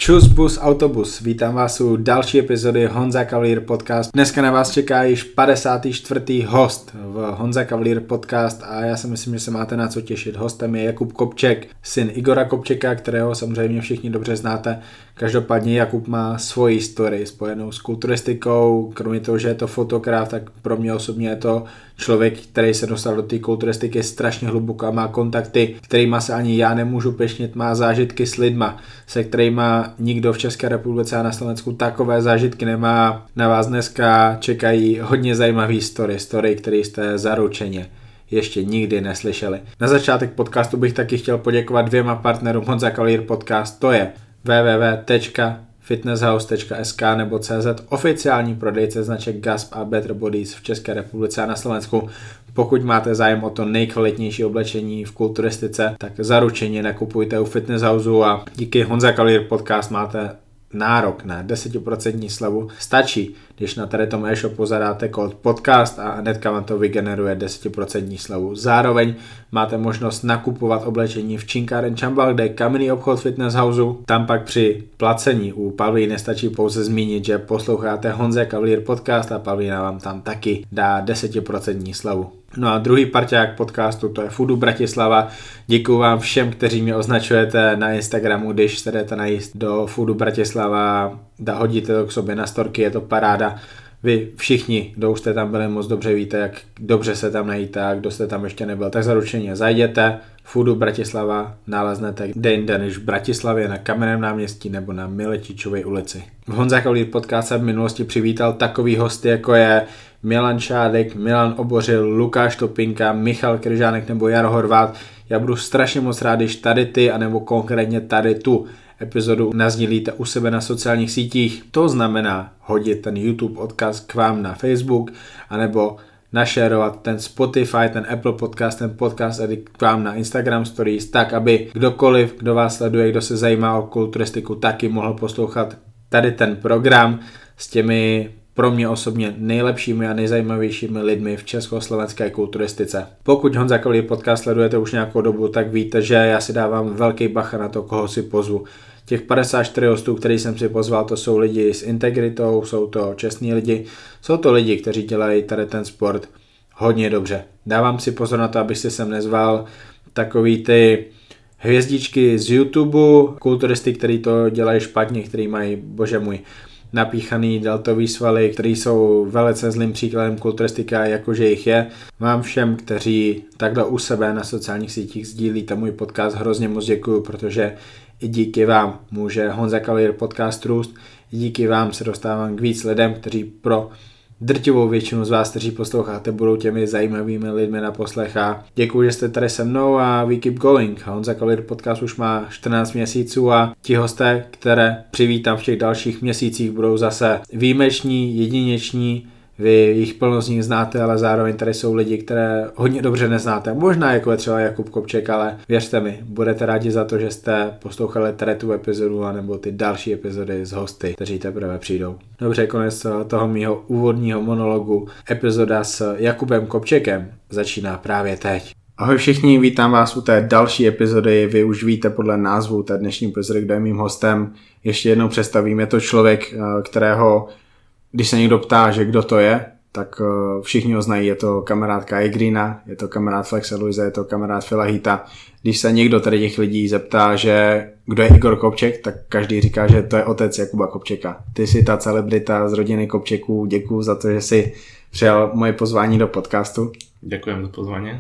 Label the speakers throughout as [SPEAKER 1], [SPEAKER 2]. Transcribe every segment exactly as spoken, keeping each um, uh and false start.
[SPEAKER 1] Čus, bus, autobus. Vítám vás u další epizody Honza Cavalier Podcast. Dneska na vás čeká již padesátý čtvrtý host v Honza Cavalier Podcast a já si myslím, že se máte na co těšit. Hostem je Jakub Kopček, syn Igora Kopčeka, kterého samozřejmě všichni dobře znáte. Každopádně Jakub má svoji historii spojenou s kulturistikou. Kromě toho, že je to fotograf, tak pro mě osobně je to člověk, který se dostal do té kulturistiky strašně hluboko a má kontakty, kterýma se ani já nemůžu pešnět, má zážitky s lidma, se kterýma nikdo v České republice a na Slovensku takové zážitky nemá. Na vás dneska čekají hodně zajímavý story, story, které jste zaručeně ještě nikdy neslyšeli. Na začátek podcastu bych taky chtěl poděkovat dvěma partnerům Honza Cavalier Podcast, to je w w w tečka fitnesshouse tečka s k nebo cz, oficiální prodejce značek Gasp a Better Bodies v České republice a na Slovensku. Pokud máte zájem o to nejkvalitnější oblečení v kulturistice, tak zaručeně nakupujte u Fitness Houseu a díky Honza Cavalier Podcast máte nárok na deset procent slevu. Stačí, když na tady tom e-shopu zadáte kód podcast a hnedka vám to vygeneruje deset procent slevu. Zároveň máte možnost nakupovat oblečení v Činkáren Čambal, kde je kamenný obchod Fitness Houseu. Tam pak při placení u Pavlíny stačí pouze zmínit, že posloucháte Honza Cavalier Podcast a Pavlína vám tam taky dá deset procent slevu. No a druhý parťák podcastu, to je Foodu Bratislava. Děkuju vám všem, kteří mě označujete na Instagramu, když se jdete najíst do Foodu Bratislava, da hodíte to k sobě na storky, je to paráda. Vy všichni, kdo už jste tam byli, moc dobře víte, jak dobře se tam najíte a kdo jste tam ještě nebyl, tak zaručeně zajděte. Foodu Bratislava naleznete kde jinde než v Bratislavě na Kamenném náměstí nebo na Miletičově ulici. V Honza Cavalier Podcast se v minulosti přivítal takový hosty, jako je Milan Šádek, Milan Obořil, Lukáš Topinka, Michal Kryžánek nebo Jaro Horvát. Já budu strašně moc rád, když tady ty, anebo konkrétně tady tu epizodu nasdílíte u sebe na sociálních sítích. To znamená hodit ten YouTube odkaz k vám na Facebook, anebo našerovat ten Spotify, ten Apple Podcast, ten podcast k vám na Instagram Stories, tak aby kdokoliv, kdo vás sleduje, kdo se zajímá o kulturistiku, taky mohl poslouchat tady ten program s těmi pro mě osobně nejlepšími a nejzajímavějšími lidmi v československé kulturistice. Pokud Honza Cavalier Podcast sledujete už nějakou dobu, tak víte, že já si dávám velký bacha na to, koho si pozvu. Těch padesát čtyři hostů, který jsem si pozval, to jsou lidi s integritou, jsou to čestní lidi, jsou to lidi, kteří dělají tady ten sport hodně dobře. Dávám si pozor na to, abych si sem nezval takový ty hvězdičky z YouTube, kulturisty, který to dělají špatně, který mají, bože můj, napíchaný deltový svaly, který jsou velice zlým příkladem kulturistika, jakože jich je. Vám všem, kteří takhle u sebe na sociálních sítích sdílíte můj podcast, hrozně moc děkuju, protože i díky vám může Honza Cavalier Podcast růst, i díky vám se dostávám k víc lidem, kteří pro drtivou většinu z vás, kteří posloucháte, budou těmi zajímavými lidmi na poslech a děkuji, že jste tady se mnou a we keep going. Honza Cavalier Podcast už má čtrnáct měsíců a ti hosté, které přivítám v těch dalších měsících, budou zase výjimeční, jedineční. Vy jich plno z nich znáte, ale zároveň tady jsou lidi, které hodně dobře neznáte. Možná jako je třeba Jakub Kopček, ale věřte mi, budete rádi za to, že jste poslouchali tady tu epizodu anebo ty další epizody z hosty, kteří teprve přijdou. Dobře, konec toho mýho úvodního monologu. Epizoda s Jakubem Kopčekem začíná právě teď. Ahoj všichni, vítám vás u té další epizody. Vy už víte podle názvu té dnešní epizody, kdo je mým hostem. Ještě jednou představím, je to člověk, kterého když se někdo ptá, že kdo to je, tak všichni ho znají, je to kamarád Kai Greena, je to kamarád Flexe Luise, je to kamarád Phila Heatha. Když se někdo tady těch lidí zeptá, že kdo je Igor Kopček, tak každý říká, že to je otec Jakuba Kopčeka. Ty jsi ta celebrita z rodiny Kopčeků, děkuju za to, že jsi přijal moje pozvání do podcastu.
[SPEAKER 2] Ďakujem za pozvání.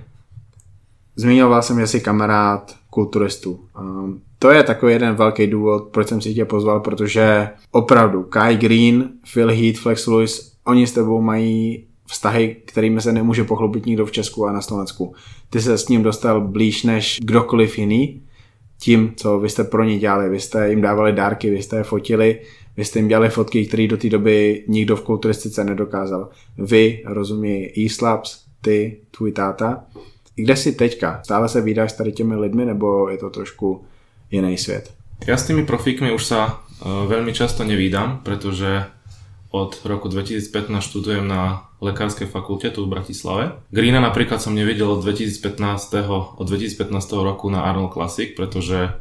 [SPEAKER 1] Zmiňoval jsem, že jsi kamarád kulturistů. Um, to je takový jeden velký důvod, proč jsem si tě pozval, protože opravdu Kai Green, Phil Heath, Flex Luise, oni s tebou mají vztahy, kterými se nemůže pochlubit nikdo v Česku a na Slovensku. Ty se s ním dostal blíž než kdokoliv jiný tím, co vy jste pro ně dělali. Vy jste jim dávali dárky, vy jste je fotili, vy jste jim dělali fotky, které do té doby nikdo v kulturistice nedokázal. Vy, rozumí E-Slabs, ty, tvůj táta. I kde jsi teďka? Stále se vídáš s tady těmi lidmi, nebo je to trošku jiný svět?
[SPEAKER 2] Ja s tými profíkmi už sa uh, veľmi často nevídam, pretože od roku dvetisícpätnásť študujem na lekárskej fakulte tu v Bratislave. Greena napríklad som nevidel od dvetisícpätnásť. od dvetisícpätnásť roku na Arnold Classic, pretože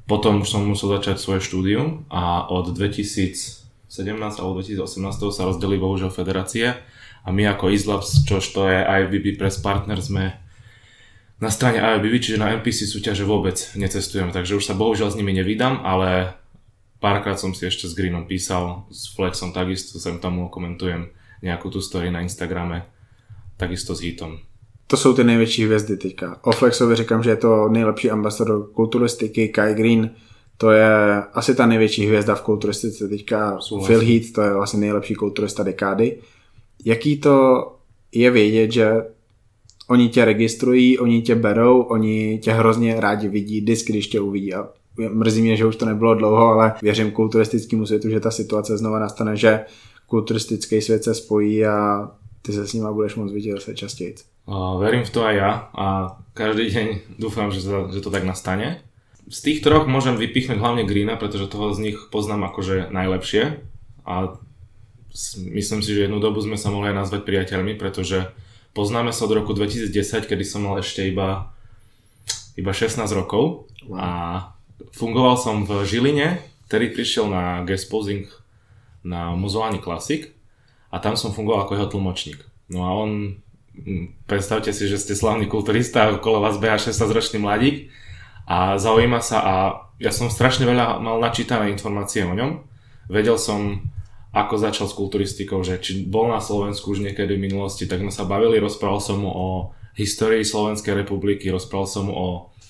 [SPEAKER 2] Potom už som musel začať svoje štúdium a od dvetisícsedemnásť alebo dvetisícosemnásť sa rozdelili bohužiaľ federácie a my ako ISLabs, čož to je I F B B Press Partner, sme na strane I F B B, čiže na N P C súťaže vôbec necestujeme, takže už sa bohužiaľ s nimi nevydám, ale párkrát som si ešte s Greenom písal, s Flexom takisto, sem tomu komentujem nejakú tú story na Instagrame, takisto s Hitom.
[SPEAKER 1] To jsou ty největší hvězdy teďka. O Flexovi říkám, že je to nejlepší ambasador kulturistiky, Kai Green, to je asi ta největší hvězda v kulturistice teďka. Souhlasím. Phil Heath, to je vlastně nejlepší kulturista dekády. Jaký to je vědět, že oni tě registrují, oni tě berou, oni tě hrozně rádi vidí, vždycky, když tě uvidí. A mrzí mě, že už to nebylo dlouho, ale věřím kulturistickému světu, že ta situace znova nastane, že kulturistický svět se spojí a ty se s nima budeš moc vidět zase častěji.
[SPEAKER 2] Uh, verím v to aj ja a každý deň dúfam, že, to, že to tak nastane. Z tých troch môžem vypichnúť hlavne Greena, pretože toho z nich poznám akože najlepšie a myslím si, že jednu dobu sme sa mohli aj nazvať priateľmi, pretože poznáme sa od roku dvetisícdesať, kedy som mal ešte iba, iba šestnásť rokov a fungoval som v Žiline, ktorý prišiel na guest posing na Muzoani Classic a tam som fungoval ako jeho tlmočník. No a on, predstavte si, že ste slavný kulturista a okolo vás beha šestnásťročný mladík a zaujíma sa a ja som strašne veľa mal načítané informácie o ňom. Vedel som, ako začal s kulturistikou, že či bol na Slovensku už niekedy v minulosti, tak sme sa bavili, rozprával som mu o histórii Slovenskej republiky, rozprával som mu o,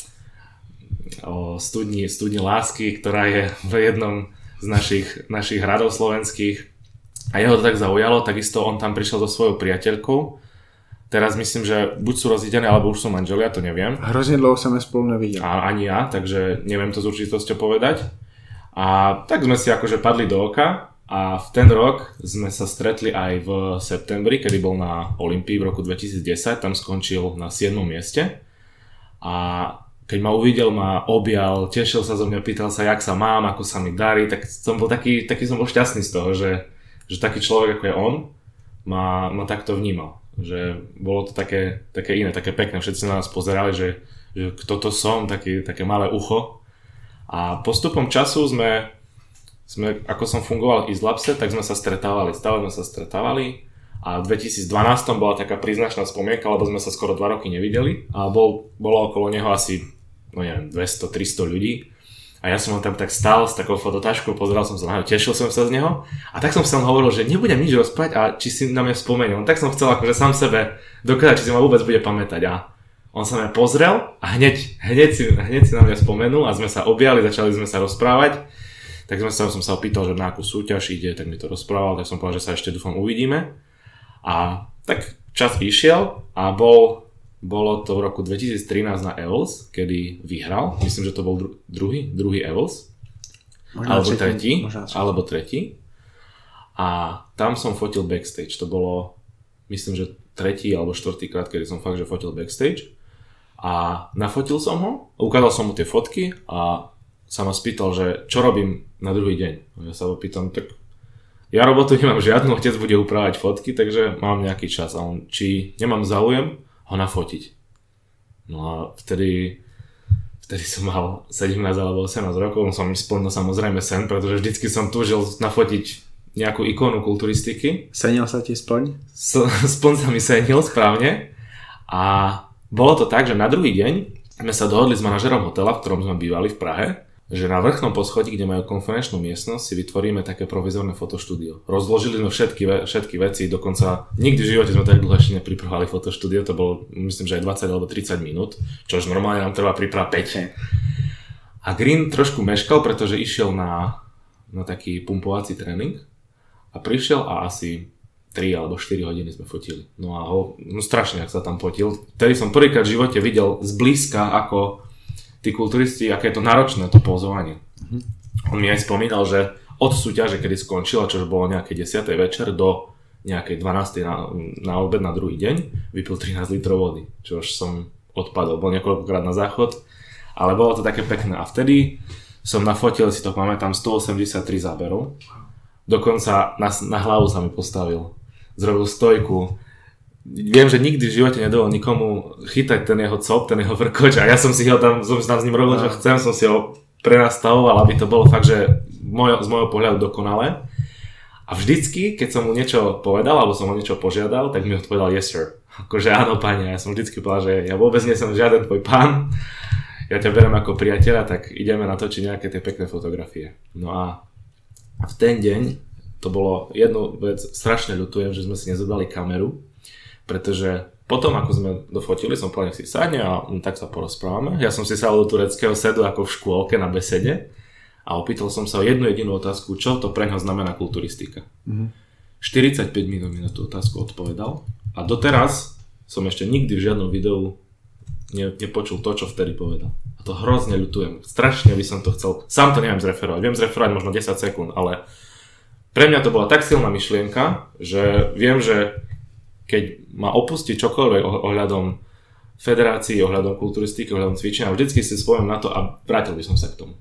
[SPEAKER 2] o studni, studni lásky, ktorá je v jednom z našich, našich hradov slovenských a jeho to tak zaujalo, takisto on tam prišiel so svojou priateľkou. Teraz myslím, že buď sú rozídené, alebo už sú manželia, to neviem.
[SPEAKER 1] Hrozne dlouho som spolu nevidel.
[SPEAKER 2] A ani ja, takže neviem to s určitosťou povedať. A tak sme si akože padli do oka a v ten rok sme sa stretli aj v septembri, kedy bol na Olympii v roku dvetisícdesať, tam skončil na siedmom mieste. A keď ma uvidel, ma objal, tešil sa zo mňa, pýtal sa, jak sa mám, ako sa mi darí, tak som bol taký, taký som bol šťastný z toho, že, že taký človek ako je on ma, ma takto vnímal. Že bolo to také, také iné, také pekné. Všetci na nás pozerali, že, že kto to som, taký, také malé ucho. A postupom času sme, sme, ako som fungoval v ISLabse, tak sme sa stretávali, stále sme sa stretávali. A v dvetisícdvanásť bola taká príznačná spomienka, lebo sme sa skoro dva roky nevideli. A bol, bolo okolo neho asi, no neviem, dvesto tristo ľudí. A ja som ho tam tak stál s takou fototáškou, pozeral som sa na neho, tešil som sa z neho a tak som sa hovoril, že nebudem nič rozprávať a či si na mňa spomenul. Tak som chcel akože sám sebe dokázať, či si ma vôbec bude pamätať a on sa mňa pozrel a hneď, hneď, si, hneď si na mňa spomenul a sme sa objali, začali sme sa rozprávať. Tak sme sa, som sa opýtal, že na akú súťaž ide, tak mi to rozprával, tak som povedal, že sa ešte dúfam uvidíme. A tak čas išiel a bol... Bolo to v roku dvetisíctrinásť na Evels, kedy vyhral. Myslím, že to bol dru- druhý, druhý Evels. Možná alebo tretí. Alebo tretí. A tam som fotil backstage. To bolo, myslím, že tretí alebo štvrtý krát, kedy som fakt, že fotil backstage. A nafotil som ho, ukázal som mu tie fotky a sa ma spýtal, že čo robím na druhý deň. Ja sa ho pýtam, tak ja robotu nemám žiadnu, otec bude upravať fotky, takže mám nejaký čas. A on, či nemám záujem ho nafotiť. No a vtedy, vtedy som mal sedemnásť alebo osemnásť rokov, som splnil samozrejme sen, pretože vždycky som túžil nafotiť nejakú ikonu kulturistiky.
[SPEAKER 1] Senil sa ti splň?
[SPEAKER 2] S, splň sa mi senil, správne. A bolo to tak, že na druhý deň sme sa dohodli s manažerom hotela, v ktorom sme bývali v Prahe, že na vrchnom poschodí, kde majú konferenčnú miestnosť, si vytvoríme také provizorné fotoštúdio. Rozložili sme všetky, všetky veci, dokonca nikdy v živote sme tak dlho ešte nepripravovali fotoštúdio, to bolo myslím, že aj dvadsať alebo tridsať minút, čož normálne nám trvá príprava päť. A Green trošku meškal, pretože išiel na, na taký pumpovací tréning a prišiel a asi tri alebo štyri hodiny sme fotili. No a ho, no strašne, ak sa tam fotil. Vtedy som prvýkrát v živote videl zblízka, ako tí kulturisti, aké je to náročné to pozovanie. Mm-hmm. On mi aj spomínal, že od súťaže, kedy skončila, čo bolo nejaké desiatej večer do nejakej dvanástej na, na obed na druhý deň, vypil trinásť litrov vody, čo už som odpadol. Bol niekoľkokrát na záchod, ale bolo to také pekné. A vtedy som nafotil, si to pamätám, stoosemdesiattri záberov. Dokonca na, na hlavu sa mi postavil. Zrobil stojku. Viem, že nikdy v živote nedovol nikomu chytať ten jeho cop, ten jeho vrkoč a ja som si ho tam, som tam s ním robil, že chcem, som si ho prenastavoval, aby to bolo fakt, že môj, z môjho pohľadu dokonalé. A vždycky, keď som mu niečo povedal, alebo som mu niečo požiadal, tak mi odpovedal yes sir. Akože áno, pani, ja som vždycky povedal, že ja vôbec nie som žiaden tvoj pán, ja ťa berem ako priateľa, tak ideme natočiť nejaké tie pekné fotografie. No a v ten deň, to bolo jednu vec, strašne ľutujem, že sme si nezobrali kameru, pretože potom, ako sme dofotili, som povedal, nech si sadne a tak sa porozprávame. Ja som si sadol do tureckého sedu ako v škôlke na besede a opýtal som sa o jednu jedinú otázku, čo to pre ňa znamená kulturistika. Mm-hmm. štyridsaťpäť minút mi na tú otázku odpovedal a doteraz som ešte nikdy v žiadnom videu ne, nepočul to, čo vtedy povedal. A to hrozne ľutujem. Strašne by som to chcel. Sám to neviem zreferovať. Viem zreferovať možno desať sekúnd, ale pre mňa to bola tak silná myšlienka, že viem, že keď ma opustí čokoľvek ohľadom federácií, ohľadom kulturistiky, ohľadom cvičenia, vždycky si spomínam na to a vrátil by som sa k tomu.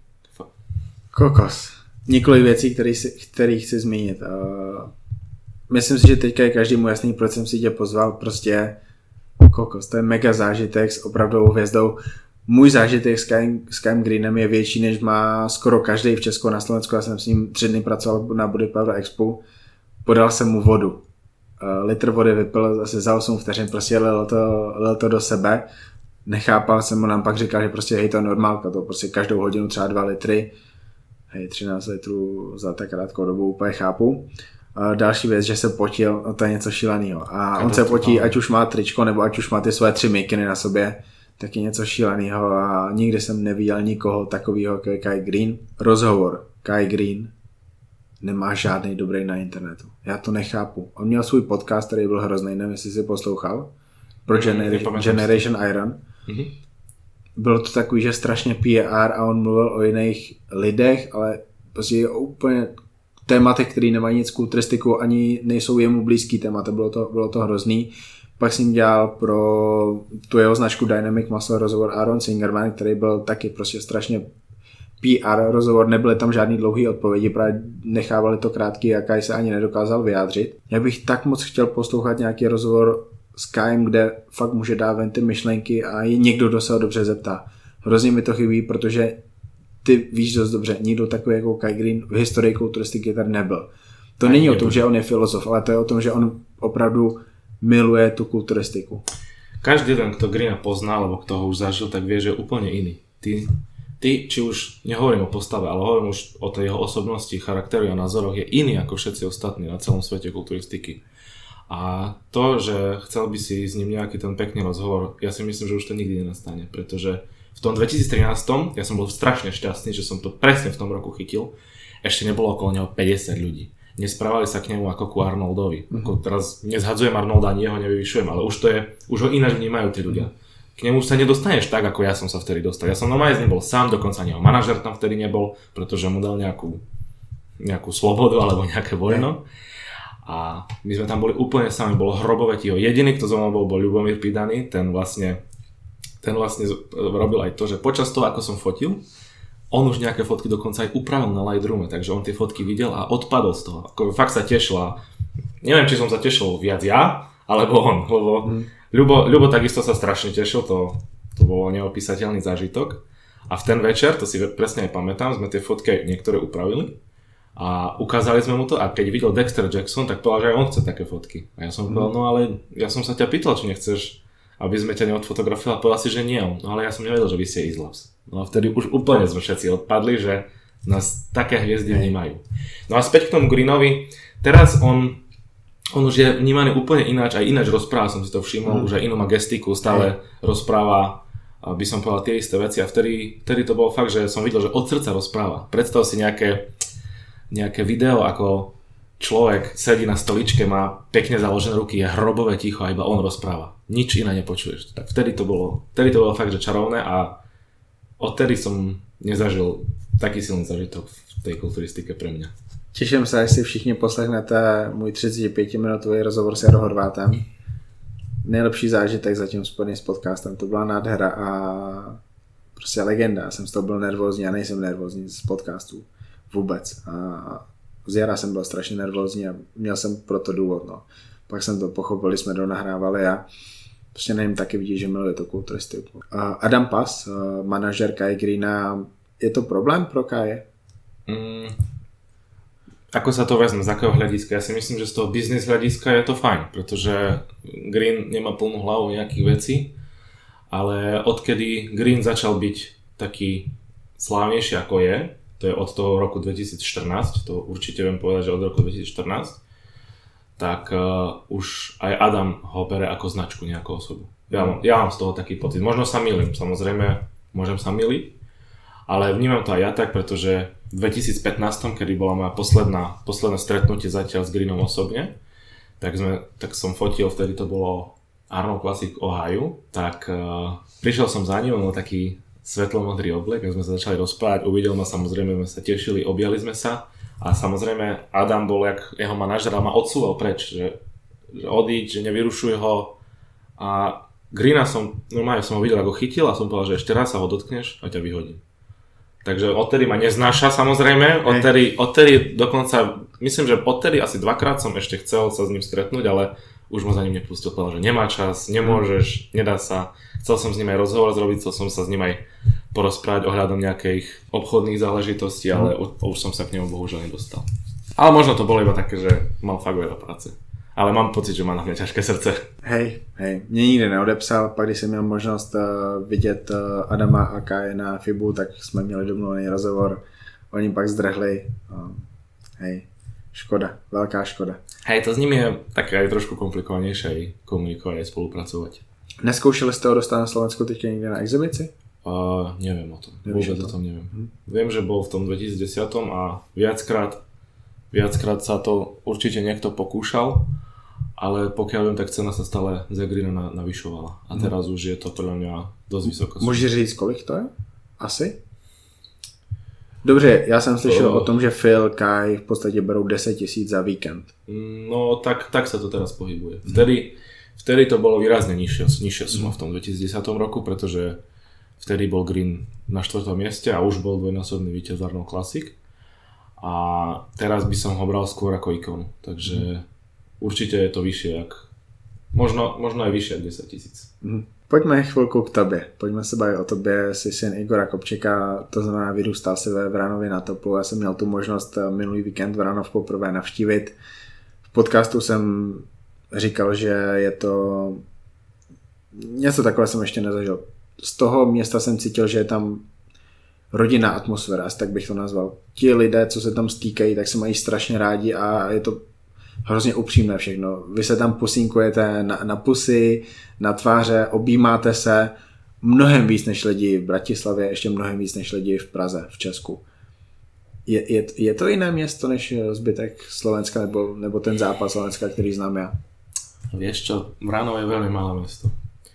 [SPEAKER 1] Kokos. Několik věcí, které chci zmínit. Uh, myslím si, že teďka je každému jasný, proč jsem si tě pozval. Prostě kokos, to je mega zážitek s opravdovou hvězdou. Můj zážitek s Kym, s Kym Greenem je větší, než má skoro každý v Česku a na Slovensku. Já jsem s ním tři dny pracoval na Body Power Expo. Podal jsem mu vodu. Uh, litr vody vypil asi za osm vteřin, prostě lil to, lil to do sebe. Nechápal jsem mu, nám pak říkal, že prostě hej, to je normálka, to prostě každou hodinu třeba dva litry. Hej, třináct litrů za tak krátkou dobu, úplně chápu. Uh, další věc, že se potil, no to je něco šíleného. A on se potí, ať už má tričko, nebo ať už má ty své tři mikiny na sobě, tak je něco šíleného a nikdy jsem neviděl nikoho takového jako je Kai Green. Rozhovor Kai Green nemá žádný dobrý na internetu. Já to nechápu. On měl svůj podcast, který byl hrozný, nevím, jestli jsi poslouchal, pro Genera- Generation Iron. Mm-hmm. Bylo to takový, že strašně P R a on mluvil o jiných lidech, ale prostě o úplně tématech, které nemají nic s kulturistikou, ani nejsou jemu blízký témata, bylo to, bylo to hrozný. Pak jsem dělal pro tu jeho značku Dynamic Muscle rozhovor Aaron Singerman, který byl taky prostě strašně P R rozhovor, nebyly tam žádný dlouhý odpovědi, právě nechávali to krátký a Kai se ani nedokázal vyjádřit. Já bych tak moc chtěl poslouchat nějaký rozhovor s Kajem, kde fakt může dát ven ty myšlenky a je někdo, kdo se ho dobře zeptá. Hrozně mi to chybí, protože ty víš dost dobře, nikdo takový jako Kai Green v historii kulturistiky tady nebyl. To není o tom, že on je filozof, ale to je o tom, že on opravdu miluje tu kulturistiku.
[SPEAKER 2] Každý ten, kto Greena pozná, alebo kto ho už zažil, tak vie, že je úplne iný. Ty, ty či už, nehovorím o postave, ale hovorím už o tej jeho osobnosti, charakteru a názoroch, je iný ako všetci ostatní na celom svete kulturistiky. A to, že chcel by si s ním nejaký ten pekný rozhovor, ja si myslím, že už to nikdy nenastane, pretože v tom dvetisíctrinásť ja som bol strašne šťastný, že som to presne v tom roku chytil. Ešte nebolo okolo neho päťdesiat ľudí. Nesprávali sa k nemu ako ku Arnoldovi. Mm-hmm. Ako teraz nezhadzujem Arnolda, ani jeho nevyvyšujem, ale už to je, už ho ináč vnímajú tí ľudia. K nemu sa nedostaneš tak, ako ja som sa vtedy dostal. Ja som normálne z ním bol sám, dokonca ani jeho manažer tam vtedy nebol, pretože mu dal nejakú, nejakú slobodu alebo nejaké voľno. A my sme tam boli úplne sami, bolo hrobové ticho. Jediný, kto zo mnou bol, bol Ľubomír Pidaný, ten vlastne, ten vlastne robil aj to, že počas toho, ako som fotil, on už nejaké fotky dokonca aj upravil na Lightroome, takže on tie fotky videl a odpadol z toho. Ako fakt sa tešil a neviem, či som sa tešil viac ja, alebo on, lebo mm. Ľubo, Ľubo takisto sa strašne tešil, to, to bolo neopísateľný zážitok. A v ten večer, to si presne aj pamätám, sme tie fotky niektoré upravili a ukázali sme mu to a keď videl Dexter Jackson, tak povedal, že aj on chce také fotky. A ja som mm. povedal, no ale ja som sa ťa pýtal, či nechceš, aby sme ťa neodfotografovali, a povedal si, že nie. No ale ja som nevedel, že vy ste Islavs. No a vtedy už úplne sme všetci odpadli, že nás také hviezdy vnímajú. No a späť k tomu Greenovi, teraz on, on už je vnímaný úplne ináč, aj ináč rozpráva, som si to všimol, mm. už aj inú má gestiku, stále mm. rozpráva, by som povedal tie isté veci a vtedy, vtedy to bolo fakt, že som videl, že od srdca rozpráva. Predstav si nejaké, nejaké video, ako človek sedí na stoličke, má pekne založené ruky, je hrobové ticho a iba on rozpráva. Nič iné nepočuješ. Tak vtedy to bolo, vtedy to bolo fakt, že čarovné a odtedy som nezažil taký silný zážitok v tej kulturistike pre mňa.
[SPEAKER 1] Těším se, až si všichni poslechnete můj třicetipětiminutový rozhovor s Jaro Horvátem. Nejlepší zážitek zatím spojený s podcastem, to byla nádhera a prostě legenda. Já jsem z toho byl nervózní a nejsem nervózní z podcastů vůbec. A z Jara jsem byl strašně nervózní a měl jsem proto důvod. No. Pak jsem to pochopil, když jsme donahrávali a prostě nevím, taky vidí, že miluje to kulturistiku. Adam Pass, manažer Kai Greena, je to problém pro Kaje?
[SPEAKER 2] Mm, ako sa to vezme, z akého hľadiska? Ja si myslím, že z toho business hľadiska je to fajn, pretože Green nemá plnú hlavu nejakých vecí, ale odkedy Green začal byť taký slávnejší ako je, to je od toho roku dvetisícštrnásť, to určite viem povedať, že od roku dvetisícštrnásť, tak uh, už aj Adam ho bere ako značku, nejakú osobu. Ja, mám, ja mám z toho taký pocit. Možno sa mýlim, samozrejme, môžem sa myliť, ale vnímam to aj ja tak, pretože v dvetisícpätnásť, kedy bola moja posledná, posledné stretnutie zatiaľ s Greenom osobne, tak, sme, tak som fotil, vtedy to bolo Arnold Classic Ohio, tak uh, prišiel som za ním, on bol taký svetlomodrý oblek, my sme sa začali rozprávať, uvidel ma, samozrejme sme sa tešili, objali sme sa a samozrejme Adam bol, jak jeho manažer, ma odsúval preč, že, že odíď, že nevyrušuj ho a Greena som, normálne som ho videl, ako chytil a som povedal, že ešte raz sa ho dotkneš a ťa vyhodím. Takže odtedy ma neznáša samozrejme, odtedy, odtedy dokonca, myslím, že odtedy asi dvakrát som ešte chcel sa s ním stretnúť, ale už ma za ním nepustil, povedal, že nemá čas, nemôžeš, nedá sa. Chcel som s ním aj rozhovor zrobiť, chcel som sa s ním aj porozprávať ohľadom nejakých obchodných záležitostí, ale už, už som sa k nemu bohužiaľ nedostal. Ale možno to bolo iba také, že mal fakt veľa práce. Ale mám pocit, že má na mňa ťažké srdce.
[SPEAKER 1] Hej, hej, mě nikdy neodepsal, pak když jsem měl možnost uh, vidět uh, Adama a Kaje na Fibu, tak jsme měli domluvený rozhovor, oni pak zdrhli, uh, hej, škoda, veľká škoda.
[SPEAKER 2] Hej, to s nimi je také aj trošku komplikovanejšie aj komunikovať, aj spolupracovať.
[SPEAKER 1] Neskoušeli ste ho dostať na Slovensku teďka niekde na exibici?
[SPEAKER 2] Uh, neviem o tom,
[SPEAKER 1] Nevíš
[SPEAKER 2] vôbec
[SPEAKER 1] o tom?
[SPEAKER 2] o tom neviem. Hm. Viem, že bol v tom dvetisícdesať a viackrát, viackrát sa to určite niekto pokúšal, ale pokiaľ viem, tak cena sa stále za Greena navyšovala. A teraz hm. už je to podľa mňa dosť vysoko.
[SPEAKER 1] Môžeš říct, kolik to je? Asi? Dobře, já jsem slyšel uh, o tom, že Phil, Kai v podstatě berou deset tisíc za víkend.
[SPEAKER 2] No tak, tak sa to teraz pohybuje. Vtedy, vtedy to bolo výrazne nižšia, nižšia suma v tom dvetisícdesať roku, pretože vtedy bol Green na štvrtom mieste a už bol dvojnásobný víťaz Arnold Classic. A teraz by som ho bral skôr ako ikonu. Takže mm. určite je to vyššie, jak, možno, možno aj vyššie ako desať tisíc.
[SPEAKER 1] Mm. Pojďme chvilku k tobě. Pojďme se bavit o tobě. Jsi syn Igora Kopčeka, to znamená vyrůstal si ve Vranově na Toplu. Já jsem měl tu možnost minulý víkend Vranov poprvé navštívit. V podcastu jsem říkal, že je to něco takové jsem ještě nezažil. Z toho města jsem cítil, že je tam rodinná atmosféra, tak bych to nazval. Ti lidé, co se tam stýkají, tak se mají strašně rádi a je to hrozně upřímné všechno. Vy se tam pusínkujete na, na pusy, na tváře, objímáte se mnohem víc než lidi v Bratislavě, ještě mnohem víc než lidi v Praze, v Česku. Je, je, je to jiné město než zbytek Slovenska nebo, nebo ten západ Slovenska, který znám já?
[SPEAKER 2] Vieš čo, Vranov je veľmi malé mesto.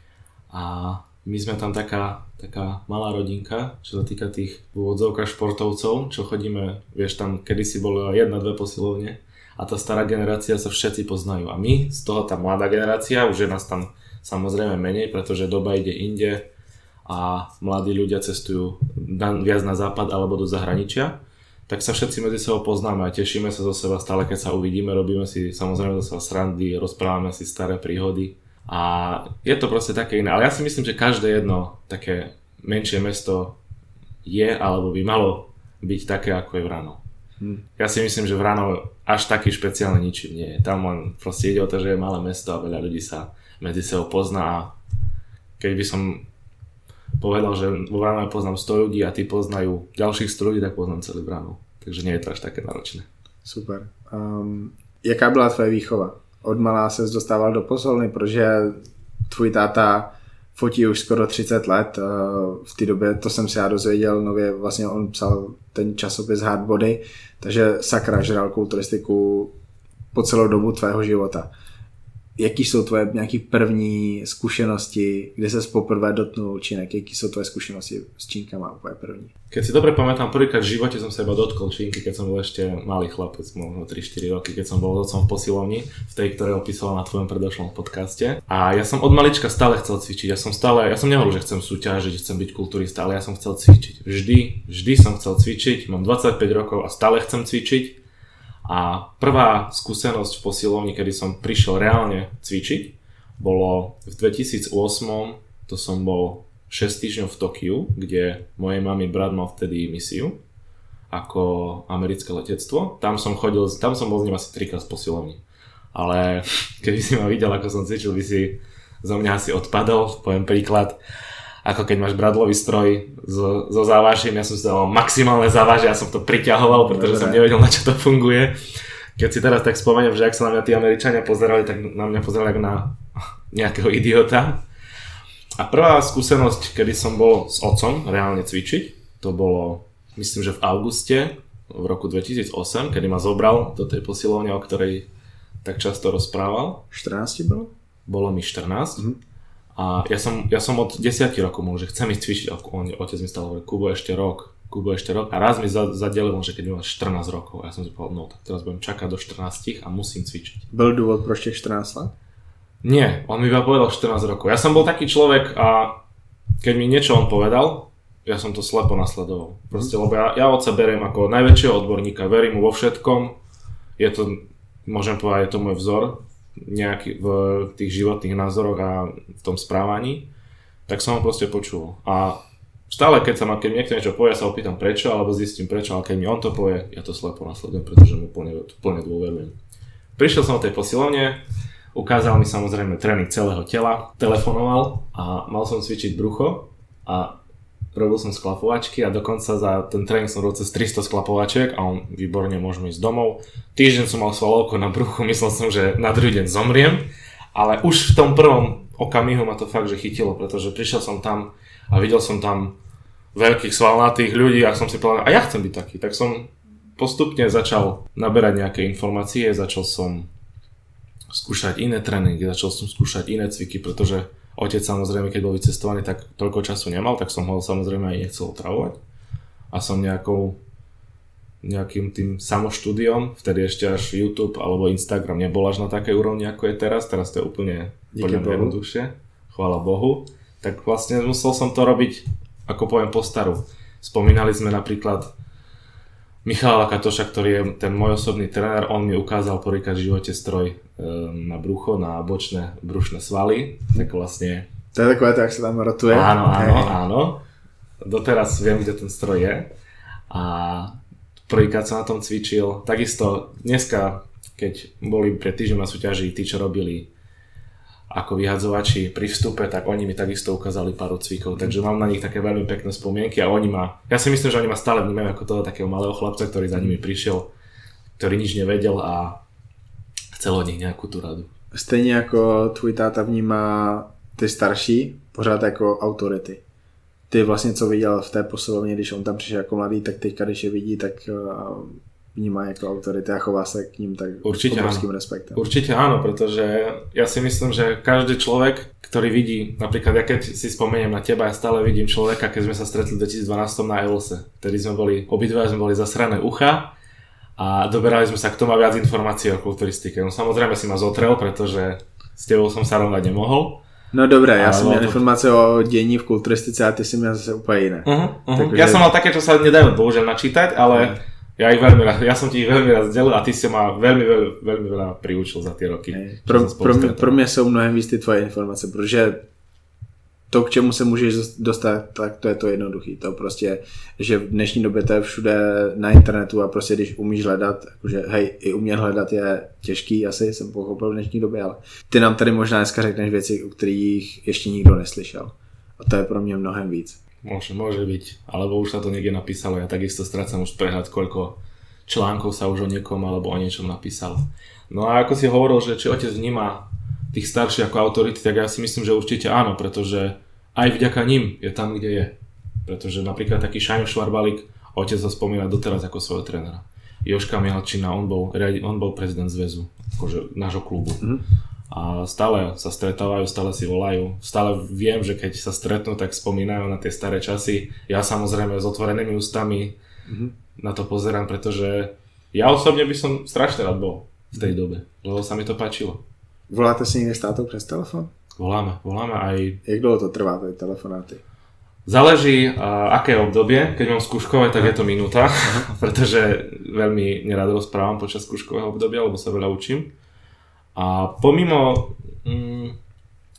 [SPEAKER 2] A my sme tam taká, taká malá rodinka, čo sa týka tých v úvodzovkách športovcov, čo chodíme, vieš, tam kedysi bolo jedna, dve posilovne a tá stará generácia sa všetci poznajú. A my, z toho tá mladá generácia, už je nás tam samozrejme menej, pretože doba ide inde a mladí ľudia cestujú viac na západ alebo do zahraničia, tak sa všetci medzi sebou poznáme a tešíme sa zo seba stále, keď sa uvidíme, robíme si samozrejme zo seba srandy, rozprávame si staré príhody. A je to proste také iné, ale ja si myslím, že každé jedno také menšie mesto je alebo by malo byť také ako je Vranov. Hmm. Ja si myslím, že Vranov až taký špeciálne ničím nie je. Tam len proste ide o to, že je malé mesto a veľa ľudí sa medzi sebou pozná a keď by som povedal, že vo Vranove poznám sto ľudí a tí poznajú ďalších sto ľudí, tak poznám celý Vranov. Takže nie je to až také náročné. Super.
[SPEAKER 1] Um, jaká byla tvoje výchova? Od malá ses dostával do posilovny, protože tvůj táta fotí už skoro třicet let. V té době, to jsem si já dozvěděl nově, vlastně on psal ten časopis Hard Body, takže sakra žral kulturistiku po celou dobu tvého života. Jaký jsou tvoje nějaký první zkušenosti, kde ses poprvé dotknul činek? Jaký jsou tvoje zkušenosti s činkama úplně první?
[SPEAKER 2] Keď si dobre pamätám, prvýkrát v živote som sa iba dotkol činky, keď som bol ešte malý chlapec, možno tri štyri roky, keď som bol s otcom v posilovni, v tej, ktoré opísala na tvojom predošlom podcaste. A ja som od malička stále chcel cvičiť. Ja som stále, ja som nehovoril, že chcem súťažiť, chcem byť kulturista, ale ja som chcel cvičiť. Vždy, vždy som chcel cvičiť, mám dvadsaťpäť rokov a stále chcem cvičiť. A prvá skúsenosť v posilovni, kedy som prišiel reálne cvičiť, bolo v dvetisícosem, to som bol šesť týždňov v Tokiu, kde mojej mami brat mal vtedy misiu ako americké letectvo. Tam som chodil, tam som bol s ním asi trikrát z posilovni. Ale keby si ma videl, ako som cvičil, by si zo mňa asi odpadol. Poviem príklad, ako keď máš bradlový stroj so, so závažím, ja som si dal maximálne závaže, ja som to priťahoval, pretože Dobre. som nevedel, na čo to funguje. Keď si teraz tak spomeniem, že ak sa na mňa tí Američania pozerali, tak na mňa pozerali ako na nejakého idiota. A prvá skúsenosť, kedy som bol s otcom reálne cvičiť, to bolo, myslím, že v auguste v roku dvetisícosem, kedy ma zobral do tej posilovne, o ktorej tak často rozprával.
[SPEAKER 1] štrnásť bolo?
[SPEAKER 2] Bolo mi štrnásť. Mm-hmm. A ja som, ja som od desať rokov môžu, že chcem ísť cvičiť. On, otec mi stále hovorí, Kubo, ešte rok, Kubo, ešte rok. A raz mi zadelil, že keď mi mal štrnásť rokov. A ja som si povedal, no tak teraz budem čakať do štrnástich a musím cvičiť.
[SPEAKER 1] Byl dôvod proč těch štrnásť let?
[SPEAKER 2] Nie, on mi iba povedal štrnásť rokov. Ja som bol taký človek a keď mi niečo on povedal, ja som to slepo nasledoval. Proste, lebo ja, ja otca beriem ako najväčšieho odborníka, verím mu vo všetkom. Je to, môžem povedať, je to môj vzor nejaký v tých životných názoroch a v tom správaní. Tak som ho proste počul. A stále, keď sa ma, keď niekto niečo povie, ja sa opýtam prečo, alebo zistím prečo, ale keď mi on to povie, ja to slepo nasledujem, pretože mu plne, plne dôverujem. Prišiel som do tej posilovne, ukázal mi samozrejme tréning celého tela, telefonoval a mal som cvičiť brucho a robil som sklapovačky a dokonca za ten tréning som robil cez tristo sklapovačiek a on výborne, môžeme ísť domov. Týždeň som mal svalovku na bruchu, myslel som, že na druhý deň zomriem, ale už v tom prvom okamihu ma to fakt, že chytilo, pretože prišiel som tam a videl som tam veľkých svalnatých ľudí a som si povedal, a ja chcem byť taký, tak som postupne začal naberať nejaké informácie, začal som skúšať iné tréningy, začal som skúšať iné cviky, pretože otec samozrejme, keď bol vycestovaný, tak toľko času nemal, tak som ho samozrejme aj nechcel otravovať. A som nejakou, nejakým tým samoštúdiom, vtedy ešte až YouTube alebo Instagram nebol až na takej úrovni, ako je teraz, teraz to je úplne, úplne jednoduchšie, chvála Bohu. Tak vlastne musel som to robiť, ako poviem, po staru. Spomínali sme napríklad Michala Katoša, ktorý je ten môj osobný tréner, on mi ukázal prvýkrát v živote stroj na brucho, na bočné brušné svaly, tak vlastne...
[SPEAKER 1] To je takové to, jak sa tam rotuje.
[SPEAKER 2] Áno, áno, áno. Doteraz viem, kde ten stroj je. A prvýkrát som na tom cvičil. Takisto dneska, keď boli pred týždňom na súťaži, tí, čo robili ako vyhadzovači pri vstupe, tak oni mi takisto ukázali pár cvikov, takže mám na nich také veľmi pekné spomienky a oni ma, ja si myslím, že oni ma stále vnímajú ako toho takého malého chlapca, ktorý za nimi prišiel, ktorý nič nevedel a chcel od nich nejakú tú radu.
[SPEAKER 1] Stejně jako tvůj táta vnímá ty starší pořád jako autority. Ty vlastně co viděl v té posilovně, když on tam přišel jako mladý, tak teďka, když je vidí, tak vníma jako autority a chová sa k ním tak
[SPEAKER 2] určite
[SPEAKER 1] obrovským
[SPEAKER 2] áno.
[SPEAKER 1] respektom.
[SPEAKER 2] Určite áno, pretože ja si myslím, že každý človek, ktorý vidí, napríklad ja keď si spomeniem na teba, ja stále vidím človeka, keď sme sa stretli v dvetisícdvanásť na Evolse, vtedy sme boli, obidva sme boli zasrané ucha a doberali sme sa k tomu viac informácií o kulturistike. No samozrejme si ma zotrel, pretože s tebou som sa rovnať nemohol.
[SPEAKER 1] No dobré, já jsem měl to... informace o dění v kulturistice a ty si měl zase úplně jiné.
[SPEAKER 2] Uh-huh, uh-huh. Takže... Ja som mal také, čo sa nedajú bohužiaľ načítať, ale uh-huh. Ja, ich veľmi rád, ja som ti ich veľmi rád sdelil a ty si ma veľmi, veľmi, veľmi veľa priučil za tie roky.
[SPEAKER 1] Pro, pro, mě, pro mě jsou mnohem víc ty tvoje informace, protože to, k čemu se můžeš dostat, tak to je to jednoduchý. To prostě, že v dnešní době to je všude na internetu a prostě když umíš hledat, jakože hej, i umět hledat je těžký, asi jsem pochopil v dnešní době, ale ty nám tady možná dneska řekneš věci, o kterých ještě nikdo neslyšel. A to je pro mě mnohem víc.
[SPEAKER 2] Môže, môže byť, alebo už sa to niekde napísalo, ja takisto strácam už prehľad, koľko článkov sa už o niekom alebo o niečom napísalo. No a ako si hovoril, že či otec vníma tých starších ako autority, tak ja si myslím, že určite áno, pretože aj vďaka nim je tam, kde je. Pretože napríklad taký Šajno Švarbalík, otec ho spomína doteraz ako svojho trénera. Jožka Mihalčina, on bol, on bol prezident zväzu, akože nášho klubu. Mm. A stále sa stretávajú, stále si volajú. Stále viem, že keď sa stretnú, tak spomínajú na tie staré časy. Ja samozrejme s otvorenými ústami mm-hmm. na to pozerám, pretože ja osobne by som strašne rád bol v tej dobe, lebo sa mi to páčilo.
[SPEAKER 1] Voláte si niekde s tátou přes telefon?
[SPEAKER 2] Voláme, voláme aj...
[SPEAKER 1] Jak dlho to trvá, tie telefonáty?
[SPEAKER 2] Záleží, uh, aké obdobie. Keď mám skúškové, tak je to minúta, pretože veľmi nerád rozprávam počas skúškového obdobia, lebo sa veľa učím. A pomimo mm,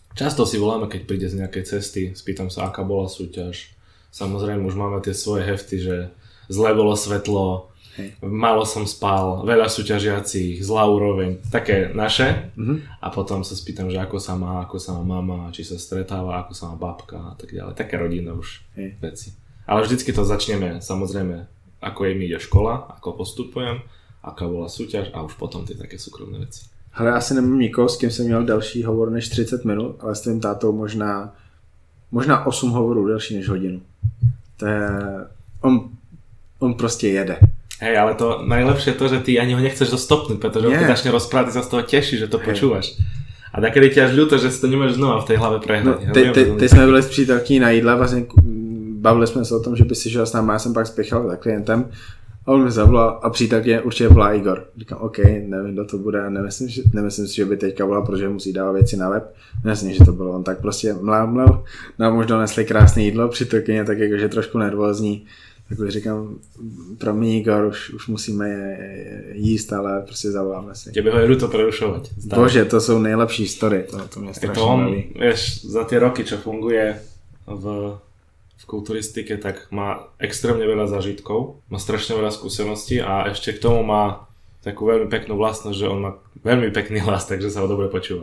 [SPEAKER 2] Často si voláme, keď príde z nejakej cesty, spýtam sa, aká bola súťaž. Samozrejme, už máme tie svoje hefty, že zle bolo svetlo, hej. Málo som spal, veľa súťažiacich, zlá úroveň, také naše. Mm-hmm. A potom sa spýtam, že ako sa má, ako sa má mama, či sa stretáva, ako sa má babka a tak ďalej. Také rodinné už hej. veci. Ale vždycky to začneme, samozrejme, ako jej mi ide škola, ako postupujem, aká bola súťaž a už potom tie také súkromné veci.
[SPEAKER 1] Hele, asi nemám nikoho, s kým jsem měl další hovor než třicet minut, ale s tvým tátou možná, možná osm hovorů delší než hodinu. To je, on, on prostě jede.
[SPEAKER 2] Hej, ale to najlepšie je to, že ty ani ho nechceš dostopnúť, pretože on keď začne rozprávať, ty sa z toho teší, že to hey. počúvaš. A takedy ti až ľúto, že si to nemôžeš znova v tej hlave prehnať.
[SPEAKER 1] No, te, te, te jsme byli s přítelkyní na jídle, vlastně bavili jsme se o tom, že by si šel s námi, já jsem pak spěchal za klientem. A on mi zavolal a přítelkyně určitě volá Igor. Říkám, OK, nevím, kdo to bude, nemyslím, že, nemyslím si, že by teďka volal, protože musí dávat věci na web. Nemyslím, že to bylo on, tak prostě mlel, mlel. Nám už donesli krásné jídlo, přítelkyně tak jakože trošku nervózní. Tak už říkám, pro mě Igor, už, už musíme jíst, ale prostě zavoláme si.
[SPEAKER 2] Tebe ho je ľúto prerušovať.
[SPEAKER 1] Bože, to jsou nejlepší story, to, to mě strašně baví.
[SPEAKER 2] Vieš, za tie roky, čo funguje v v kulturistike, tak má extrémne veľa zážitkov, má strašne veľa skúseností a ešte k tomu má takú veľmi peknú vlastnosť, že on má veľmi pekný hlas, takže sa ho dobre počúva.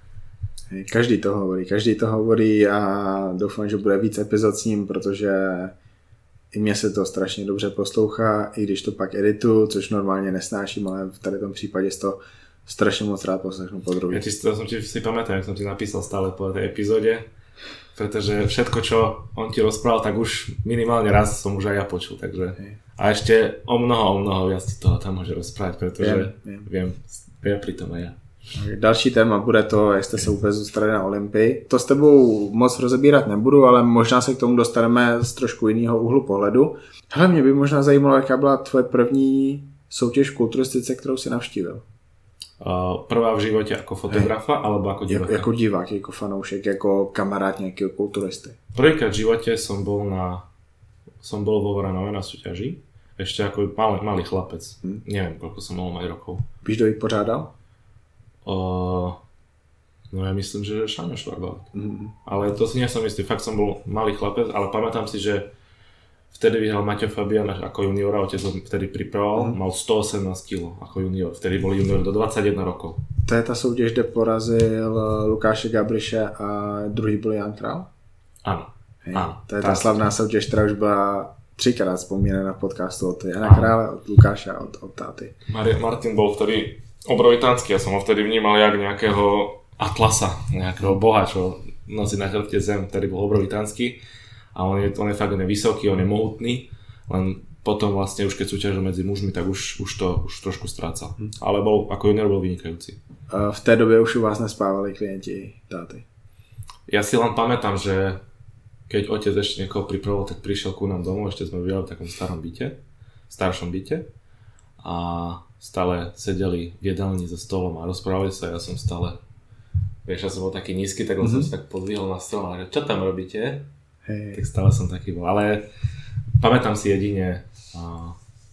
[SPEAKER 1] Každý to hovorí, každý to hovorí a doufám, že bude víc epizod s ním, protože i mně se to strašně dobře poslouchá, i když to pak edituju, což normálně nesnáším, ale v tady tom případě z toho strašně moc rád poslechnu po druhý.
[SPEAKER 2] Ja ti, to som ti si pamätám, jak som ti napísal stále po tej epizóde, pretože všetko, čo on ti rozprával, tak už minimálne raz som už aj ja počul, takže hej. A ešte o mnoho, o mnoho viac ti toho tam môže rozprávať, pretože viem, viem, viem pri tom aj ja.
[SPEAKER 1] Další téma bude to, jak jste se vůbec dostali na Olympii. To s tebou moc rozebírat nebudu, ale možná se k tomu dostaneme z trošku jiného úhlu pohledu. Hele, mě by možná zajímalo, jaká byla tvoje první soutěž v kulturistice, kterou si navštívil.
[SPEAKER 2] Uh, prvá v živote ako fotografa, hey. alebo ako divák?
[SPEAKER 1] Jako divák, jako fanoušek, jako kamarád nejakého kulturisty.
[SPEAKER 2] Prvýkrát v živote som bol na som bol vo Vranove na súťaži, ešte ako malý, malý chlapec, hmm. neviem koľko som mal mať rokov.
[SPEAKER 1] Víš, kto ich pořádal?
[SPEAKER 2] Uh, no ja myslím, že Šáňo Švarbák. Hmm. Ale to si nie som istý, fakt som bol malý chlapec, ale pamätám si, že vtedy vyhral Maťo Fabián ako juniora, otec ho vtedy pripravoval, mm. mal sto osemnásť kilogramov ako junior, vtedy bol junior do dvadsaťjeden rokov.
[SPEAKER 1] To je ta soutěž, kde porazil Lukáše Gabriše a druhý byl Jan Král?
[SPEAKER 2] Áno.
[SPEAKER 1] Hej, áno. To je tá slavná soutěž, která už byla třikrát vzpomínaná na podcastu od Jana Krále, od Lukáša a od, od táty.
[SPEAKER 2] Mar- Martin bol vtedy obrovitánsky, ja som ho vtedy vnímal jak nejakého atlasa, nejakého boha, čo nosí na chrbte zem, ktorý bol obrovitánsky. A on je, on je fakt nevysoký, on je mohutný, len potom vlastne už keď súťažil medzi mužmi, tak už, už to už trošku strácal. Hm. Ale bol, ako junior bol vynikajúci.
[SPEAKER 1] V té době už u vás nespávali klienti táty?
[SPEAKER 2] Ja si len pamätám, že keď otec ešte niekoho pripravoval, tak prišiel ku nám domov, ešte sme bývali v takom starom byte, staršom byte a stále sedeli v jedálni za stolom a rozprávali sa, ja som stále, vieš, ja som bol taký nízky, tak mm-hmm. som si tak podvihol na stôl a že čo tam robíte? Hey. Tak stále som taký bol, ale pamätám si jedine a,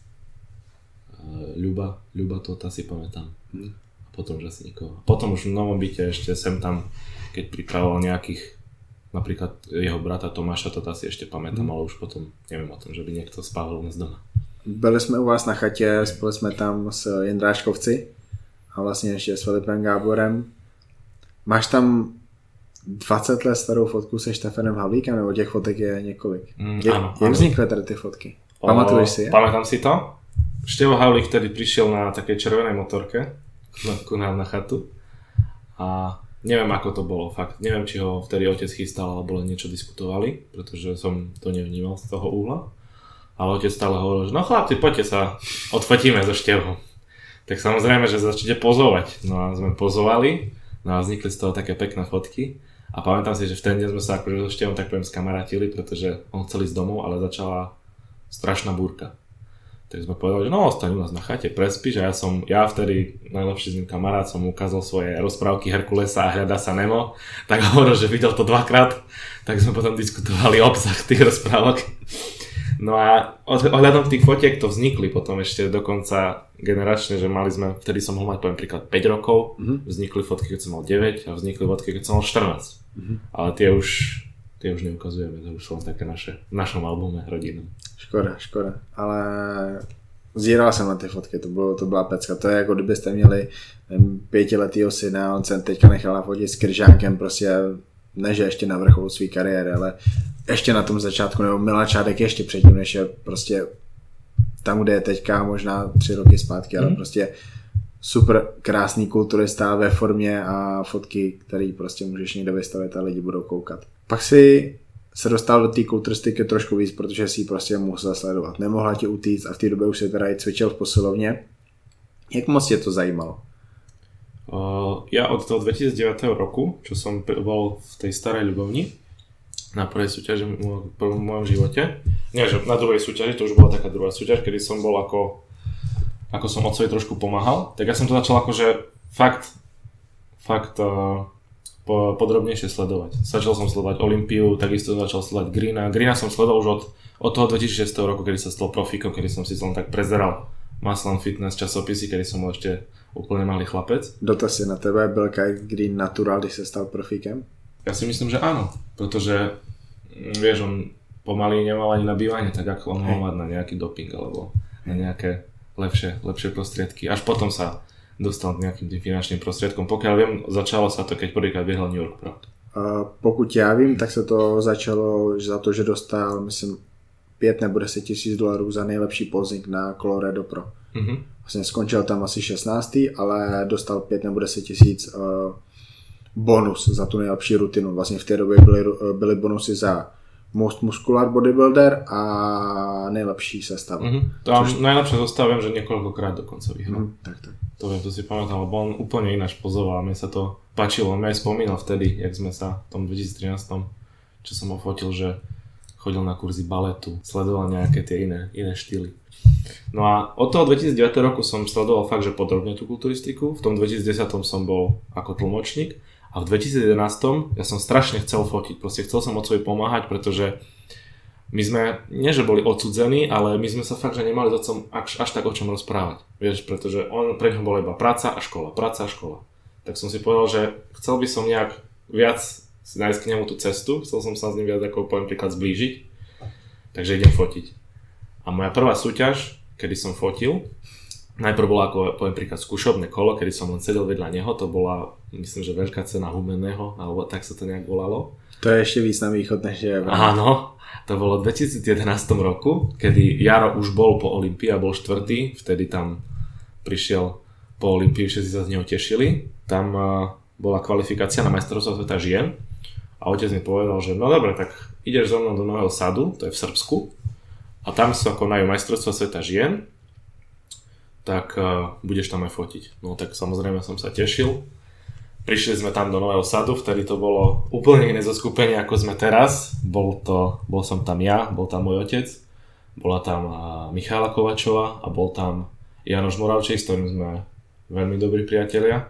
[SPEAKER 2] a Ľuba, Ľuba Tota si pamätám. Hmm. A potom už asi nikoho. Potom už v novom byte ešte sem tam, keď pripravoval nejakých, napríklad jeho brata Tomáša Tota si ešte pamätám, hmm. ale už potom neviem o tom, že by niekto spával u nás doma.
[SPEAKER 1] Byli jsme u vás na chatě, spolu jsme tam s Jindráškovci a vlastně ještě s Filipem Gáborem. Máš tam dvacet let starou fotku se Štefanem Havlíkem, nebo těch fotek je několik.
[SPEAKER 2] Mm,
[SPEAKER 1] je,
[SPEAKER 2] áno,
[SPEAKER 1] jak vznikly tady ty fotky? Pamatuješ si je?
[SPEAKER 2] Pamätám si to. Števo Havlík vtedy prišiel na takej červenej motorke ku nám na chatu a neviem ako to bolo, fakt. Neviem, či ho vtedy otec chystal alebo len niečo diskutovali, pretože som to nevnímal z toho úhla. Ale otec stále hovoril, že no chlapci, poďte sa, odfotíme so Števom. Tak samozrejme, že začnete pozovať. No a sme pozovali, no a vznikli z toho také pekné fotky. A pamätám si, že v ten deň sme sa akože so Števom tak poviem skamarátili, pretože on chcel ísť domov, ale začala strašná búrka. Tak sme povedali, že no ostaň u nás na chate, prespíš a ja som, ja vtedy najlepší z ním kamarát som mu ukázal svoje rozprávky Herkulesa a Hľadá sa Nemo, tak hovoril, že videl to dvakrát, tak sme potom diskutovali obsah tých rozprávok. No a ohľadom tých fotiek to vznikli potom ešte dokonca generačne, že mali sme, vtedy som mohol mať poviem príklad päť rokov, mm-hmm. vznikli fotky, keď som mal deväť a vznikli fotky, keď som mal štrnásť. Mm-hmm. Ale tie už, tie už neukazujeme, to už sú len také naše, v našom albume rodinnom.
[SPEAKER 1] Škoda, škoda, ale zíral jsem na ty fotky, to, bylo, to byla pecka, to je jako kdybyste měli pětiletýho syna, on se teďka nechal nafotit s Kryžánkem, prostě ne, že ještě na vrcholu své kariéry, ale ještě na tom začátku, nebo Miláčádek ještě předtím, než je prostě tam, kde je teďka, možná tři roky zpátky, ale mm. prostě super krásný kulturista ve formě a fotky, který prostě můžeš někde vystavit a lidi budou koukat. Pak si se dostal do té kulturistiky trošku víc, protože si ji prostě musel sledovat. Nemohla ti utíct a v té době už se teda i cvičil v posilovně. Jak moc tě to zajímalo?
[SPEAKER 2] Uh, ja od toho dvetisícdeväť roku, čo som bol v tej starej Ľubovni na prvej súťaži v mojom živote, nie, že na druhej súťaži, to už bola taká druhá súťaž, kedy som bol ako ako som otcovi trošku pomáhal, tak ja som to začal akože fakt fakt uh, po, podrobnejšie sledovať. Začal som sledovať Olympiu, takisto začal sledovať Greena. Greena som sledoval už od, od toho dvetisícšesť roku, kedy sa stal profíkom, kedy som si len tak prezeral Muscle Fitness časopisy, kedy som bol ešte úplne malý chlapec.
[SPEAKER 1] Dotaz je na tebe, byl Kai Green natural, když se stal profíkem?
[SPEAKER 2] Ja si myslím, že áno, pretože vieš, on pomaly nemal ani na bývanie, tak ako on mal mať na nejaký doping alebo na nejaké lepšie, lepšie prostriedky. Až potom sa dostal k nejakým tým finančným prostriedkom. Pokiaľ viem, začalo sa to, keď prvýkrát běhal New York Proud.
[SPEAKER 1] Uh, pokud já vím, tak se to začalo za to, že dostal, myslím, pět nebo deset tisíc dolarů za nejlepší posing na Colorado Pro. Mm-hmm. Vlastně skončil tam asi šestnáctý, ale dostal pět nebo deset tisíc uh, bonus za tu nejlepší rutinu. Vlastně v té době byly, byly bonusy za most muscular bodybuilder a nejlepší sestava.
[SPEAKER 2] Mm-hmm. Tam což... najlepšie zostava viem, že niekoľkokrát dokonca vyhral.
[SPEAKER 1] Mm, tak, tak.
[SPEAKER 2] To viem, to si pamätám, lebo on úplne ináč pozoval a mne sa to páčilo. On mi aj spomínal vtedy, jak sme sa v tom dvetisíctrinásť, čo som ho fotil, že chodil na kurzy baletu, sledoval nejaké tie iné, iné štýly. No a od toho dvetisícdeväť roku som sledoval fakt, že podrobne tú kulturistiku. V tom dvetisícdesať som bol ako tlmočník a v dvetisícjedenásť ja som strašne chcel fotiť. Proste chcel som otcovi pomáhať, pretože my sme, nie že boli odsudzení, ale my sme sa fakt, že nemali s otcom až, až tak o čom rozprávať. Vieš, pretože on, pre ňoho bola iba práca a škola, práca a škola. Tak som si povedal, že chcel by som nejak viac si nájsť k nemu tú cestu, chcel som sa s ním viac ako poviem príklad zblížiť, takže idem fotiť. A moja prvá súťaž, kedy som fotil, najprv bola ako poviem príklad skúšobné kolo, kedy som len sedel vedľa neho, to bola myslím, že veľká cena Humenného, alebo tak sa to nejak volalo.
[SPEAKER 1] To je ešte víc na východ, než je.
[SPEAKER 2] Áno, to bolo v dvetisícjedenásť roku, kedy Jaro už bol po Olympii a bol štvrtý, vtedy tam prišiel po Olympii, všetci sa z neho tešili. Tam uh, bola kvalifikácia na majstrovstvá sveta žien a otec mi povedal, že no dobre, tak ideš so mnou do Nového Sadu, to je v Srbsku, a tam sa konajú majstrovstvá sveta žien, tak uh, budeš tam aj fotiť. No tak samozrejme som sa tešil. Prišli sme tam do Nového Sadu, vtedy to bolo úplne iné zoskupenie ako sme teraz. Bol, to, bol som tam ja, bol tam môj otec, bola tam uh, Michála Kovačová a bol tam Janoš Moravčík, s ktorým sme veľmi dobrí priatelia.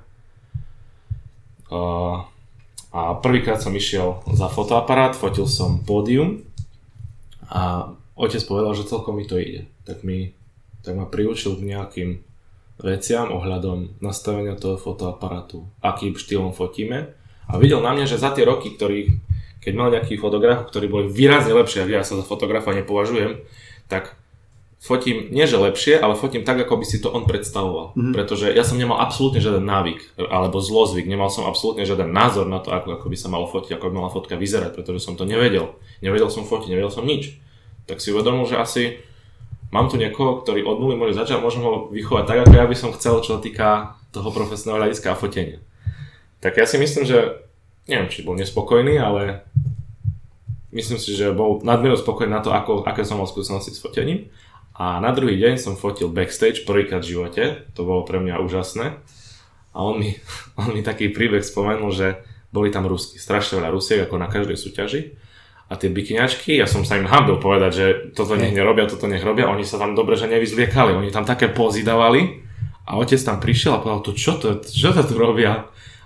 [SPEAKER 2] Uh, a prvýkrát som išiel za fotoaparát, fotil som pódium a otec povedal, že celkom mi to ide. Tak, mi, tak ma priučil k nejakým veciam ohľadom nastavenia toho fotoaparátu, akým štýlom fotíme. A videl na mňa, že za tie roky, ktorý, keď mal nejakých fotografov, ktorí boli výrazne lepšie, ja sa za fotografa nepovažujem, tak fotím nie že lepšie, ale fotím tak, ako by si to on predstavoval. Mm-hmm. Pretože ja som nemal absolútne žiaden návyk, alebo zlozvyk, nemal som absolútne žiaden názor na to, ako, ako by sa malo fotiť, ako by mala fotka vyzerať, pretože som to nevedel. Nevedel som fotiť, nevedel som nič. Tak si uvedomil, že asi mám tu niekoho, ktorý od nuly môže začať, môžem ho vychovať tak, ako ja by som chcel, čo sa týka toho profesionálneho hľadiska a fotenia. Tak ja si myslím, že neviem, či bol nespokojný, ale myslím si, že bol nadmieru spokojný na to, ako, aké som mal skúsenosti s fotením. A na druhý deň som fotil backstage prvýkrát v živote, to bolo pre mňa úžasné. A on mi, on mi taký príbeh spomenul, že boli tam Rusky, strašne veľa Rusiek, ako na každej súťaži. A tie bikiniačky, ja som sa im hambil povedať, že toto nech nerobia, toto nech robia, oni sa tam dobre, že nevyzliekali, oni tam také pózy dávali a otec tam prišiel a povedal, to čo to, čo to tu robia?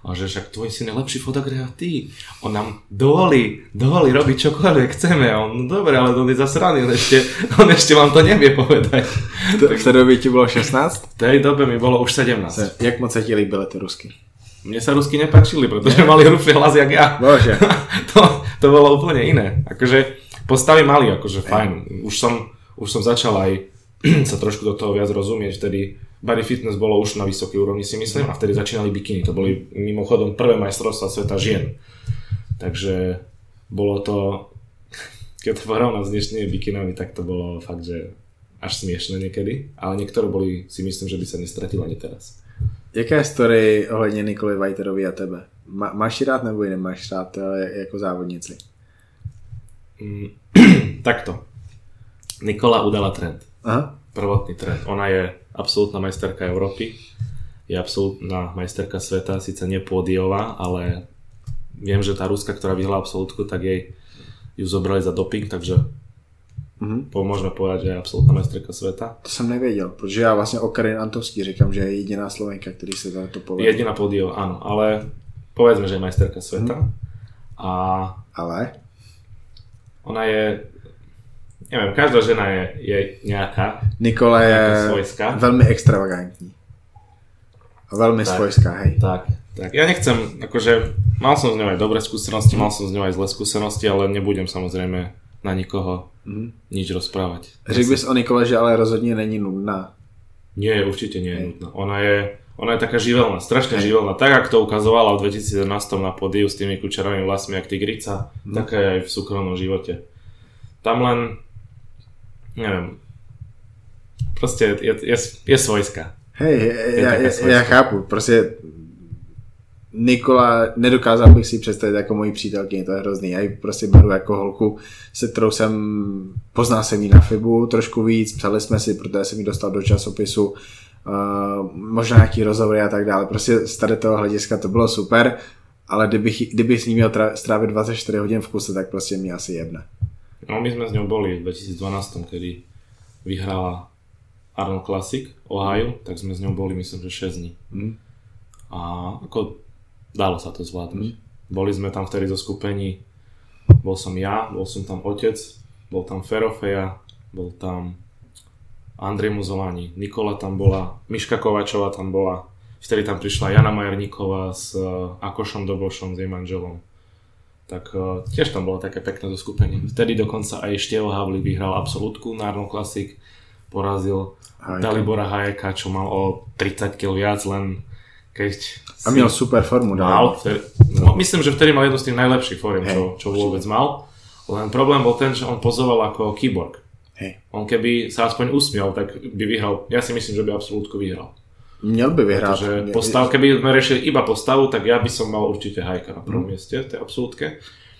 [SPEAKER 2] A že však tvoj syn je lepší fotograf a ty. On nám dovolí, dovolí robiť čokoľvek chceme. A on, no dobre, ale on je zasraný, on ešte, on ešte vám to nevie povedať.
[SPEAKER 1] V té době ti bylo šestnáct?
[SPEAKER 2] V tej dobe mi bolo už sedemnásť.
[SPEAKER 1] Se, jak moc se ti líbily ty rusky?
[SPEAKER 2] Mne sa rusky nepáčili, pretože ne? mali hrubší hlas jak ja.
[SPEAKER 1] Bože.
[SPEAKER 2] to, to bolo úplne iné. Akože postavy mali, akože fajn. Už som, už som začal aj sa trošku do toho viac rozumieť, vtedy body fitness bolo už na vysokej úrovni, si myslím, a vtedy začínali bikiny. To boli mimochodom prvé majstrovstvá sveta žien. Takže bolo to, keď to porovnám s dnešnými bikinami, tak to bolo fakt, že až smiešné niekedy, ale niektoré boli, si myslím, že by sa nestratilo ani teraz.
[SPEAKER 1] Jaká je story ohledně Nikoly Vajterový a tebe? Má, máš ji rád nebo ji nemáš rád jako závodnici?
[SPEAKER 2] Mm, takto. Nikola udala trend. Aha. Prvotný trend. Ona je absolútna majsterka Európy, je absolútna majsterka sveta, síce nie pódiová, ale viem, že tá Ruska, ktorá vyhrala absolútku, tak jej ju zobrali za doping, takže mm-hmm. môžeme povedať, že je absolútna majsterka sveta.
[SPEAKER 1] To jsem nevěděl, protože já vlastně o Karin Antovský říkám, že je jediná Slovenka, který se to povedal.
[SPEAKER 2] Jediná pódiová, áno, ale povedzme, že je majsterka sveta. Mm. A
[SPEAKER 1] ale?
[SPEAKER 2] Ona je, neviem, každá žena je, je nejaká.
[SPEAKER 1] Nikola je
[SPEAKER 2] svojská.
[SPEAKER 1] Velmi extravagantní. A velmi tak, svojská, hej.
[SPEAKER 2] Tak, tak. Ja nechcem, akože mal som s ňou aj dobré skúsenosti, mal som s ňou aj zlé skúsenosti, ale nebudem samozrejme na nikoho mm. nič rozprávať.
[SPEAKER 1] Řekl bys o Nikole, že ale rozhodně není nudná.
[SPEAKER 2] Nie, určite nie je nudná. Ona je, ona je taká živelná, strašne hej. živelná. Tak, ako to ukazovala v dvetisícjedenásť na pódiu s tými kučerovými vlasmi, jak tigrica, mm. taká je aj v súkromnom živote. Tam len, neviem, proste je, je, je svojská.
[SPEAKER 1] Hej, ja, ja, ja chápu, prostě Nikola, nedokázal bych si představit jako mojí přítelkyni, to je hrozný. Já ji prostě beru jako holku, se kterou jsem, poznal jsem ji na Fibu trošku víc, psali jsme si, protože jsem ji dostal do časopisu, uh, možná nějaký rozhovory a tak dále. Prostě z tady toho hlediska to bylo super, ale kdybych, kdybych s ní měl tra- strávit dvadsaťštyri hodín v kuse, tak prostě mě asi jebne.
[SPEAKER 2] No my sme s ňou boli v dvetisícdvanásť, kedy vyhrala Arnold Classic Ohio, tak sme s ňou boli myslím, že šesť dní. Mm. A ako dalo sa to zvládnuť. Mm. Boli sme tam vtedy zo skupení, bol som ja, bol som tam otec, bol tam Ferofeja, bol tam Andrej Muzolani, Nikola tam bola, Miška Kovačová tam bola, vtedy tam prišla Jana Majerníková s Akošom Dobošom, s jej manželom. Tak uh, tiež tam bolo také pekné zoskupenie. Vtedy dokonca aj Števo Havlík vyhral absolútku na Arnold Classic, porazil Hajka. Dalibora Hajeka, čo mal o tridsať kilogramov viac, len keď...
[SPEAKER 1] A měl super formu.
[SPEAKER 2] Mal, vtedy, no, myslím, že vtedy mal jednu z tých najlepších form, čo, čo vôbec mal. Len problém bol ten, že on pozoval ako keyboard. Hej. On keby sa aspoň usmial, tak by vyhral. Ja si myslím, že by absolútku vyhral.
[SPEAKER 1] Měl by vyhrát.
[SPEAKER 2] Protože postav, keby sme riešili iba postavu, tak ja by som mal určite Hajka na prvom mm. mieste v tej absolútke.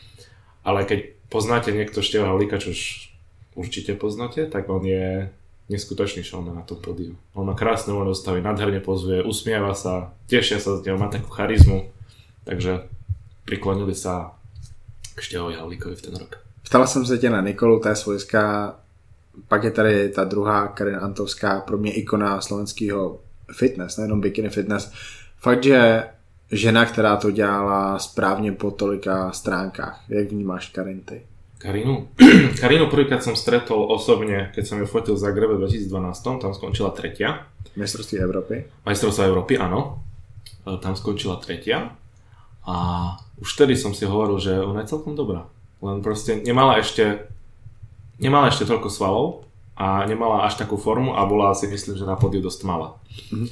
[SPEAKER 2] Ale keď poznáte niekto Števa Havlíka, čo už určite poznáte, tak on je neskutočný showman na tom pódiu. On má krásne voľné dostavy, nádherne pozuje, usmieva sa, tešia sa z neho, má takú charizmu. Takže priklonili sa k Števovi Havlíkovi v ten rok.
[SPEAKER 1] Ptala jsem se tě na Nikolu, ta je svojská. Pak je tady ta druhá, Karin Antovská, pro mě ikona slovenského fitness, nejenom bikini fitness. Fakt, že žena, která to dělala správně po tolika stránkách. Jak vnímáš Karin ty?
[SPEAKER 2] Karinu? Karinu prvýkrát som stretol osobne, keď som ju fotil v Zagrebe v dvetisícdvanásť, tam skončila tretia.
[SPEAKER 1] Majstrovství Európy?
[SPEAKER 2] Majstrovstvá Európy, áno. Tam skončila tretia. A už vtedy som si hovoril, že ona je celkom dobrá. Len proste nemala ešte nemala ešte toľko svalov a nemala až takú formu a bola si myslím, že na pódiu dosť malá. Mm-hmm.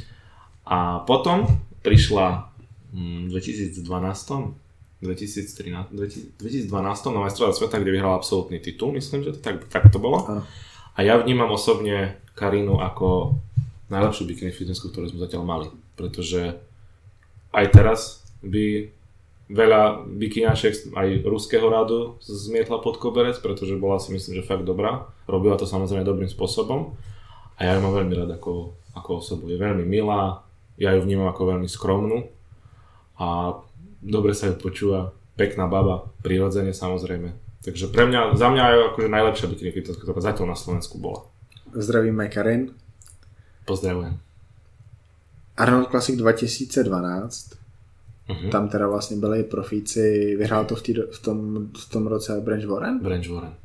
[SPEAKER 2] A potom prišla v dvetisícdvanásť, dvetisíctrinásť, dvetisícdvanásť na majstrovstvá sveta, kde vyhrala absolútny titul, myslím, že to tak, tak to bolo. Ano. A ja vnímam osobne Karinu ako najlepšiu bikini fitnessku, ktorú sme zatiaľ mali, pretože aj teraz by veľa bikiniačiek aj ruského rádu zmietla pod koberec, pretože bola si myslím, že fakt dobrá. Robila to samozrejme dobrým spôsobom a ja ju mám veľmi rád ako, ako osobu. Je veľmi milá, ja ju vnímam ako veľmi skromnú a dobre sa ju počúva, pekná baba, prirodzene samozrejme. Takže pre mňa, za mňa je akože najlepšia bikini fitnesska, ktorá zatiaľ na Slovensku bola.
[SPEAKER 1] Zdravíme Karin.
[SPEAKER 2] Pozdravujem.
[SPEAKER 1] Arnold Classic dvetisícdvanásť. Uh-huh. Tam teda vlastně byli profíci, vyhrál to v, tý, v, tom, v tom roce Branch Warren?
[SPEAKER 2] Branch Warren.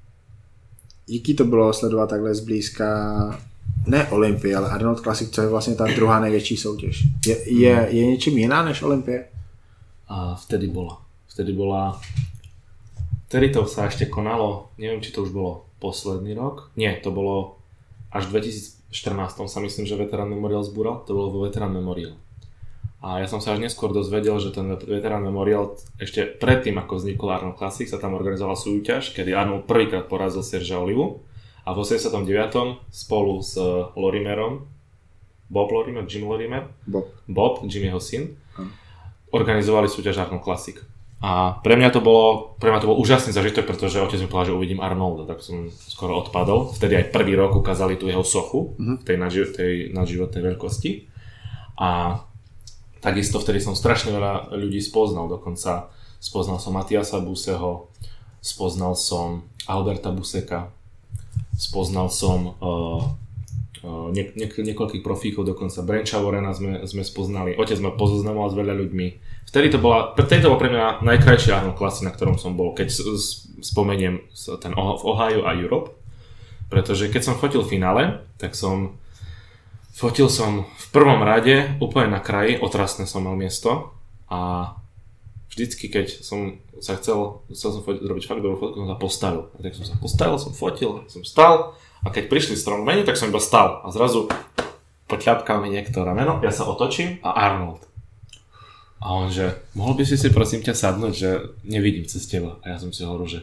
[SPEAKER 1] Jaký to bylo sledovat takhle zblízka, ne Olympii, ale Arnold Classic, co je vlastně ta druhá největší soutěž. Je, je, uh-huh. je něčím jiná než Olympie?
[SPEAKER 2] A vtedy bola. Vtedy bola... Vtedy to sa ešte konalo, neviem, či to už bolo posledný rok. Nie, to bolo až v dvetisícštrnásť sa myslím, že Veterán Memorial zbúral. To bolo vo Veterán Memorial. A ja som sa až neskôr dozvedel, že ten Veterán Memorial ešte predtým, ako vznikol Arnold Classic, sa tam organizovala súťaž, kedy Arnold prvýkrát porazil Sergea Olivu. A v osemdesiatom deviatom spolu s Lorimerom, Bob Lorimer, Jim Lorimer,
[SPEAKER 1] Bob,
[SPEAKER 2] Bob Jimmyho syn, hm. organizovali súťaž Arnold Classic. A pre mňa to bolo, pre mňa to bol úžasný zažitok, pretože otec mi povedal, že uvidím Arnolda, tak som skoro odpadol. Vtedy aj prvý rok ukázali tú jeho sochu v tej, nadži- tej nadživotnej veľkosti. A takisto vtedy som strašne veľa ľudí spoznal, dokonca spoznal som Matiasa Buseho, spoznal som Alberta Buseka, spoznal som uh, uh, nie, nie, niekoľkých profíkov, dokonca Brancha Warrena sme, sme spoznali. Otec ma pozoznamoval s veľa ľuďmi. Vtedy to bola, vtedy to bol pre mňa najkrajší Arnold Classic, na ktorom som bol, keď spomeniem ten v Ohio a Europe. Pretože keď som fotil finále, tak som fotil som v prvom rade úplne na kraji, otrasné som mal miesto a vždycky keď som sa chcel, chcel som fotiť, robiť fakt dobrú fotku, som sa postavil. A tak som sa postavil, som fotil, som stal a keď prišli strom menu, tak som iba stal a zrazu potľapkal mi niekto rameno, ja sa otočím a Arnold. A on že, mohol by si si prosím ťa sadnúť, že nevidím cez teba. A ja som si hovoril, že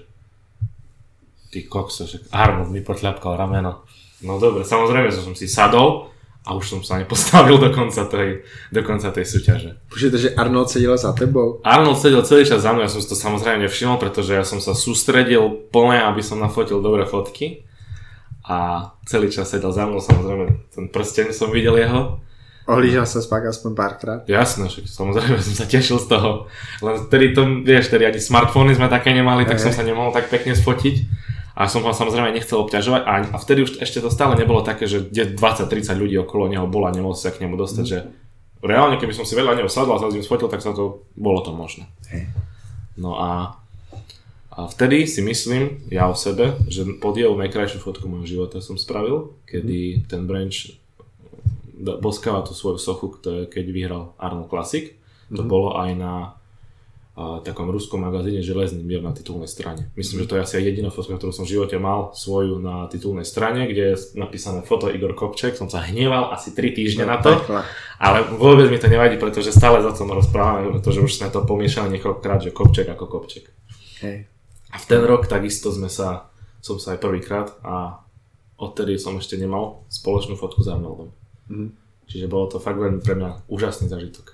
[SPEAKER 2] ty kokso, že Arnold mi potľapkal rameno. No dobre, samozrejme, že som si sadol a už som sa nepostavil do konca tej, do konca tej súťaže.
[SPEAKER 1] Počujete, že Arnold sedel za tebou?
[SPEAKER 2] Arnold sedel celý čas za mnou, ja som si to samozrejme nevšimol, pretože ja som sa sústredil plne, aby som nafotil dobré fotky. A celý čas sedel za mnou, samozrejme, ten prsteň som videl jeho.
[SPEAKER 1] Ohlížal sa spák aspoň párkrát?
[SPEAKER 2] Jasné, však samozrejme som sa tešil z toho. Len vtedy to, vieš, tedy ani smartfóny sme také nemali, tak som sa nemohol tak pekne sfotiť. A som ho samozrejme nechcel obťažovať. A vtedy už ešte to stále nebolo také, že dvadsať tridsať ľudí okolo neho bola a nemohol sa k nemu dostať, mm. že reálne keby som si veľa neho sadol a sa s ním sfotil, tak sa to, bolo to možné. No a, a vtedy si myslím, ja o sebe, že podiel najkrajšiu fotku môjho života som spravil, kedy ten Branch boskáva tú svoju sochu, keď vyhral Arnold Classic. To mm-hmm. bolo aj na a, takom ruskom magazíne Železný mier na titulnej strane. Myslím, mm-hmm. že to je asi aj jediná fotka, ktorú som v živote mal svoju na titulnej strane, kde je napísané foto Igor Kopček. Som sa hneval asi tri týždne no, na to, ale vôbec mi to nevadí, pretože stále za tom rozprávame, pretože už sme to pomiešali niekoľkokrát, že Kopček ako Kopček.
[SPEAKER 1] Hej.
[SPEAKER 2] A v ten rok takisto sme sa, som sa aj prvýkrát a odtedy som ešte nemal spoločnú fotku s Arnoldom. Mm. Čiže bolo to fakt veľmi pre mňa úžasný zážitok.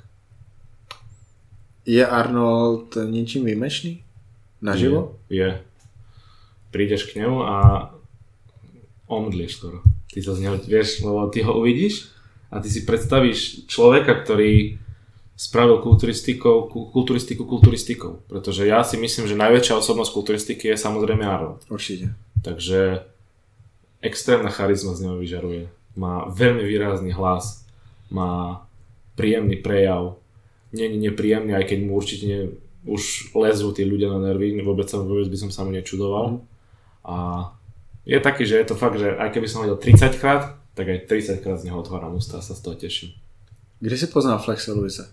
[SPEAKER 1] Je Arnold niečím výjimečný? Naživo?
[SPEAKER 2] Je, je. Prídeš k nemu a omdlieš skoro. Ty sa z neho, vieš, lebo ty ho uvidíš a ty si predstavíš človeka, ktorý spravil kulturistikou, kulturistiku kulturistikou. Pretože ja si myslím, že najväčšia osobnosť kulturistiky je samozrejme Arnold.
[SPEAKER 1] Určite.
[SPEAKER 2] Takže extrémna charizma z neho vyžaruje. Má veľmi výrazný hlas, má príjemný prejav, nie je nepríjemný, aj keď mu určite nie, už lezú tí ľudia na nervy, vôbec, sa, vôbec by som sa mu nečudoval. Mm. A je taký, že je to fakt, že aj keby som ho videl tridsaťkrát, tak aj tridsaťkrát z neho otváram ústa a sa z toho teším.
[SPEAKER 1] Kde si poznal Flexa Lewisa?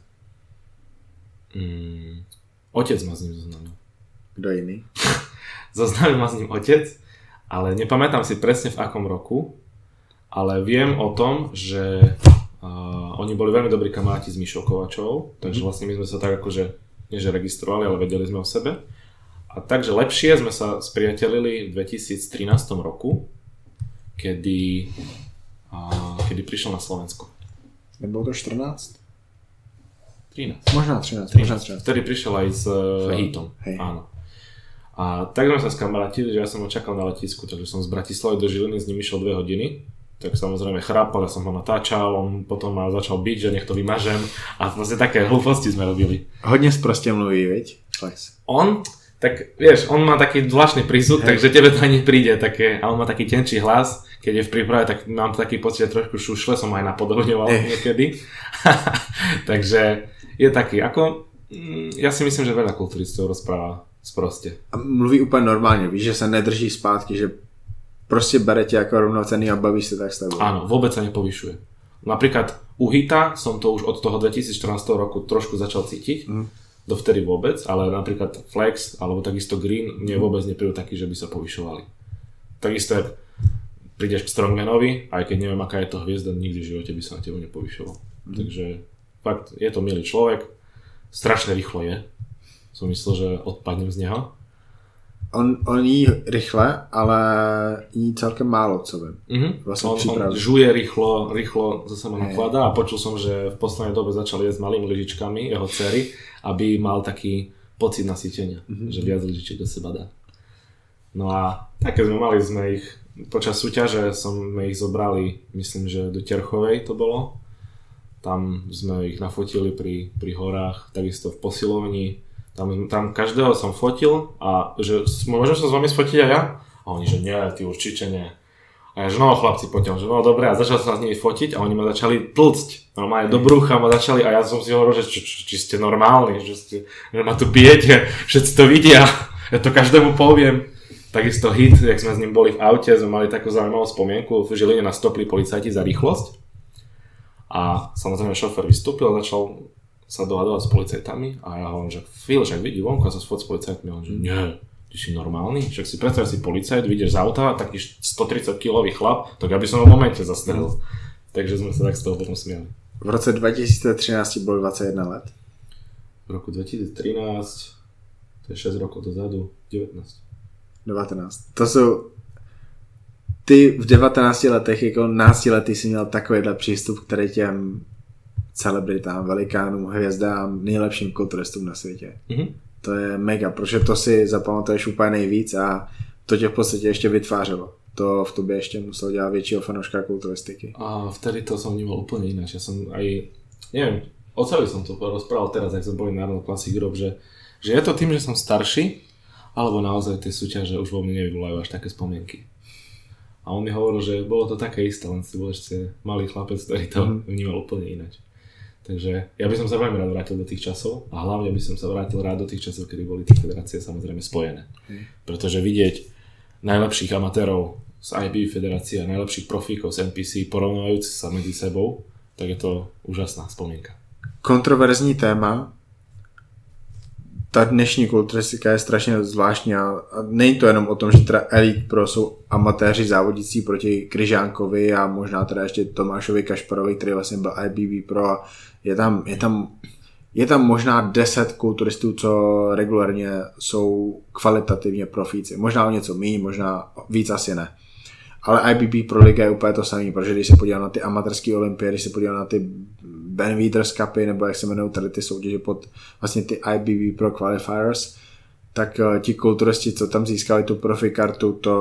[SPEAKER 2] Mm, otec ma s ním zoznámil.
[SPEAKER 1] Kto iný?
[SPEAKER 2] Zoznámil ma s ním otec, ale nepamätám si presne v akom roku. Ale viem o tom, že uh, oni boli veľmi dobrí kamaráti s Mišou Kovačovou, takže vlastne my sme sa tak akože, nie že registrovali, ale vedeli sme o sebe. A takže lepšie sme sa spriatelili v dvetisíctrinásť roku, kedy, uh, kedy prišiel na Slovensko.
[SPEAKER 1] Nebolo to štrnásť?
[SPEAKER 2] trinásť.
[SPEAKER 1] Možná trinásť.
[SPEAKER 2] trinásť. Možná trinásť. Vtedy prišiel aj s uh, Hitom.
[SPEAKER 1] Hej. Áno.
[SPEAKER 2] A tak sme sa skamarátili, že ja som ho čakal na letisku, takže som z Bratislavy do Žiliny, s ním išiel dve hodiny. Tak samozrejme chrápal, ja som ho natáčal, on potom ma začal byť, že nech to vymažem a vlastne také hlúposti sme robili.
[SPEAKER 1] Hodne sproste mluví, veď? Flex.
[SPEAKER 2] On, tak vieš, on má taký zvláštny prízvuk, takže tebe to ani príde také, a on má taký tenčí hlas, keď je v príprave, tak mám taký pocit, že trošku šušle, som ho aj napodobňoval niekedy. Takže je taký, ako ja si myslím, že veľa kulturistov rozpráva sproste.
[SPEAKER 1] A mluví úplně normálně, víš, že se nedrží zpátky, že prostě bere tě jako rovnocenný a baví se tak s tebou.
[SPEAKER 2] Áno, vôbec sa nepovyšuje. Napríklad u Hita som to už od toho dvetisícštrnásť roku trošku začal cítiť, mm. dovtedy vôbec, ale napríklad Flex alebo takisto Green mne vôbec neprídu taký, že by sa povyšovali. Takisto prídeš k Strongmanovi, aj keď neviem, aká je to hviezda, nikdy v živote by sa na tebu nepovyšoval. Mm. Takže fakt, je to milý človek, strašne rýchlo je. Som myslel, že odpadnem z neho.
[SPEAKER 1] On, on jí rychle, ale jí celkem málo, co vím.
[SPEAKER 2] Mm-hmm. Vlastne on, on žuje rýchlo, rýchlo zase ma nakladá a počul som, že v poslednej dobe začal jesť malými lyžičkami jeho dcery, aby mal taký pocit nasýtenia, mm-hmm. že viac lyžičiek do seba dá. No a také sme mali, sme ich počas súťaže sme ich zobrali, myslím, že do Terchovej to bolo. Tam sme ich nafotili pri, pri horách, takisto v posilovni. Tam, tam každého som fotil a že môžem sa s vami sfotiť aj ja? A oni, že nie, ty určite nie. A ja, že no chlapci, poďme, že no dobre, a začal som sa s nimi fotiť a oni ma začali tlcť. Normálne do brucha ma začali a ja som si hovoril, že či, či, či ste normálni, že, ste, že ma tu bijete, všetci to vidia, ja to každému poviem. Takisto Hit, jak sme s ním boli v aute, sme mali takú zaujímavú spomienku, v Žiline nás stopli policajti za rýchlosť. A samozrejme šofér vystúpil a začal sa dohadovať s policajtami a ja hovorím, že Phil, však vidí vonku a sa sfot s policajtmi a on, že nie, ty si normálny, však si predstav si policajt, vyjdeš z auta, taký stotridsaťkilový chlap, tak aby som ho v momente zastrelil. Takže sme sa tak z toho potom smiali.
[SPEAKER 1] V roce dva tisíce třináct bol dvadsaťjeden let.
[SPEAKER 2] V roku dvetisíctrinásť, to je šesť rokov dozadu, devätnásť.
[SPEAKER 1] devätnásť. To sú... Ty v devatenácti letech, jako náctiletý si měl takovýhle přístup, který těm celebritám, velikánům, hvězdám, nejlepším kulturistům na světě. Mm-hmm. To je mega, protože to si zapamatuješ úplně nejvíc a to tě v podstatě ještě vytvářelo. To v tobě ještě musel dělat většího fanouška kulturistiky.
[SPEAKER 2] A vtedy to som vnímal úplne ináč. Ja som aj, neviem, oceľi som to rozprával teraz, ak som boli na Arnold Classic Europe, že, že je to tým, že som starší, alebo naozaj tie súťaže už vo mne nevyvolajú až také spomienky. A on mi hovoril, že bolo to také isté, len si bol ešte malý chlapec, ktorý to mm. vnímal úplne ináč. Takže ja by som sa veľmi rád vrátil do tých časov a hlavne by som sa vrátil rád do tých časov, kedy boli tie federácie samozrejme spojené. Mm. Pretože vidieť najlepších amatérov z í bé bé federácie a najlepších profíkov z en pé cé porovnávajúci sa medzi sebou, tak je to úžasná spomienka.
[SPEAKER 1] Kontroverzní téma. Ta dnešní kulturistika je strašně zvláštní a není to jenom o tom, že teda Elite Pro jsou amatéři závodící proti Kryžánkovi a možná teda ještě Tomášovi Kašparovi, který vlastně byl í bé bé Pro a je tam, je tam, je tam možná deset kulturistů, co regulárně jsou kvalitativně profíci. Možná o něco méně, možná víc asi ne. Ale í bé bé Pro Liga je úplně to samé, protože když se podívám na ty amatérské olympie, když se podívám na ty Ben Wieters Cupy, nebo jak se jmenují tady ty soutěže pod vlastně ty í bé bé Pro Qualifiers, tak uh, ti kulturisti, co tam získali tu profi kartu, to,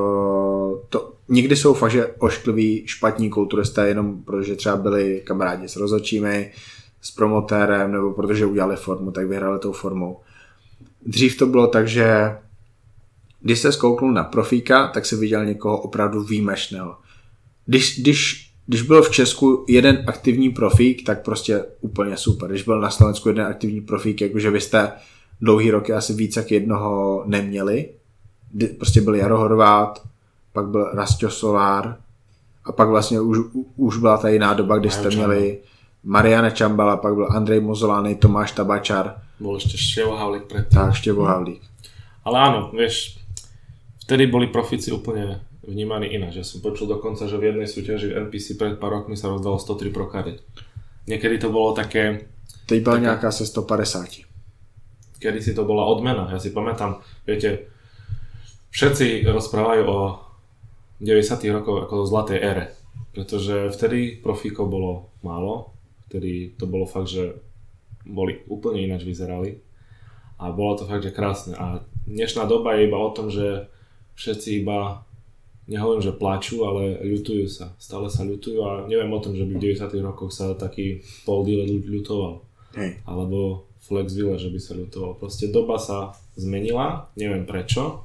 [SPEAKER 1] to někdy jsou fakt, že oškliví špatní kulturisté, jenom protože třeba byli kamarádi s rozhodčími, s promotérem, nebo protože udělali formu, tak vyhráli tou formou. Dřív to bylo tak, že když se zkouknul na profíka, tak se viděl někoho opravdu výjimečného. Když, když, když byl v Česku jeden aktivní profík, tak prostě úplně super. Když byl na Slovensku jeden aktivní profík, jakože vy jste dlouhý roky asi víc jak jednoho neměli. Prostě byl Jaro Horvát, pak byl Rastio Solár a pak vlastně už, už byla ta jiná doba, kdy jste měli Mariana Čambala, pak byl Andrej Mozolány, Tomáš Tabačar.
[SPEAKER 2] Bol ešte Števo Havlík predtým.
[SPEAKER 1] Tak, Števo Havlík.
[SPEAKER 2] Ale áno, vieš, vtedy boli profíci úplne vnímaní ináč. Ja som počul dokonca, že v jednej súťaži v en pé cé pred pár rokmi sa rozdalo sto tri pro kariet. Niekedy to bolo také...
[SPEAKER 1] Teď bola také, nejaká se sto päťdesiat.
[SPEAKER 2] Kedy si to bola odmena. Ja si pamätám, viete, všetci rozprávajú o deväťdesiatych rokoch ako o zlatej ére. Pretože vtedy profíkov bolo málo. Vtedy to bolo fakt, že boli úplne ináč vyzerali. A bolo to fakt, že krásne. A dnešná doba je iba o tom, že všetci iba, nehovorím, že plačú, ale ľutujú sa. Stále sa ľutujú a neviem o tom, že by v deväťdesiatych rokoch sa taký Paul Dillard ľutoval. Hej. Alebo Flex Wheeler, že by sa ľutoval. Proste doba sa zmenila, neviem prečo,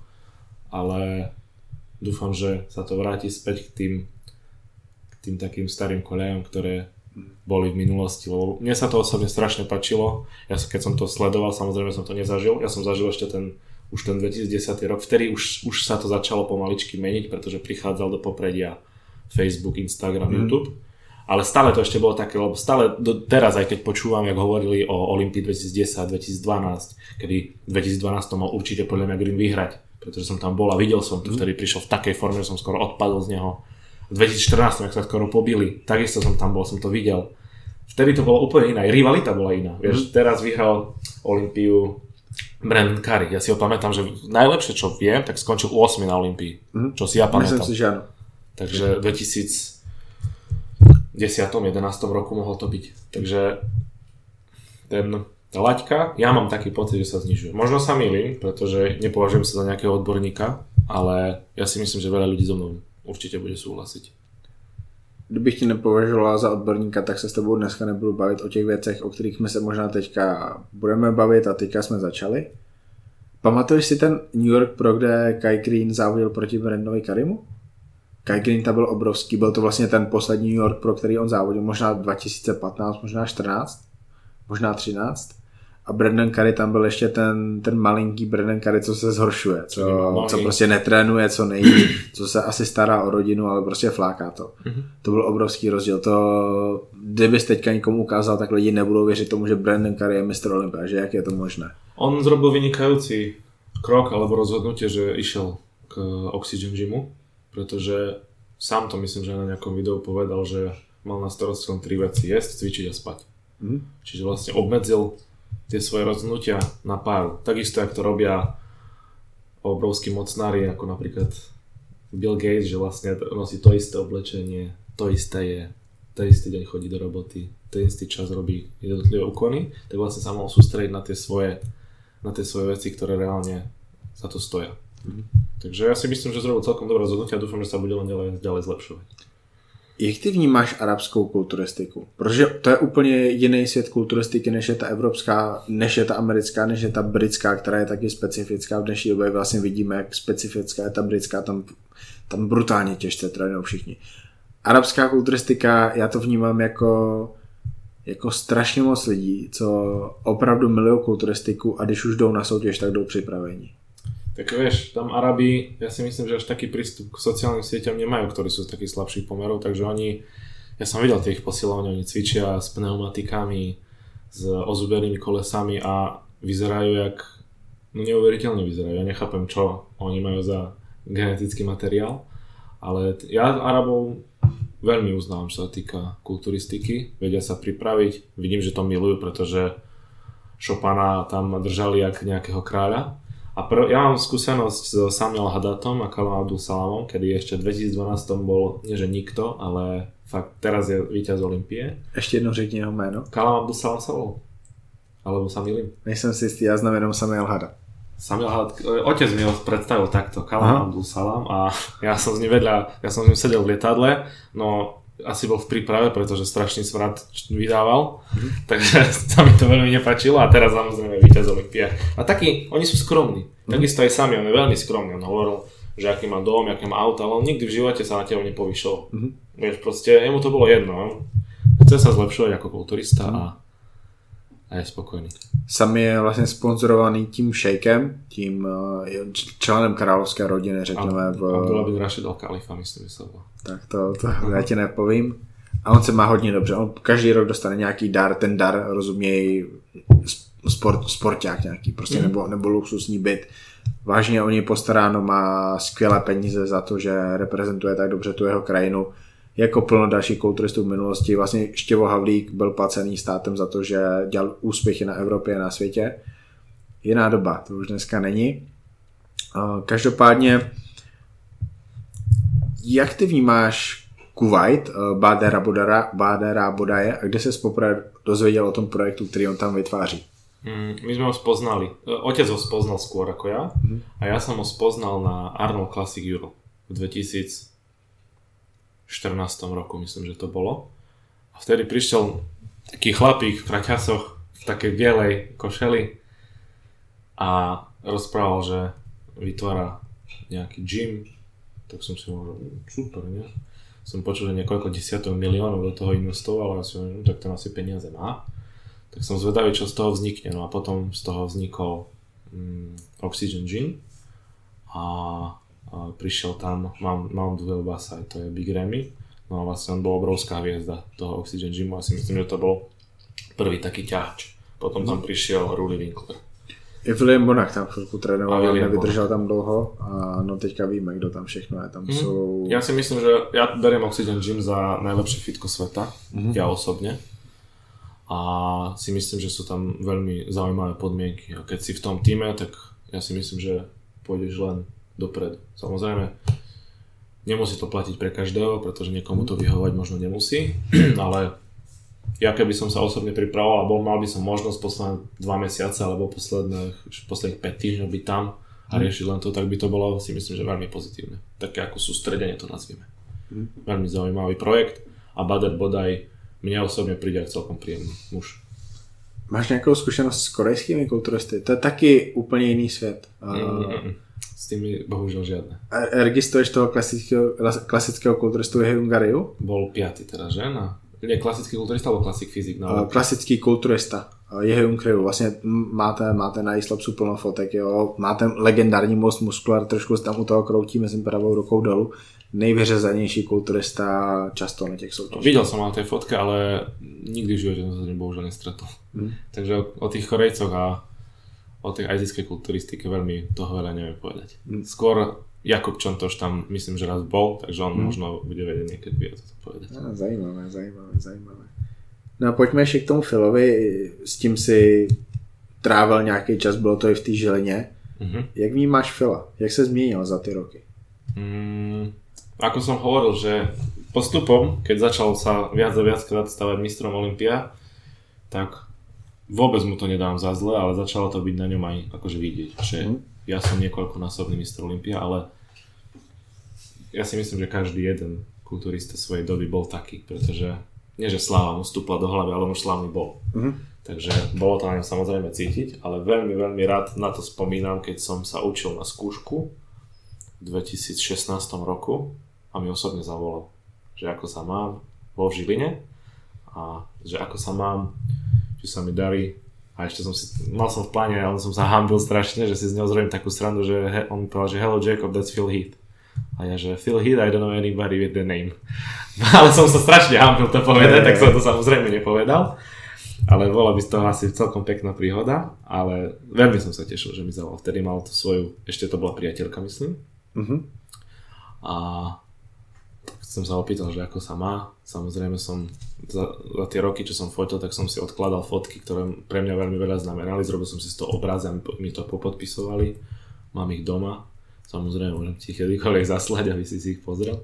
[SPEAKER 2] ale dúfam, že sa to vráti späť k tým, k tým takým starým koľajom, ktoré boli v minulosti, lebo mne sa to osobne strašne páčilo. Ja keď som to sledoval, samozrejme som to nezažil. Ja som zažil ešte ten, už ten dvetisícdesátý rok, vtedy už, už sa to začalo pomaličky meniť, pretože prichádzal do popredia Facebook, Instagram, mm. YouTube. Ale stále to ešte bolo také, lebo stále do, teraz, aj keď počúvam, jak hovorili o Olympii dvetisícdesať dvetisícdvanásť, kedy v dvetisícdvanásť mal určite podľa mňa Green vyhrať, pretože som tam bol a videl som to, mm. vtedy prišiel v takej forme, že som skoro odpadol z neho. V dvetisícštrnásť, ak sa skoro pobili, takisto som tam bol, som to videl. Vtedy to bolo úplne iná, rivalita bola iná. Mm. Vieš, teraz vyhral Olympiu Brandon Curry. Ja si ho pamätám, že najlepšie, čo viem, tak skončil ôsmy na Olympii. Mm. Čo si ja pamätám.
[SPEAKER 1] Myslím si, že áno.
[SPEAKER 2] Takže v dvetisícdesať jedenásť roku mohol to byť. Takže ten, tá laťka, ja mám taký pocit, že sa znižuje. Možno sa mýlim, pretože nepovažujem sa za nejakého odborníka, ale ja si myslím, že veľa ľudí so mnou určitě bude souhlasit.
[SPEAKER 1] Kdybych ti nepovažoval za odborníka, tak se s tebou dneska nebudu bavit o těch věcech, o kterých my se možná teďka budeme bavit a teďka jsme začali. Pamatuješ si ten New York Pro, kde Kai Greene závodil proti Brandonovi Currymu? Kai Greene tam byl obrovský, byl to vlastně ten poslední New York Pro, který on závodil, možná dva tisíce patnáct, možná čtrnáct, možná třináct. A Brandon Curry tam byl ještě ten, ten malinký Brandon Curry, co se zhoršuje, co, co prostě netrénuje, co nejí, co se asi stará o rodinu, ale prostě fláká to. Mm-hmm. To byl obrovský rozdíl. To, kdybys teďka někomu ukázal, tak lidi nebudou věřit tomu, že Brandon Curry je mistr Olympia, že jak je to možné.
[SPEAKER 2] On zrobil vynikajúci krok alebo rozhodnutie, že išiel k Oxygen Gymu, pretože sám to myslím, že na nejakom videu povedal, že mal na starosti len tri veci: jesť, cvičiť a spať. Mm-hmm. Čiže vlastne obmedzil tie svoje rozhodnutia na páru. Takisto, jak to robia obrovskí mocnári, ako napríklad Bill Gates, že vlastne nosí to isté oblečenie, to isté je, ten istý deň chodí do roboty, ten istý čas robí jednotlivé úkony, tak vlastne sa mohol sústrediť na tie svoje, na tie svoje veci, ktoré reálne za to stoja. Mm-hmm. Takže ja si myslím, že zrobil celkom dobré rozhodnutie a dúfam, že sa bude len ďalej, ďalej zlepšovať.
[SPEAKER 1] Jak ty vnímáš arabskou kulturistiku? Protože to je úplně jiný svět kulturistiky, než je ta evropská, než je ta americká, než je ta britská, která je taky specifická. V dnešní době vlastně vidíme, jak specifická je ta britská, tam, tam brutálně těžce trénují všichni. Arabská kulturistika, já to vnímám jako, jako strašně moc lidí, co opravdu milují kulturistiku a když už jdou na soutěž, tak jdou připravení.
[SPEAKER 2] Tak vieš, tam Arabi, ja si myslím, že až taký prístup k sociálnym sieťam nemajú, ktorí sú z takých slabších pomerov, takže oni, ja som videl tie ich posilovania, oni cvičia s pneumatikami, s ozubenými kolesami a vyzerajú jak, no neuveriteľne vyzerajú, ja nechápem, čo oni majú za genetický materiál, ale ja Arabov veľmi uznávam, čo sa týka kulturistiky, vedia sa pripraviť, vidím, že to milujú, pretože Chopina tam držali jak nejakého kráľa. A pr- ja mám skúsenosť s Samuel Hadatom a Callum Abdul-Salamom, kedy ešte v dvetisícdvanásť bol, nie že nikto, ale fakt teraz je víťaz Olympie.
[SPEAKER 1] Ešte jednou řekni jeho jméno.
[SPEAKER 2] Callum Abdul-Salam sa volal. Alebo sa milím.
[SPEAKER 1] Nejsem si istý, ja znám jenom Samuel Hadat.
[SPEAKER 2] Samuel Hadat, otec mi ho predstavil takto, Callum Abdul-Salam, a ja som z ním vedľa, ja som s ním sedel v lietadle, no asi bol v príprave, pretože strašný smrad vydával, mm-hmm. takže sa mi to veľmi nepáčilo a teraz samozrejme víťaz Olympia. A takí, oni sú skromní, mm-hmm. takisto aj sami, on je veľmi skromný, on hovoril, že aký má dom, aké má auto, ale on nikdy v živote sa na teba nepovyšol. Mm-hmm. Vieš, proste, jemu to bolo jedno, chce sa zlepšovať ako kulturista mm-hmm. a, a je spokojný.
[SPEAKER 1] Sam je vlastně sponzorovaný tím šejkem, tím členem královské rodiny, řekněme. V...
[SPEAKER 2] Abdullah bin Rashid Al Khalifa, myslím, že se bylo.
[SPEAKER 1] Tak to, to já ti nepovím. A on se má hodně dobře. On každý rok dostane nějaký dar, ten dar rozumějí sport, sporták nějaký, prostě mm. nebo, nebo luxusní byt. Vážně o něj postaráno, má skvělé peníze za to, že reprezentuje tak dobře tu jeho krajinu. Jako plno dalších kulturistů v minulosti. Vlastně Štěvo Havlík byl placený státem za to, že dělal úspěchy na Evropě a na světě. Jiná doba, to už dneska není. Každopádně, jak ty vnímáš Kuvajt, Badera Bodara, Badera Bodaje, a kde ses poprvé dozvěděl o tom projektu, který on tam vytváří?
[SPEAKER 2] Mm, my sme ho spoznali. Otec ho spoznal skôr ako ja mm. a ja som ho spoznal na Arnold Classic Euro v dvetisícštrnásť roku, myslím, že to bolo. A vtedy prišiel taký chlapík v kraťasoch, v takej bielej košeli a rozprával, že vytvára nejaký gym. Tak som si hovoril, super, nie? som počul, že niekoľko desiatok miliónov do toho investoval a som, no, tak ten asi peniaze má. Tak som zvedavý, čo z toho vznikne. No a potom z toho vznikol um, Oxygen Gin a, a prišiel tam Mount, Mount Wilbasai, to je Big Ramy. No a vlastne on bol obrovská hviezda toho Oxygen Gymu a si myslím, že to bol prvý taký ťahač. Potom tam prišiel Rory Winkler.
[SPEAKER 1] I William Bonach tam chvilku trénoval, ale nevydržel tam dlouho a no teďka víme, kdo tam všechno je. Tam mm. jsou...
[SPEAKER 2] Ja si myslím, že ja beriem Oxygen Gym za najlepšie fitko sveta, mm. ja osobne. A si myslím, že sú tam veľmi zaujímavé podmienky. A keď si v tom týme, tak ja si myslím, že pôjdeš len dopredu. Samozrejme, nemusí to platiť pre každého, pretože niekomu to vyhovať možno nemusí, ale ja keby som sa osobne pripravoval a bol, mal by som možnosť posledné dva mesiace alebo posledných, posledných päť týždňov byť tam a riešiť len to, tak by to bolo, si myslím, že veľmi pozitívne. Také ako sústredenie to nazvime. Mm. Veľmi zaujímavý projekt a Bader Bodaj mne osobne príde aj celkom príjemný muž.
[SPEAKER 1] Máš nějakou zkušenost s korejskými kulturisty? To je taky úplně jiný svět.
[SPEAKER 2] Mm-mm. S tými bohužiaľ žiadne.
[SPEAKER 1] A registruješ toho klasického, klasického kulturistu Jehy Ungariu?
[SPEAKER 2] Bol piaty teda, že? Na... Nie, klasický kulturista alebo klasik fyzik?
[SPEAKER 1] No, klasický kulturista Jehy Ungariu. Vlastně máte, máte na Islapsu plno fotek, jo? Máte legendární most Muscular, trošku tam u toho kroutí mezi pravou rukou dolů. Nejvyřezanější kulturista často na těch soutěžích.
[SPEAKER 2] Videl som na tej fotke, ale nikdy v živote som sa bohužiaľ nestretol. Hmm. Takže o, o tých Korejcoch a o tej azijskej kulturistike veľmi toho veľa neviem povedať. Hmm. Skôr Jakub Čontoš tam myslím, že raz bol, takže on hmm. možno bude vedieť niekedy viac o tom povedať.
[SPEAKER 1] No, zajímavé, zajímavé, zajímavé. No a pojďme ještě k tomu Philovi, s tím si trávil nějaký čas, bylo to i v té Žilině. Hmm. Jak vnímáš Phila? Jak se změnil za ty roky?
[SPEAKER 2] Hmm. Ako som hovoril, že postupom, keď začal sa viac a viac krát stavať mistrom Olympia, tak vôbec mu to nedám za zle, ale začalo to byť na ňom aj akože vidieť, že mm. ja som niekoľkonásobný mistr Olympia, ale ja si myslím, že každý jeden kulturista svojej doby bol taký, pretože nie, že sláva mu vstúpla do hlavy, ale už slávny bol. Mm. Takže bolo to na ňom samozrejme cítiť, ale veľmi, veľmi rád na to spomínam, keď som sa učil na skúšku v dvetisícšestnástom roku a mi osobne zavolal, že ako sa mám, bol v Žiline a že ako sa mám, či sa mi darí a ešte som si, mal som v pláne, ale som sa hambil strašne, že si z neho zrobím takú srandu, že he, on mi povedal, že hello Jacob, that's Phil Heath. A ja, že Phil Heath, I don't know anybody with the name. Ale som sa strašne hambil to povedať, tak som to samozrejme nepovedal. Ale bola by z toho asi celkom pekná príhoda, ale veľmi som sa tešil, že mi zavolal. Vtedy mal tú svoju, ešte to bola priateľka, myslím. Mm-hmm. A tak som sa opýtal, že ako sa má. Samozrejme som za, za tie roky, čo som fotil, tak som si odkladal fotky, ktoré pre mňa veľmi veľa znamenali. Zrobil som si z toho obraz a mi to popodpisovali. Mám ich doma. Samozrejme môžem ti ich kedykoľvek zaslať, aby si si ich pozrel.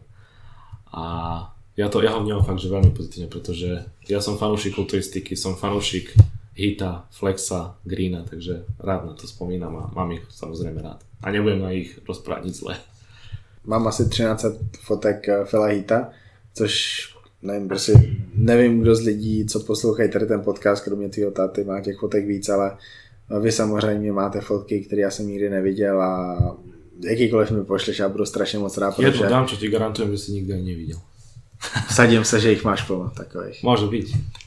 [SPEAKER 2] A ja to ja ho vnímam fakt, že veľmi pozitívne, pretože ja som fanúšik kulturistiky, som fanúšik Hita, Flexa, Greena, takže rád na to spomínam a mám ich samozrejme rád. A nebudem na ich rozprávať nic zlé.
[SPEAKER 1] Mám asi třináct set fotek Phila Heatha, což nevím, prostě nevím, kdo z lidí, co poslouchají tady ten podcast, kromě tvýho táty, má těch fotek víc, ale vy samozřejmě máte fotky, které já jsem nikdy neviděl a jakýkoliv mi pošleš, já budu strašně moc rád,
[SPEAKER 2] protože... Jednu dám, čo ti garantujem, že si nikdy ani neviděl.
[SPEAKER 1] Vsadím se, že jich máš plno takových.
[SPEAKER 2] Může být.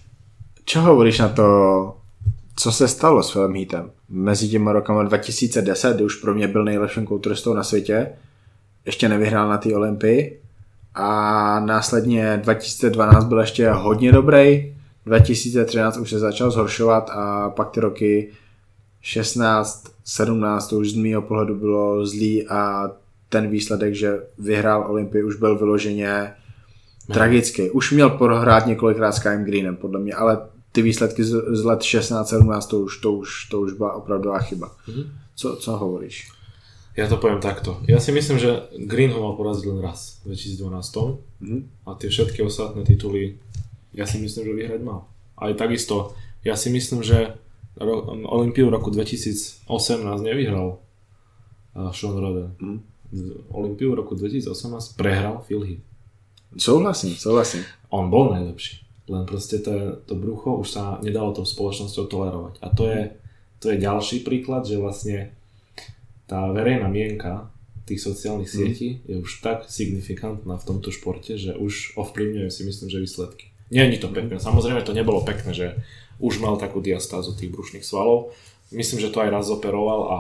[SPEAKER 1] Čo hovoríš na to, co se stalo s Philem Heathem? Mezi těma rokama dva tisíce deset, kdy už pro mě byl nejlepším kulturistou na světě, ještě nevyhrál na té Olympii a následně dva tisíce dvanáct byl ještě hodně dobrý, dva tisíce třináct už se začal zhoršovat a pak ty roky šestnáct, sedmnáct to už z mýho pohledu bylo zlý a ten výsledek, že vyhrál Olympii, už byl vyloženě tragický. Už měl prohrát několikrát s Kym Greenem, podle mě, ale ty výsledky z, z let šestnáct sedmnáct to už, to už, to už byla opravdová chyba. Mm-hmm. Co, co hovoríš?
[SPEAKER 2] Ja to poviem takto. Ja si myslím, že Green ho mal poraziť len raz v dvetisícdvanásť mm-hmm. a tie všetky ostatné tituly ja si myslím, že vyhrať mal. Aj takisto, ja si myslím, že ro- Olympiu v roku dvetisícosemnásť nevyhral uh, Sean Roden. Mm. Olympiu v roku dvetisícosemnásť prehral Phil Heath.
[SPEAKER 1] Souhlasím, souhlasím.
[SPEAKER 2] On bol najlepší. Len proste to, to brucho už sa nedalo tou spoločnosťou tolerovať. A to je, to je ďalší príklad, že vlastne tá verejná mienka tých sociálnych sietí je už tak signifikantná v tomto športe, že už ovplyvňuje si myslím, že výsledky. Nie je to pekné. Samozrejme to nebolo pekné, že už mal takú diastázu tých brušných svalov. Myslím, že to aj raz operoval a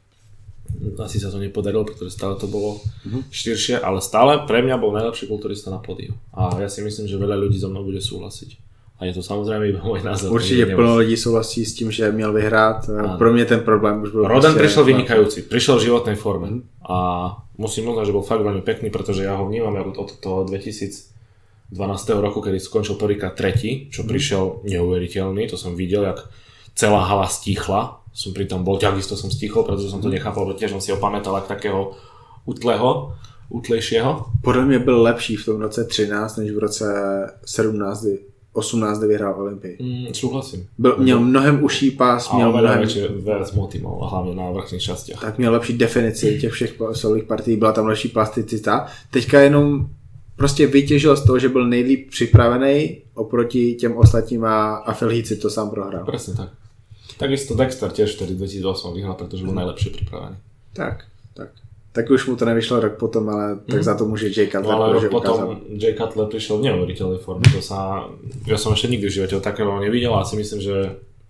[SPEAKER 2] asi sa to nepodarilo, pretože stále to bolo uh-huh. širšie, ale stále pre mňa bol najlepší kulturista na pódiu. A ja si myslím, že veľa ľudí so mnou bude súhlasiť. A je to samozrejme iba môj názor.
[SPEAKER 1] Určitě plno lidí souhlasí s tím, že měl vyhrát. Ano. Pro mě ten problém už byl...
[SPEAKER 2] Rodan prišiel vynikajúci, prišiel v životnej forme. Uh-huh. A musím uznať, že bol fakt veľmi pekný, pretože ja ho vnímam od toho dvetisícdvanásť roku, kedy skončil prvýkrát tretí, čo uh-huh. prišiel neuveriteľný. To som videl, jak celá hala stíchla. Som pri tom bol, takisto som stichol, pretože som to nechápal, protože tiež som si ho pamätal ako takého utlého, utlejšieho.
[SPEAKER 1] Podľa mňa byl lepší v tom roce třináct, než v roce sedmnáct, osmnáct, kde vyhrál Olympii.
[SPEAKER 2] Mm, súhlasím.
[SPEAKER 1] Byl, měl mnohem uší pás,
[SPEAKER 2] a
[SPEAKER 1] měl mnohem...
[SPEAKER 2] viac motivov, hlavne na vrchných častiach.
[SPEAKER 1] Tak měl lepší definici těch všech solových partií, byla tam lepší plasticita. Teďka jenom prostě vytěžil z toho, že byl nejlíp připravený oproti těm ostatním a, a Felhíci to sám prohrál.
[SPEAKER 2] Presne tak. Takisto Dexter tiež vtedy dvetisícosem vyhral, pretože bol najlepšie pripravený.
[SPEAKER 1] Tak, tak. Tak už mu to nevyšlo rok potom, ale tak mm. za to môže Jay Cutler.
[SPEAKER 2] No ale rok potom ukázal. Jay Cutler prišiel v neuveriteľnej forme. To sa, ja som ešte nikdy v živote takého nevidel a si myslím, že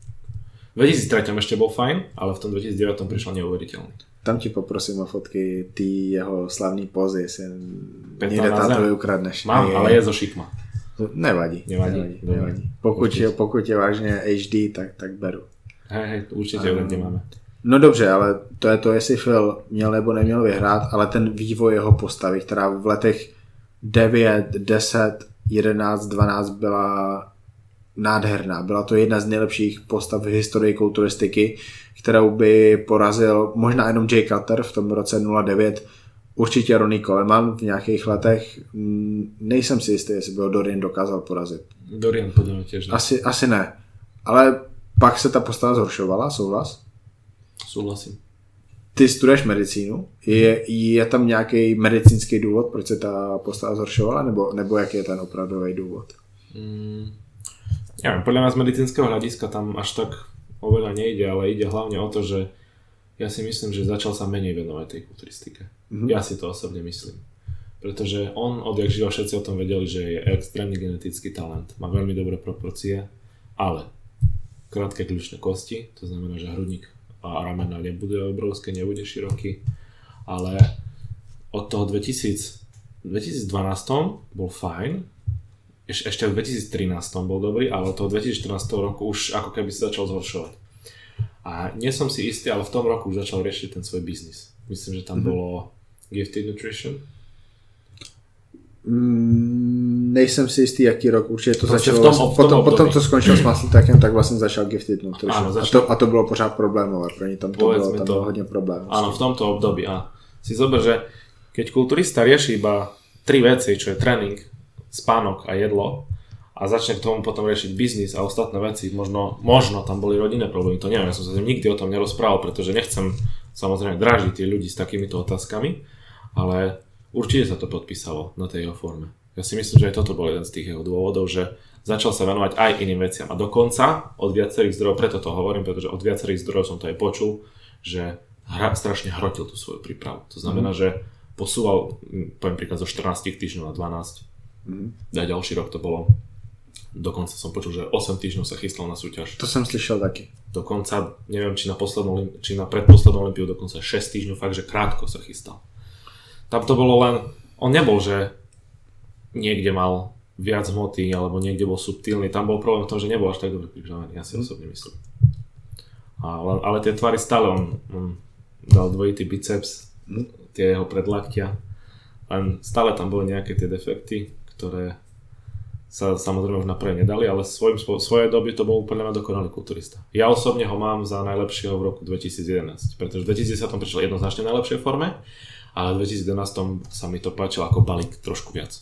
[SPEAKER 2] v dvetisíctri ešte bol fajn, ale v tom dvetisícdeväť prišiel neuveriteľný.
[SPEAKER 1] Tam ti poprosím o fotky ty jeho slavný pózy, jestli niekde táto ukradneš.
[SPEAKER 2] Mám, je, ale je zo šikma.
[SPEAKER 1] Nevadí.
[SPEAKER 2] Nevadí.
[SPEAKER 1] nevadí, nevadí. Pokud, je, pokud je vážně há dé, tak, tak beru.
[SPEAKER 2] Hej, hej, určitě um, nemáme.
[SPEAKER 1] No dobře, ale to je to, jestli Phil měl nebo neměl vyhrát, ale ten vývoj jeho postavy, která v letech devět, deset, jedenáct, dvanáct byla nádherná. Byla to jedna z nejlepších postav v historii kulturistiky, kterou by porazil možná jenom Jay Cutler v tom roce nula devět, určitě Ronnie Coleman v nějakých letech. Nejsem si jistý, jestli by ho Dorian dokázal porazit.
[SPEAKER 2] Dorian podle mě těž ne.
[SPEAKER 1] Asi, asi ne, ale pak se ta postava zhoršovala, souhlas?
[SPEAKER 2] Souhlasím.
[SPEAKER 1] Ty studuješ medicínu, je, je tam nějaký medicínský důvod, proč se ta postava zhoršovala, nebo, nebo jaký je ten opravdový důvod?
[SPEAKER 2] Mm, ja viem, podľa mňa z medicínskeho hľadiska tam až tak oveľa nejde, ale ide hlavne o to, že ja si myslím, že začal sa menej venovať tej kulturistike. Mm-hmm. Ja si to osobne myslím. Pretože on, odjak živa, všetci o tom vedeli, že je extrémny genetický talent, má veľmi dobré proporcie, ale krátke kľúčne kosti, to znamená, že hrudník a ramena nebude obrovské, nebude široký, ale od toho dvetisíc, dvetisícdvanásť bol fajn, Eš, ešte v dvetisíctrinásť bol dobrý, ale od toho dvetisícštrnásť roku už ako keby sa začal zhoršovať. A nie som si istý, ale v tom roku už začal riešiť ten svoj biznis. Myslím, že tam mm-hmm. bolo Gifted Nutrition.
[SPEAKER 1] Mm, nejsem si istý, jaký rok určitě to
[SPEAKER 2] Proste
[SPEAKER 1] začalo.
[SPEAKER 2] V tom, v tom
[SPEAKER 1] potom,
[SPEAKER 2] období.
[SPEAKER 1] potom, co skončil s Muscle tak vlastně začal Gifted Nutrition.
[SPEAKER 2] Áno,
[SPEAKER 1] a, to, a to bylo pořád problémové, pro ně tam to bylo, tam
[SPEAKER 2] to,
[SPEAKER 1] bylo hodně problémů.
[SPEAKER 2] Áno, v tomto období. A si zober, že keď kulturista rieši iba tri veci, čo je tréning, spánok a jedlo, a začne k tomu potom riešiť biznis a ostatné veci, možno, možno tam boli rodinné problémy, to neviem, ja som sa nikdy o tom nerozprával, pretože nechcem samozrejme drážiť tie ľudí s takýmito otázkami, ale určite sa to podpísalo na tej jeho forme. Ja si myslím, že aj toto bol jeden z tých jeho dôvodov, že začal sa venovať aj iným veciam a dokonca od viacerých zdrojov, preto to hovorím, pretože od viacerých zdrojov som to aj počul, že hra, strašne hrotil tú svoju prípravu. To znamená, mm. že posúval, poviem príklad, zo štrnásť týždňov na dvanásť. Mm. A ďalší rok to bolo. Dokonca som počul, že osem týždňov sa chystal na súťaž.
[SPEAKER 1] To som slyšel taky.
[SPEAKER 2] Dokonca, neviem, či na poslednú, či na predposlednú olympiu, dokonca šesť týždňov, fakt, že krátko sa chystal. Tam to bolo len, on nebol, že niekde mal viac hmoty, alebo niekde bol subtilný, tam bol problém v tom, že nebol až tak dobre pripravený, ja si mm. osobne myslím. Ale, ale tie tvary stále, on, on dal dvojitý biceps, mm. tie jeho predlaktia, len stále tam boli nejaké tie defekty, ktoré sa samozrejme už napraviť nedali, ale svojím, svojej doby to bol úplne dokonalý kulturista. Ja osobne ho mám za najlepšieho v roku dvetisíc jedenásť, pretože v dvetisíc desať prišiel jednoznačne v najlepšej forme, ale v dvetisíc jedenásť sa mi to páčilo ako balík trošku viac.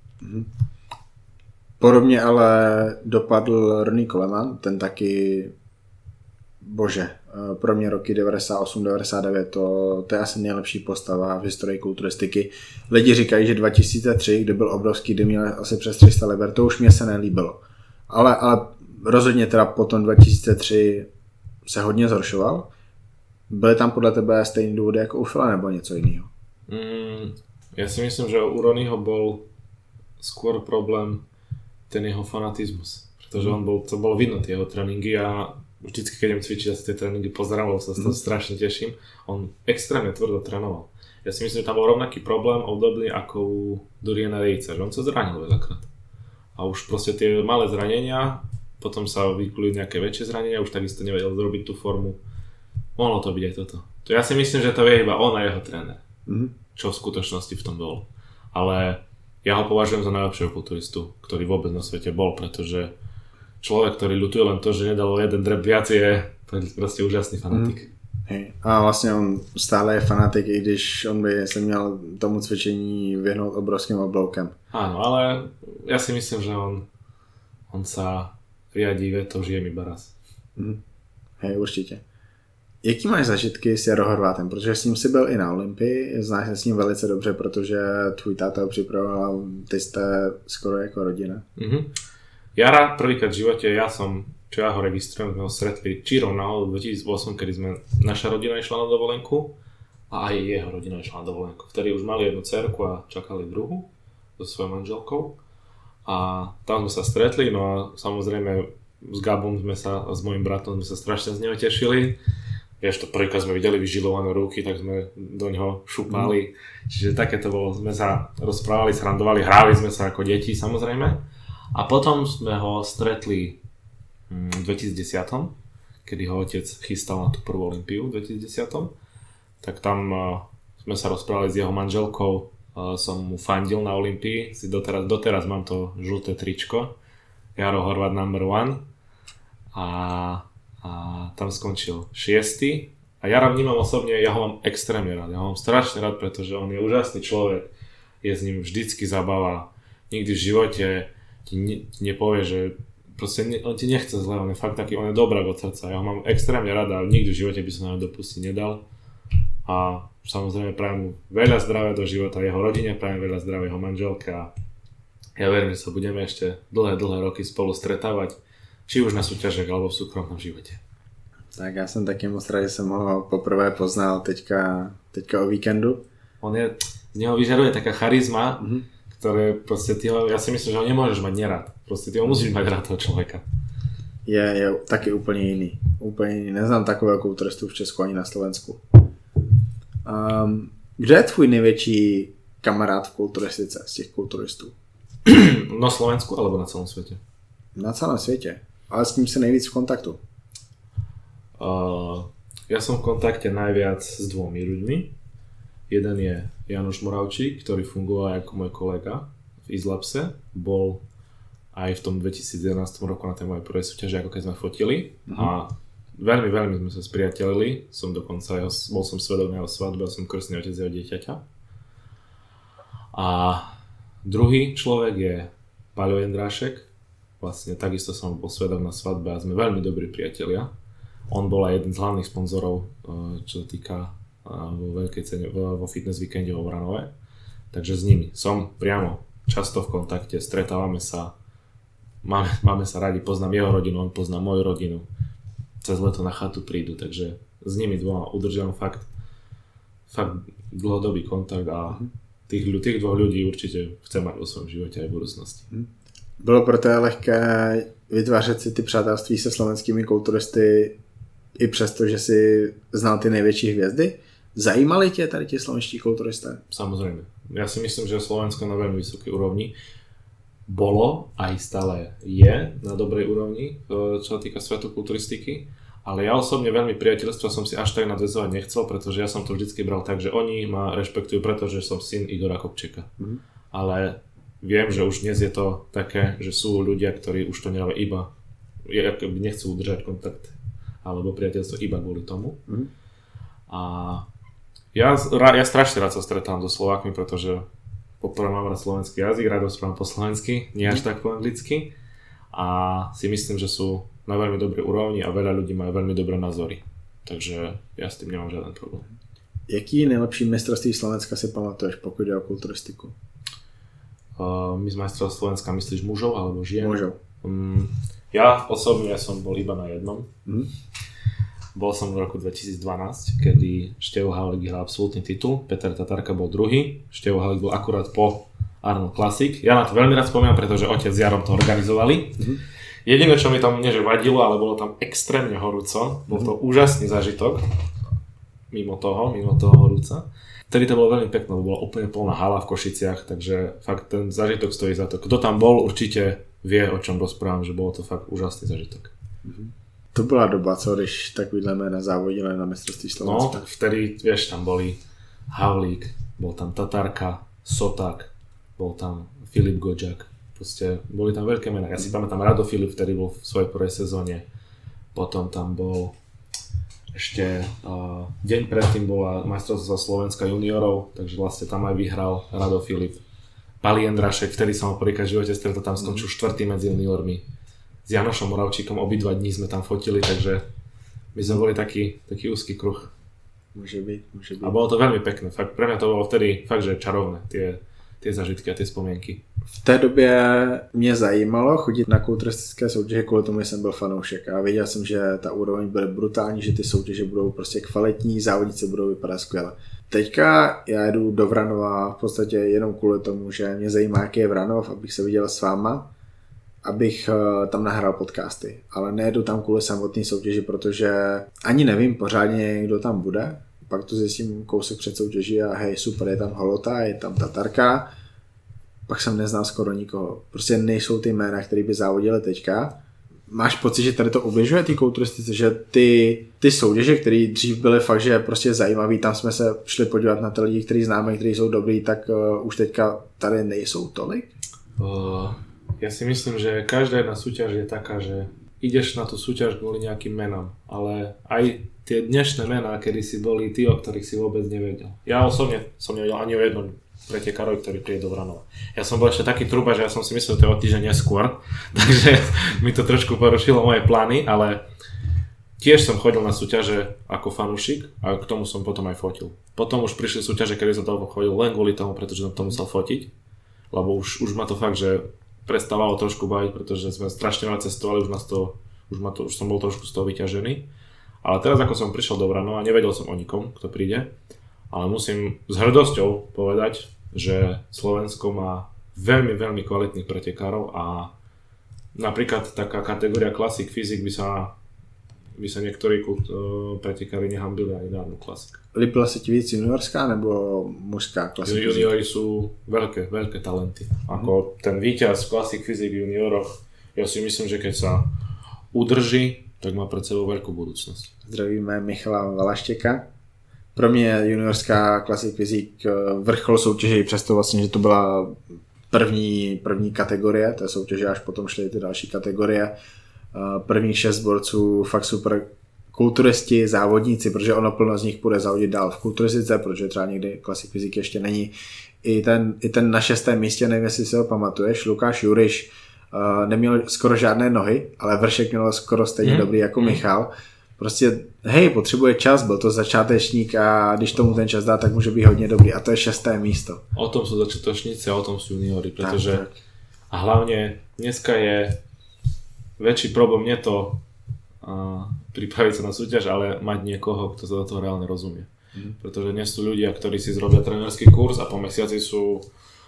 [SPEAKER 1] Podobně ale dopadl Ronnie Coleman, ten taky, bože, pro mě roky devadesát osm devadesát devět, to, to je asi nejlepší postava v historii kulturistiky. Lidi říkají, že dva tisíce tři, kdy byl obrovský, kdy měl asi přes tři sta liber, to už mě se nelíbilo. Ale, ale rozhodně teda potom dva tisíce tři se hodně zhoršoval. Byly tam podle tebe stejný důvody jako u Phila nebo něco jiného?
[SPEAKER 2] Mm, ja si myslím, že u Ronnieho bol skôr problém ten jeho fanatizmus. Pretože on bol, to bolo vidno tie jeho tréningy a vždycky, keď idem cvičiť, ja si tie tréningy pozerám, lebo sa z toho mm. strašne teším. On extrémne tvrdo trénoval. Ja si myslím, že tam bol rovnaký problém, obdobný ako u Doriana Yatesa, že on sa zranil veľakrát. A už proste tie malé zranenia, potom sa vykulili nejaké väčšie zranenia, už takisto nevedel zrobiť tú formu. Mohlo to byť aj toto. To ja si myslím, že to vie iba on a jeho tréner. Mm. Čo v skutočnosti v tom bolo. Ale ja ho považujem za najlepšieho kulturistu, ktorý vôbec na svete bol, pretože človek, ktorý ľutuje len to, že nedal jeden drep viac, je proste úžasný fanatik. Mm.
[SPEAKER 1] Hej. A vlastně on stále je fanatik, i když on by se měl tomu cvičení vyhnout obrovským obloukem.
[SPEAKER 2] Áno, ale ja si myslím, že on, on sa riadí vetou, žijem iba raz.
[SPEAKER 1] Mm. Hej, určitě. Jaký máš zažitky s Jaro Horvátem? Protože s ním si byl i na Olympii, znáš se s ním velice dobře, protože tvůj táta ho připravoval, ty jste skoro jako rodina.
[SPEAKER 2] Mm-hmm. Jara prvýkrát v živote, ja som, čo ja ho registrujem, sme ho stretli čírou náhodou v dvetisícosem, kedy sme, naša rodina išla na dovolenku a aj jeho rodina išla na dovolenku. Vtedy už mali jednu dcerku a čakali druhú so svojou manželkou a tam sme sa stretli, no a samozrejme s Gabom sme sa, a s mojím bratom sme sa strašne z neho tešili. Vieš, to prvýkrát sme videli vyžilované ruky, tak sme do ňoho šupali. Mm. Čiže také to bolo, sme sa rozprávali, srandovali, hrali sme sa ako deti samozrejme. A potom sme ho stretli v dvetisícdesať, kedy ho otec chystal na tú prvú Olympiu v dvetisícdesať. Tak tam sme sa rozprávali s jeho manželkou, som mu fandil na Olympii, si doteraz, doteraz mám to žlté tričko, Jaro Horvát number one. A a tam skončil šiesty a ja ho vnímam osobne, ja ho mám extrémne rád, ja ho mám strašne rád, pretože on je úžasný človek, je s ním vždycky zabava, nikdy v živote ti ne, nepovie, že proste ne, on ti nechce zle, on je fakt taký, on je dobrák od srdca, ja ho mám extrémne rád a nikdy v živote by som na ňo dopustiť nedal a samozrejme prajem mu veľa zdravia do života, jeho rodine prajem veľa zdravia, jeho manželke a ja verím, že sa budeme ešte dlhé, dlhé roky spolu stretávať, či už na súťažech alebo v súkromnom životě.
[SPEAKER 1] Tak já jsem taky moc rád, že jsem ho poprvé poznal teďka, teďka o víkendu.
[SPEAKER 2] On je, z něho vyžaduje taká charizma, mm-hmm. ktoré prostě ty ho, já si myslím, že ho nemůžeš mať nerad. Prostě ty ho musíš mať rád toho člověka.
[SPEAKER 1] Je, je taky úplně jiný. Úplně jiný. Neznám takového kulturistu v Česku ani na Slovensku. Um, kde je tvůj největší kamarád v kulturistice z těch kulturistů?
[SPEAKER 2] Na Slovensku alebo na celom světě?
[SPEAKER 1] Na celém světě. Ale s kým se nejvíc v kontaktu?
[SPEAKER 2] Uh, ja som v kontakte najviac s dvomi ľuďmi. Jeden je Janoš Moravčík, ktorý fungoval ako môj kolega v Izlapse. Bol aj v tom dvetisícjedenásť roku na tej mojej prvej súťaži, ako keď sme fotili. Uh-huh. A veľmi, veľmi sme sa spriatelili. Som dokonca, jeho, bol som svedok na jeho svadbe, som krstný otec jeho dieťaťa. A druhý človek je Paľo Jendrášek. Vlastne takisto som bol svedok na svadbe a sme veľmi dobrí priatelia. On bol aj jeden z hlavných sponzorov, čo sa týka vo veľkej cene, vo fitness víkende vo Vranove. Takže s nimi som priamo často v kontakte, stretávame sa, máme, máme sa radi, poznám jeho rodinu, on pozná moju rodinu. Cez leto na chatu prídu, takže s nimi dvoma udržiam fakt, fakt dlhodobý kontakt a tých, tých dvoch ľudí určite chcem mať vo svojom živote aj v budúcnosti.
[SPEAKER 1] Bylo pro tebe lehké vytvářet si ty přátelství se slovenskými kulturisty i přesto, že si znal ty největší hvězdy? Zajímali tě tady ti slovenští kulturisté?
[SPEAKER 2] Samozrejme. Ja si myslím, že Slovensko na veľmi vysokej úrovni bolo, aj stále je na dobrej úrovni, čo sa týka svetu kulturistiky. Ale ja osobne veľmi priateľstva som si až tak nadväzovať nechcel, pretože ja som to vždycky bral tak, že oni ma rešpektujú, pretože som syn Igora Kopčeka. Mm. Ale viem, že už dnes je to také, že sú ľudia, ktorí už to nerobia iba, nechcú udržať kontakt alebo priateľstvo iba kvôli tomu. Mm. A ja, ja strašne rád sa stretám so Slovákmi, pretože poprvé mám rád slovenský jazyk, rád rozprávam po slovensky, nie až tak po anglicky. A si myslím, že sú na veľmi dobrej úrovni a veľa ľudí majú veľmi dobré názory. Takže ja s tým nemám žiaden problém.
[SPEAKER 1] Jaký nejlepší mistrovství Slovenska si pamatuješ, pokud jde o kulturistiku?
[SPEAKER 2] Uh, my z majstrov Slovenska myslíš mužov alebo žien?
[SPEAKER 1] Mužov.
[SPEAKER 2] Um, ja osobne som bol iba na jednom. Mm. Bol som v roku dvetisícdvanásť, kedy Števo Havlík vyhral absolútny titul, Peter Tatarka bol druhý, Števo Havlík bol akurát po Arnold Classic. Ja na to veľmi rád spomínam, pretože otec s Jarom to organizovali. Mm-hmm. Jediné, čo mi tam nie že vadilo, ale bolo tam extrémne horúco, bol to úžasný zážitok, mimo toho, mimo toho horúca. Vtedy to bolo veľmi pekné, bola úplne plná hala v Košiciach, takže fakt ten zážitok stojí za to. Kto tam bol, určite vie, o čom rozprávam, že bolo to fakt úžasný zážitok.
[SPEAKER 1] Mm-hmm. To byla doba, co když takovýhle jména závodili na mistrovství Slovenska.
[SPEAKER 2] No, vtedy, vieš, tam boli Havlík, bol tam Tatarka, Soták, bol tam Filip Godžak, proste boli tam veľké mená. Ja si pamätám Rado Filip, ktorý bol v svojej prvej sezóne, potom tam bol ešte uh, deň predtým bola majstrovstvá Slovenska juniorov, takže vlastne tam aj vyhral Rado Filip. Pali Endrašek, vtedy som ho prvýkrát v živote stretol, tam skončil štvrtý medzi juniormi. S Janošom Moravčíkom obidva dní sme tam fotili, takže my sme boli taký, taký úzky kruh.
[SPEAKER 1] Môže byť, môže byť.
[SPEAKER 2] A bolo to veľmi pekné, fakt, pre mňa to bolo vtedy fakt, že čarovné, tie, tie zažitky a tie spomienky.
[SPEAKER 1] V té době mě zajímalo chodit na kulturistické soutěže, kvůli tomu jsem byl fanoušek a věděl jsem, že ta úroveň bude brutální, že ty soutěže budou prostě kvalitní, závodníci budou vypadat skvěle. Teďka já jedu do Vranova v podstatě jenom kvůli tomu, že mě zajímá, jaký je Vranov, abych se viděl s váma, abych tam nahrál podcasty, ale nejedu tam kvůli samotné soutěži, protože ani nevím pořádně, kdo tam bude. Pak to zjistím kousek před soutěží a hej, super, je tam Holota, je tam Tatarka. Pak jsem neznal skoro nikoho. Prostě nejsou ty jména, které by závodily teďka. Máš pocit, že tady to ubližuje ty kulturistice, že ty, ty soutěže, které dřív byly fakt, že prostě zajímavý, tam jsme se šli podívat na ty lidi, kteří známe, kteří jsou dobrý, tak uh, už teďka tady nejsou tolik?
[SPEAKER 2] Uh... Ja si myslím, že každá jedna súťaž je taká, že ideš na tú súťaž kvôli nejakým menám, ale aj tie dnešné mená, kedy si boli tí, o ktorých si vôbec nevedel. Ja osobne som nevedel ani o jednom pretekárovi, ktorý príde do Vranova. Ja som bol ešte taký truba, že ja som si myslel, že to je o týždeň neskôr, takže mi to trošku porušilo moje plány, ale tiež som chodil na súťaže ako fanúšik a k tomu som potom aj fotil. Potom už prišli súťaže, kedy som toľko chodil len kvôli tomu, pretože som to musel fotiť, lebo už, už ma to fakt, že prestávalo trošku baviť, pretože sme strašne veľa cestovali, už, nás to, už, ma to, už som bol trošku z toho vyťažený. Ale teraz ako som prišiel do Vranova, nevedel som o nikom, kto príde, ale musím s hrdosťou povedať, že Slovensko má veľmi, veľmi kvalitných pretekárov a napríklad taká kategória Classic Physique by sa, by sa niektorí uh, pretekári nehambili ani na jednu Classic.
[SPEAKER 1] Líbila se ti víc juniorská nebo mužská Classic Physique?
[SPEAKER 2] Juniori sú veľké, veľké talenty. Ako ten víťaz Classic Physique v junioroch, ja si myslím, že keď sa udrží, tak má pred sebou veľkú budúcnosť.
[SPEAKER 1] Zdravíme Michala Valaštěka. Pro mě juniorská Classic Physique vrchol soutěže, přesto vlastně, že to byla první, první kategorie té soutěže, až potom šly ty další kategorie. Prvních šest borců fakt super kulturisti, závodníci, protože ono plno z nich půjde závodit dál v kulturistice, protože třeba někdy Classic Physique ještě není. I ten, i ten na šestém místě, nevím, jestli si ho pamatuješ, Lukáš Juriš uh, neměl skoro žádné nohy, ale vršek měl skoro stejně mm. dobrý jako mm. Michal. Prostě, hej, potřebuje čas, byl to začátečník a když tomu ten čas dá, tak může být hodně dobrý a to je šesté místo.
[SPEAKER 2] O tom sú začiatočníci a o tom sú juniori, pretože tak, tak. A hlavne dneska je väčší problém nie to uh, pripraviť sa na súťaž, ale mať niekoho, kto sa do toho reálne rozumie. Mm. Pretože dnes sú ľudia, ktorí si zrobia trénerský kurz a po mesiaci sú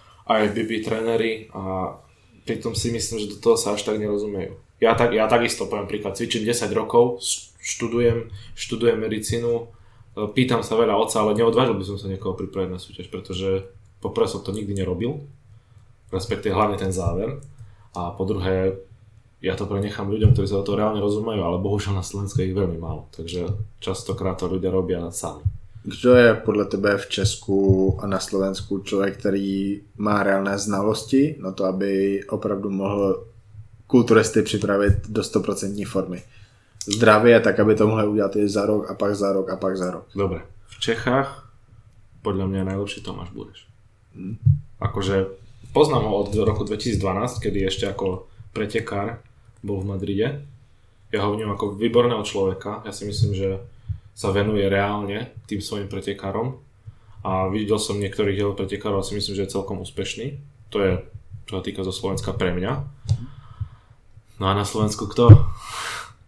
[SPEAKER 2] aj bé bé tréneri a pritom si myslím, že do toho sa až tak nerozumiejú. Ja, tak, ja takisto poviem príklad, cvičím desať rokov, študujem, študujem medicínu, pýtam sa veľa otca, ale neodvážil by som sa niekoho pripraviť na súťaž, pretože poprvé som to nikdy nerobil, respektíve hlavne ten záver, a po druhé ja to prenechám ľuďom, ktorí sa do toho reálne rozumejú, ale bohužiaľ na Slovensku je ich veľmi málo, takže častokrát to ľudia robia sami.
[SPEAKER 1] Kdo je podle tebe v Česku a na Slovensku člověk, který má reálné znalosti na to, aby opravdu mohl kulturisty připravit do sto procent formy? Zdravě, tak aby to mohli udělat i za rok a pak za rok a pak za rok.
[SPEAKER 2] Dobre, v Čechách podľa mňa najlepší Tomáš Bureš. Hmm. Akože poznám ho od roku dvetisícdvanásť, kedy ešte ako pretekár bol v Madride. Ja ho vnímam ako výborného človeka. Ja si myslím, že sa venuje reálne tým svojim pretekárom a videl som niektorých jeho pretekárov a si myslím, že je celkom úspešný. To je, čo sa týka zo Slovenska pre mňa. No a na Slovensku kto?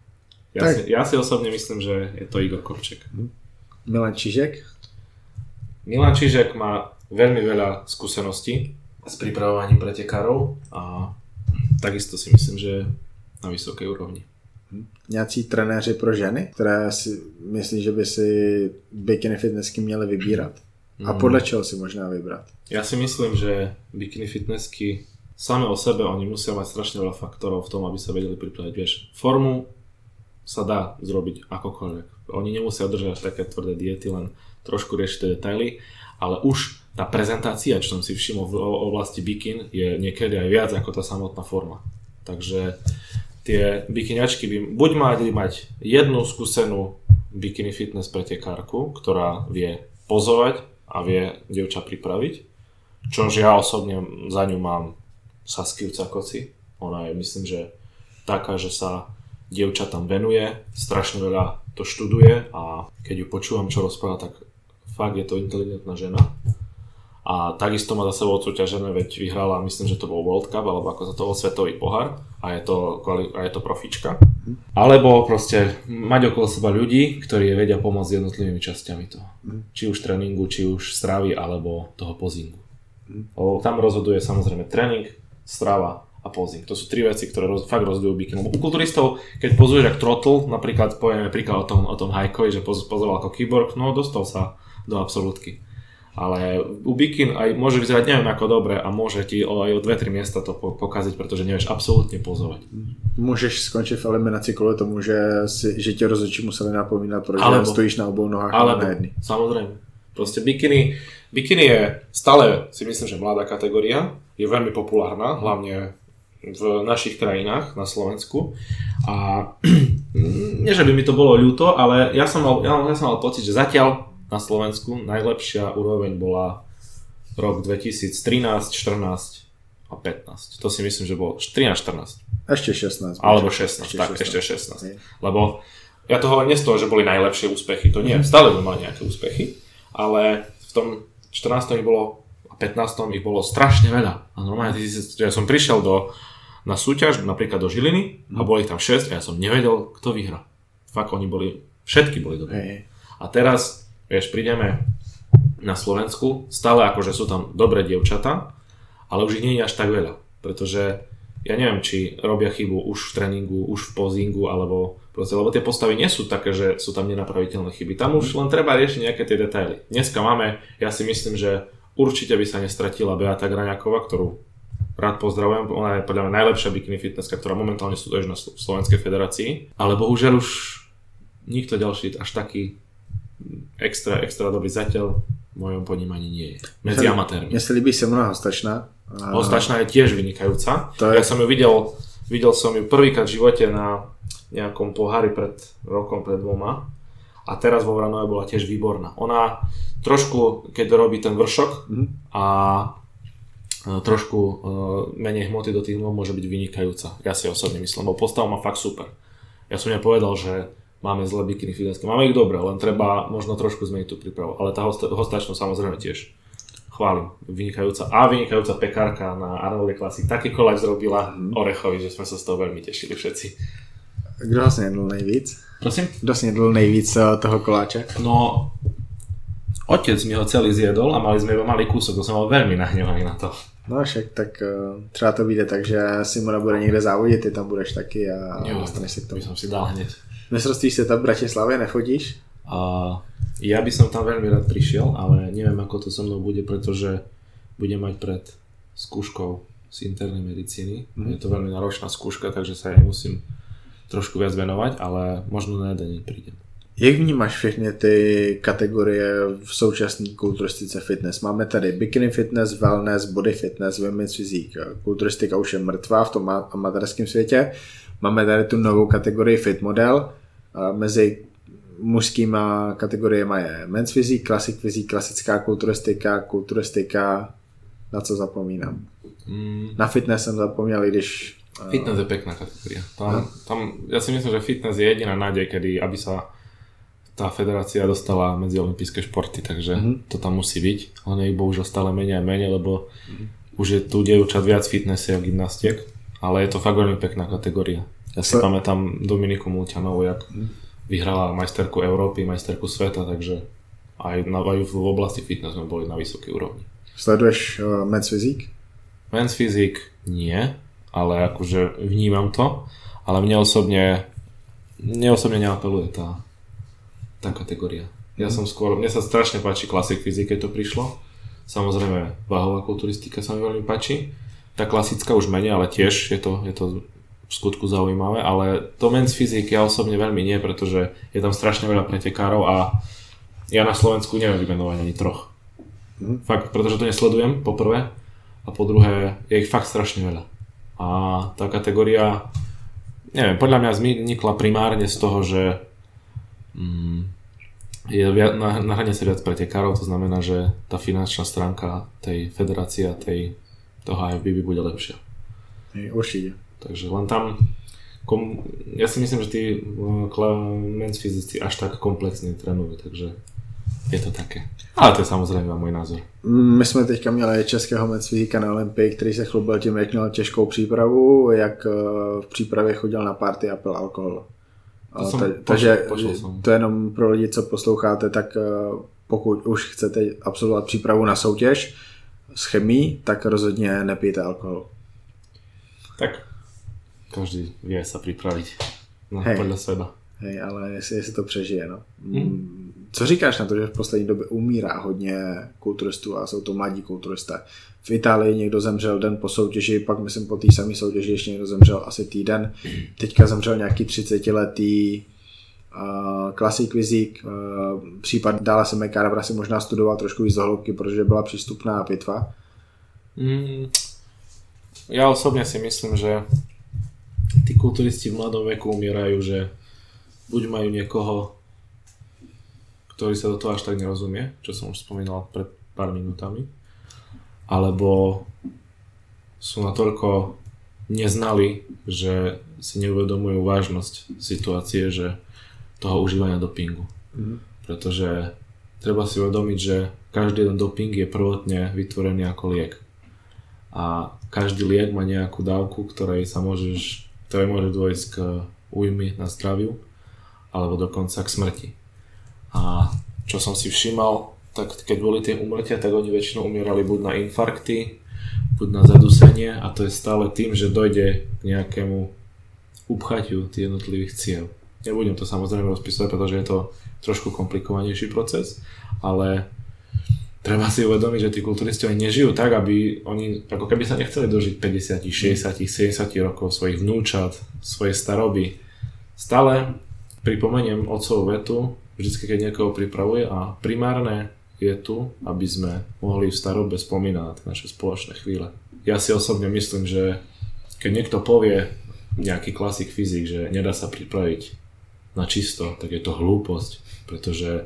[SPEAKER 2] Ja si, ja si osobne myslím, že je to Igor Kopček.
[SPEAKER 1] Milan Čižek?
[SPEAKER 2] Milan Čižek má veľmi veľa skúseností s pripravovaním pretekárov a takisto si myslím, že je na vysoké úrovni.
[SPEAKER 1] Nějací trenéři pro ženy, které si myslí, že by si bikini fitnessky měly vybírat? A podle čeho si možná vybrat?
[SPEAKER 2] Ja si myslím, že bikini fitnessky same o sebe, oni musia mať strašne veľa faktorov v tom, aby sa vedeli pripraviť. Vieš, formu sa dá zrobiť akokoľvek. Oni nemusia držať také tvrdé diety, len trošku riešiť tie detaily, ale už tá prezentácia, čo som si všimol v oblasti bikin, je niekedy aj viac ako tá samotná forma. Takže tie bikiniačky by buď mali mať jednu skúsenú bikini fitness pretekárku, ktorá vie pozovať a vie dievča pripraviť, čož ja osobne za ňu mám Saskiu Cakoci. Ona je, myslím, že taká, že sa dievča tam venuje, strašne veľa to študuje a keď ju počúvam, čo rozpráva, tak fakt je to inteligentná žena. A takisto má za sebou odsúťažené, veď vyhrala, myslím, že to bol World Cup, alebo ako sa to bol svetový pohár a je to, a je to profička. Alebo proste mať okolo seba ľudí, ktorí vedia pomôcť jednotlivými časťami toho. Či už tréningu, či už stravy, alebo toho pozingu. O, tam rozhoduje samozrejme tréning, strava a posing. To sú tri veci, ktoré roz, fakt rozhodujú bikinu. U kulturistov, keď pozuješ ako Trotl, napríklad povieme príklad o tom, o tom Hajkovi, že pozoval ako kyborg, no dostal sa do absolútky. Ale u bikin aj môže vyzerať neviem ako dobre a môže ti aj o dve tri miesta to pokaziť, pretože nevieš absolútne pozovať.
[SPEAKER 1] Môžeš skončiť v eliminácii kvôli tomu, že, si, že ťa rozhodčí museli napomínať, pretože alebo, stojíš na obou nohách alebo, na jedný.
[SPEAKER 2] Samozrejme. Proste bikiny, bikiny je stále, si myslím, že mladá kategória, je veľmi populárna, hlavne v našich krajinách, na Slovensku. A nie, že by mi to bolo ľúto, ale ja som mal, ja, ja som mal pocit, že zatiaľ na Slovensku najlepšia úroveň bola rok dvetisíctrinásť, štrnásť a pätnásť. To si myslím, že bolo trinásť štrnásť.
[SPEAKER 1] Ešte šestnásť.
[SPEAKER 2] Alebo šestnásť, ešte tak, šestnásť. Ešte šestnásť. Je. Lebo ja to hovorím nie z toho, že boli najlepšie úspechy, to nie, mm. stále by mali nejaké úspechy, ale v tom štrnástom ich bolo a pätnástom ich bolo strašne veľa. A normálne, ja som prišiel do, na súťaž, napríklad do Žiliny mm. a boli ich tam šesť a ja som nevedel, kto vyhrá. Fakt, oni boli, všetky boli dobré. Hey. A teraz vieš, prídeme na Slovensku, stále akože sú tam dobré dievčatá, ale už ich nie je až tak veľa, pretože ja neviem, či robia chybu už v tréningu, už v pozingu, alebo proste, lebo tie postavy nie sú také, že sú tam nenapraviteľné chyby. Tam už len treba riešiť nejaké tie detaily. Dneska máme, ja si myslím, že určite by sa nestratila Beata Graňáková, ktorú rád pozdravujem, ona je podľa mňa najlepšia bikini fitnesska, ktorá momentálne súťaží na Slovenskej federácii, ale bohužiaľ už nikto ďalší až taký extra, extra dobrý zatiaľ v mojom ponímaní nie je. Medzi amatérmi.
[SPEAKER 1] Mne sa líbí Simona Hostačná. A...
[SPEAKER 2] Hostačná je tiež vynikajúca. Je... Ja som ju videl, videl som ju prvýkrát v živote na nejakom pohári pred rokom, pred dvoma. A teraz vo Vranove bola tiež výborná. Ona trošku, keď robí ten vršok mm-hmm. a trošku uh, menej hmoty do tých nôh, môže byť vynikajúca. Ja si osobne myslím, lebo postavu má fakt super. Ja som ja povedal, že máme zlé bikini fitnessky. Máme ich dobré, len treba možno trošku zmeniť tú prípravu. Ale tá hosta- hostačnú samozrejme tiež chválim. Vynikajúca a vynikajúca pekárka na Arnoldovej Classic. Taký koláč zrobila mm. Orechovi, že sme sa z toho veľmi tešili všetci.
[SPEAKER 1] Kdo ho snědl nejvíc?
[SPEAKER 2] Prosím?
[SPEAKER 1] Kdo snědl nejvíc toho koláče?
[SPEAKER 2] No, otec mi ho celý zjedol a mali sme iba malý kúsok, to som mal veľmi nahnevaný na to.
[SPEAKER 1] No však tak uh, třeba to vyjde tak, že Simona bude někde závodit, ty tam budeš taky a jo, dostaneš si k tomu.
[SPEAKER 2] By som si dal hneď.
[SPEAKER 1] Mestrovství sveta v Bratislavě nechodíš?
[SPEAKER 2] Uh, ja by som tam veľmi rád prišiel, ale neviem ako to so mnou bude, pretože budem mať pred skúškou z internej medicíny. Mm. Je to veľmi náročná skúška, takže sa jej musím trošku viac venovať, ale možno na jeden deň prídem.
[SPEAKER 1] Jak vnímáš všechny ty kategorie v současné kulturistice fitness? Máme tady bikini fitness, wellness, body fitness, women's physique. Kulturistika už je mrtvá v tom amatérském světě. Máme tady tu novou kategorii fit model. Mezi mužskýma kategoriemi je men's physique, classic physique, klasická kulturistika, kulturistika, na co zapomínám. Mm. Na fitness jsem zapomněl, když...
[SPEAKER 2] Fitness je pekná kategória. Tam, tam, ja si myslím, že fitness je jediná nádej, kedy aby sa tá federácia dostala medzi olympijské športy, takže mm-hmm. to tam musí byť. Ale ich bohužiaľ stále menej a menej, lebo mm-hmm. už je tu dievčat viac fitnessiek a gymnastiek, ale je to fakt veľmi pekná kategória. Ja si pamätám Dominiku Mulťanovú, jak vyhrala majsterku Európy, majsterku sveta, takže aj, na, aj v oblasti fitness sme boli na vysokej úrovni.
[SPEAKER 1] Sleduješ uh, Men's Physique?
[SPEAKER 2] Men's Physique nie, ale akože vnímam to, ale mne osobne mne osobne neapeluje tá, tá kategória. Ja som skôr, mne sa strašne páči Classic Physique, keď to prišlo. Samozrejme váhová kulturistika sa mi veľmi páči. Tá klasická už menej, ale tiež je to, je to v skutku zaujímavé, ale to Men's Physique ja osobne veľmi nie, pretože je tam strašne veľa pretekárov a ja na Slovensku neviem vymenovať ani troch. Mm. Fakt, pretože to nesledujem, po prvé, a po druhé je ich fakt strašne veľa. A tá kategória, neviem, podľa mňa vznikla primárne z toho, že mm, je viac, na, na hrane sa viac pretekárov, to znamená, že tá finančná stránka tej federácie a tej, toho á ef bé bude lepšia.
[SPEAKER 1] Určite.
[SPEAKER 2] Takže len tam, kom, ja si myslím, že tí Men's fyzici až tak komplexne trénujú, takže je to také. Ale to je samozřejmě můj názor.
[SPEAKER 1] My jsme teďka měli českého Men's fyzika na Olympii, který se chlubil tím, jak měl těžkou přípravu, jak v přípravě chodil na party a pil alkohol. Ta, pošel, takže pošel to je jenom pro lidi, co posloucháte, tak pokud už chcete absolvovat přípravu na soutěž s chemií, tak rozhodně nepijte alkohol.
[SPEAKER 2] Tak každý vie sa pripraviť no, podľa seba.
[SPEAKER 1] Hej, ale jestli, jestli to přežije, no. Hmm. Co říkáš na to, že v poslední době umírá hodně kulturistů a jsou to mladí kulturisté? V Itálii někdo zemřel den po soutěži, pak myslím po té samé soutěži ještě někdo zemřel asi týden. Teďka zemřel nějaký třicetiletý uh, Classic Physique. Uh, případ Dála Semekárabra si možná studoval trošku víc do hloubky, protože byla přístupná pitva.
[SPEAKER 2] Hmm. Ja osobne si myslím, že tí kulturisti v mladom veku umierajú, že buď majú niekoho, ktorý sa do toho až tak nerozumie, čo som už spomínal pred pár minútami, alebo sú natoľko neznali, že si neuvedomujú vážnosť situácie, že toho užívania dopingu. Mm. Pretože treba si uvedomiť, že každý jeden doping je prvotne vytvorený ako liek. A každý liek má nejakú dávku, ktorej sa môžeš, ktorej môže dôjsť k újmy na zdraviu alebo dokonca k smrti. A čo som si všímal, tak keď boli tie úmrtia, tak oni väčšinou umierali buď na infarkty, buď na zadusenie a to je stále tým, že dojde k nejakému upchatiu tých jednotlivých ciev. Nebudem to samozrejme rozpísať, pretože je to trošku komplikovanejší proces, ale treba si uvedomiť, že tí kulturisti oni nežijú tak, aby oni ako keby sa nechceli dožiť päťdesiat, šesťdesiat, sedemdesiat rokov svojich vnúčat, svojej staroby. Stále pripomeniem otcovú vetu, vždycky keď niekoho pripravuje a primárne je tu, aby sme mohli v starobe spomínať naše spoločné chvíle. Ja si osobne myslím, že keď niekto povie nejaký Classic Physique, že nedá sa pripraviť na čisto, tak je to hlúposť, pretože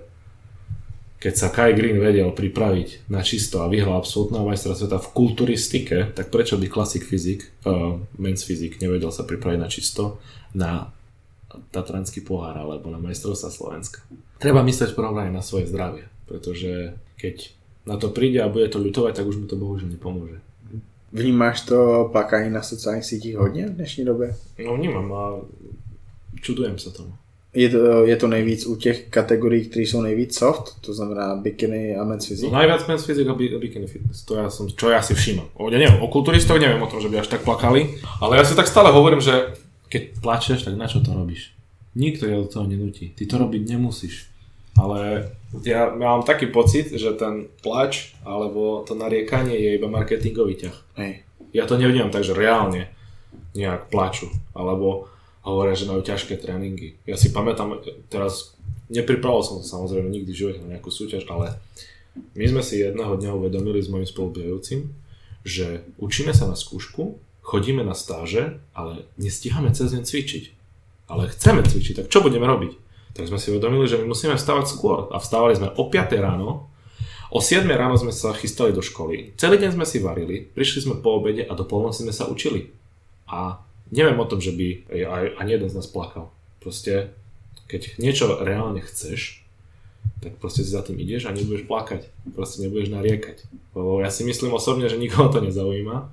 [SPEAKER 2] keď sa Kai Green vedel pripraviť na čisto a vyhral absolútneho majstra sveta v kulturistike, tak prečo by Classic Physique, uh, Men's Physique nevedel sa pripraviť na čisto na Tatranský pohár alebo na majstrovstvá Slovenska. Treba myslieť v prvom rade na svoje zdravie, pretože keď na to príde a bude to ľutovať, tak už mu to bohužiaľ nepomôže.
[SPEAKER 1] Vnímáš to plakání na sociálních sítích hodně v dnešní době?
[SPEAKER 2] No vnímám a čudujem sa tomu.
[SPEAKER 1] Je to, je to nejvíc u těch kategorií, které jsou nejvíc soft, to znamená bikini a Men's Physique?
[SPEAKER 2] No najviac Men's Physique a bikini fitness, to ja som, čo ja si všímam. O, ja neviem, o kulturistoch neviem o tom, že by až tak plakali, ale ja si tak stále hovorím, že keď plačeš, tak na čo to robíš? Nikto ťa do toho nenúti, ty to robiť nemusíš. Ale ja mám taký pocit, že ten plač alebo to nariekanie je iba marketingový ťah.
[SPEAKER 1] Hej.
[SPEAKER 2] Ja to nevnímam tak, že reálne nejak plaču, alebo hovoria, že majú ťažké tréningy. Ja si pamätám, teraz nepripravoval som sa samozrejme nikdy v živote na nejakú súťaž, ale my sme si jedného dňa uvedomili s mojím spolubehajúcim, že učíme sa na skúšku, chodíme na stáže, ale nestíhame cez deň cvičiť. Ale chceme cvičiť, tak čo budeme robiť? Tak sme si uvedomili, že my musíme vstávať skôr. A vstávali sme o piatej ráno, o siedmej ráno sme sa chystali do školy, celý deň sme si varili, prišli sme po obede a do polnoci sme sa učili. A neviem o tom, že by aj, ani jeden z nás plakal. Proste, keď niečo reálne chceš, tak proste si za tým ideš a nebudeš plakať. Proste nebudeš nariekať. Lebo ja si myslím osobne, že nikoho to nezaujíma.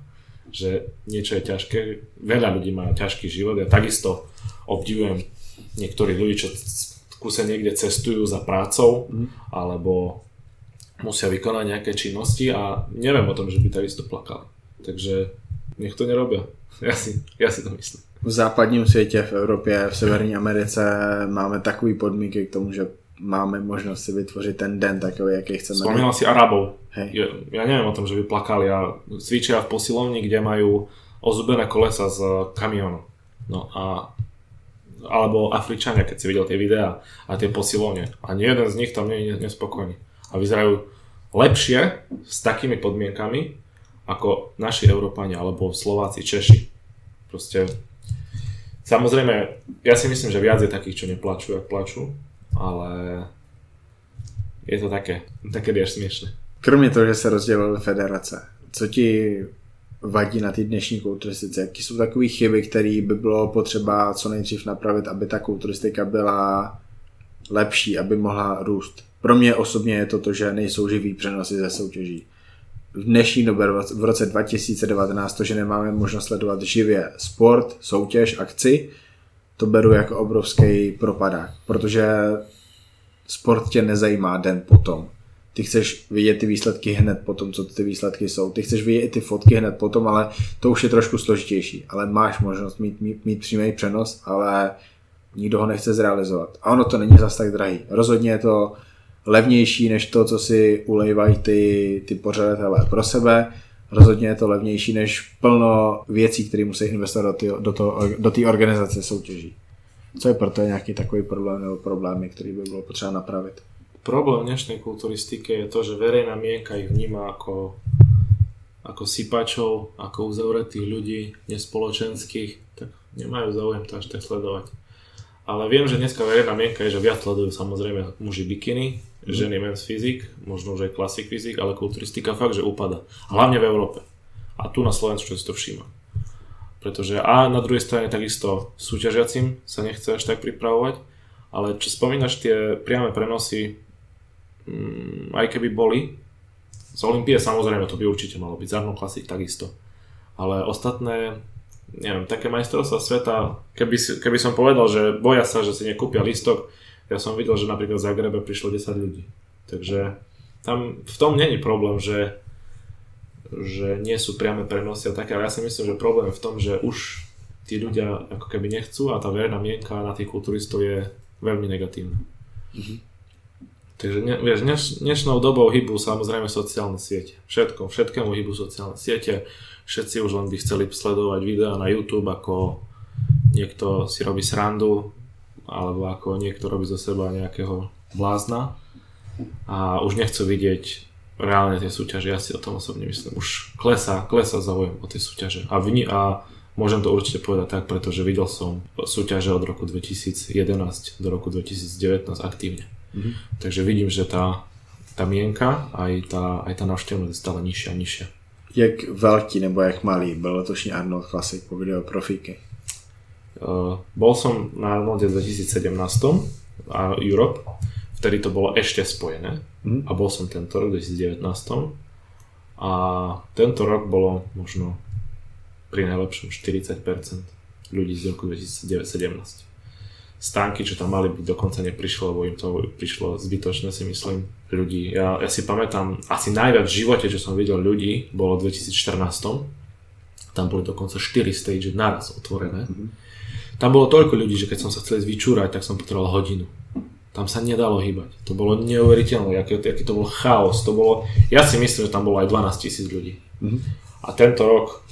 [SPEAKER 2] že niečo je ťažké. Veľa ľudí má ťažký život. Ja takisto obdivujem niektorých ľudí, čo kúse niekde cestujú za prácou, mm. alebo musia vykonať nejaké činnosti a neviem o tom, že by takisto plakali. Takže nech to nerobia. Ja si, ja si to myslím.
[SPEAKER 1] V západním světě, v Evropě, v Severní Americe máme takový podmínky k tomu, že máme možnost si vytvořit ten den takový, jaký chceme.
[SPEAKER 2] Spomínal si Arabov. Ja, ja neviem o tom, že by plakali a cvičia v posilovni, kde majú ozubené kolesa z kamionu. No a alebo Afričania, keď si videl tie videá a tie posilovne. A nie jeden z nich tam nie je nespokojný. A vyzerajú lepšie s takými podmienkami ako naši Európania alebo Slováci, Češi. Proste samozrejme, ja si myslím, že viac je takých, čo neplačú, jak plačú, ale je to také, také až smiešné.
[SPEAKER 1] Kromě toho, že se rozdělily federace, co ti vadí na té dnešní kulturistice? Jaký jsou takové chyby, které by bylo potřeba co nejdřív napravit, aby ta kulturistika byla lepší, aby mohla růst? Pro mě osobně je to to, že nejsou živý přenosy ze soutěží. V dnešní době, v roce dva tisíce devatenáct, to, že nemáme možnost sledovat živě sport, soutěž, akci, to beru jako obrovský propadák, protože sport tě nezajímá den potom. Ty chceš vidět ty výsledky hned potom, co ty výsledky jsou. Ty chceš vidět i ty fotky hned potom, ale to už je trošku složitější. Ale máš možnost mít, mít, mít přímý přenos, ale nikdo ho nechce zrealizovat. A ono to není zas tak drahý. Rozhodně je to levnější než to, co si ulejvají ty, ty pořadatelé pro sebe. Rozhodně je to levnější než plno věcí, které musí investovat do té do do té organizace soutěží. Co je proto nějaký takový problém nebo problémy, který by bylo potřeba napravit?
[SPEAKER 2] Problém dnešnej kulturistike je to, že verejná mienka ich vníma ako, ako sypačov, ako uzavretých ľudí, nespoločenských, tak nemajú záujem to až tak sledovať. Ale viem, že dneska verejná mienka je, že viac sledujú samozrejme muži bikiny, mm. ženy men's physique, možno už aj classic physique, ale kulturistika fakt, že upada. Hlavne v Európe. A tu na Slovensku si to všíma. Pretože a na druhej strane takisto súťažiacim sa nechce až tak pripravovať, ale čo spomínaš tie priame prenosy, mm, aj keby boli, z Olympie samozrejme to by určite malo byť, z Arnold Classic takisto. Ale ostatné, neviem, také majstrovstvá sveta, keby, si, keby som povedal, že boja sa, že si nekúpia lístok, ja som videl, že napríklad v Zagrebe prišlo desať ľudí. Takže tam v tom není problém, že, že nie sú priame prenosy a také, ale ja si myslím, že problém je v tom, že už tí ľudia ako keby nechcú a tá verejná mienka na tých kulturistov je veľmi negatívna. Mm-hmm. Takže ne, vieš, dneš, dnešnou dobou hýbu samozrejme sociálne siete. Všetko, všetkému hýbu sociálne siete. Všetci už len by chceli sledovať videá na YouTube, ako niekto si robí srandu, alebo ako niekto robí zo seba nejakého blázna. A už nechcú vidieť reálne tie súťaže. Ja si o tom osobne myslím. Už klesá, klesá záujem o tie súťaže. A, vni, a môžem to určite povedať tak, pretože videl som súťaže od roku dvetisíc jedenásť do roku dvetisíc devätnásť aktívne. Mm-hmm. Takže vidím, že tá, tá mienka aj tá, aj tá návštevnosť je stále nižšia a nižšia.
[SPEAKER 1] Jak velký nebo jak malý byl letošní Arnold Classic, pokud jde o profíky?
[SPEAKER 2] Uh, bol som na Arnolde dvetisíc sedemnásť a Europe, vtedy to bolo ešte spojené mm-hmm. a bol som tento rok dvetisíc devätnásť a tento rok bolo možno pri najlepšom štyridsať percent ľudí z roku dvetisíc sedemnásť. Stánky, čo tam mali byť, dokonca neprišlo, lebo im to prišlo zbytočné, si myslím, ľudí. Ja, ja si pamätám, asi najviac v živote, čo som videl ľudí, bolo v dvetisíc štrnásť. Tam boli dokonca štyri stage naraz otvorené. Mm-hmm. Tam bolo toľko ľudí, že keď som sa chcel vyčúrať, tak som potreboval hodinu. Tam sa nedalo hýbať. To bolo neuveriteľné, aký, aký to bol chaos. To bolo, ja si myslím, že tam bolo aj dvanásť tisíc ľudí. Mm-hmm. A tento rok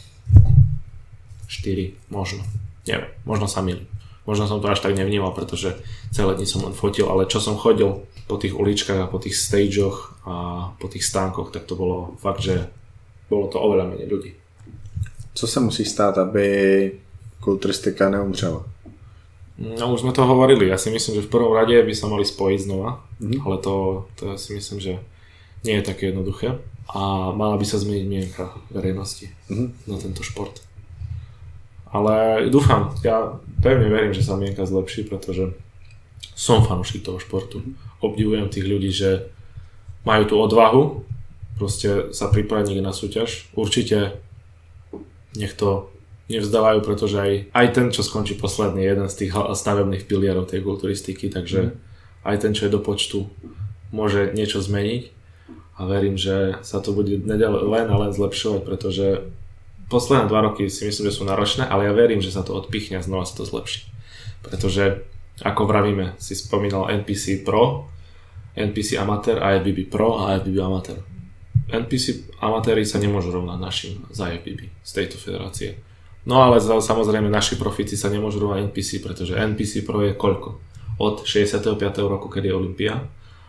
[SPEAKER 2] štyri, možno. Neviem, možno sa milím. Možno som to až tak nevnímal, pretože celé dni som len fotil, ale čo som chodil po tých uličkách a po tých stageoch a po tých stánkoch, tak to bolo fakt, že bolo to oveľa menej ľudí.
[SPEAKER 1] Co sa musí stát, aby kulturistika neumřela?
[SPEAKER 2] No už sme to hovorili, ja si myslím, že v prvom rade by sa mali spojiť znova, mm-hmm. ale to, to ja si myslím, že nie je také jednoduché a mala by sa zmeniť mienka verejnosti mm-hmm. na tento šport. Ale dúfam, ja pevne verím, že sa mienka zlepší, pretože som fanúšik toho športu. Obdivujem tých ľudí, že majú tú odvahu proste sa pripraviť na súťaž. Určite nech to nevzdávajú, pretože aj, aj ten, čo skončí posledný, je jeden z tých stavebných pilierov tej kulturistiky, takže mm. aj ten, čo je do počtu, môže niečo zmeniť a verím, že sa to bude len a len zlepšovať, pretože posledné dva roky si myslím, že sú náročné, ale ja verím, že sa to odpichne a znova sa to zlepší. Pretože, ako vravíme, si spomínal en pí sí Pro, en pí sí Amateur, á ef bé bé Pro a á ef bé bé Amateur. en pí sí amatéri sa nemôžu rovnať našim z á ef bé bé, z tejto federácie. No ale samozrejme naši profíci sa nemôžu rovnať en pí sí, pretože en pí sí Pro je koľko? Od šesťdesiateho piateho roku, kedy je Olympia,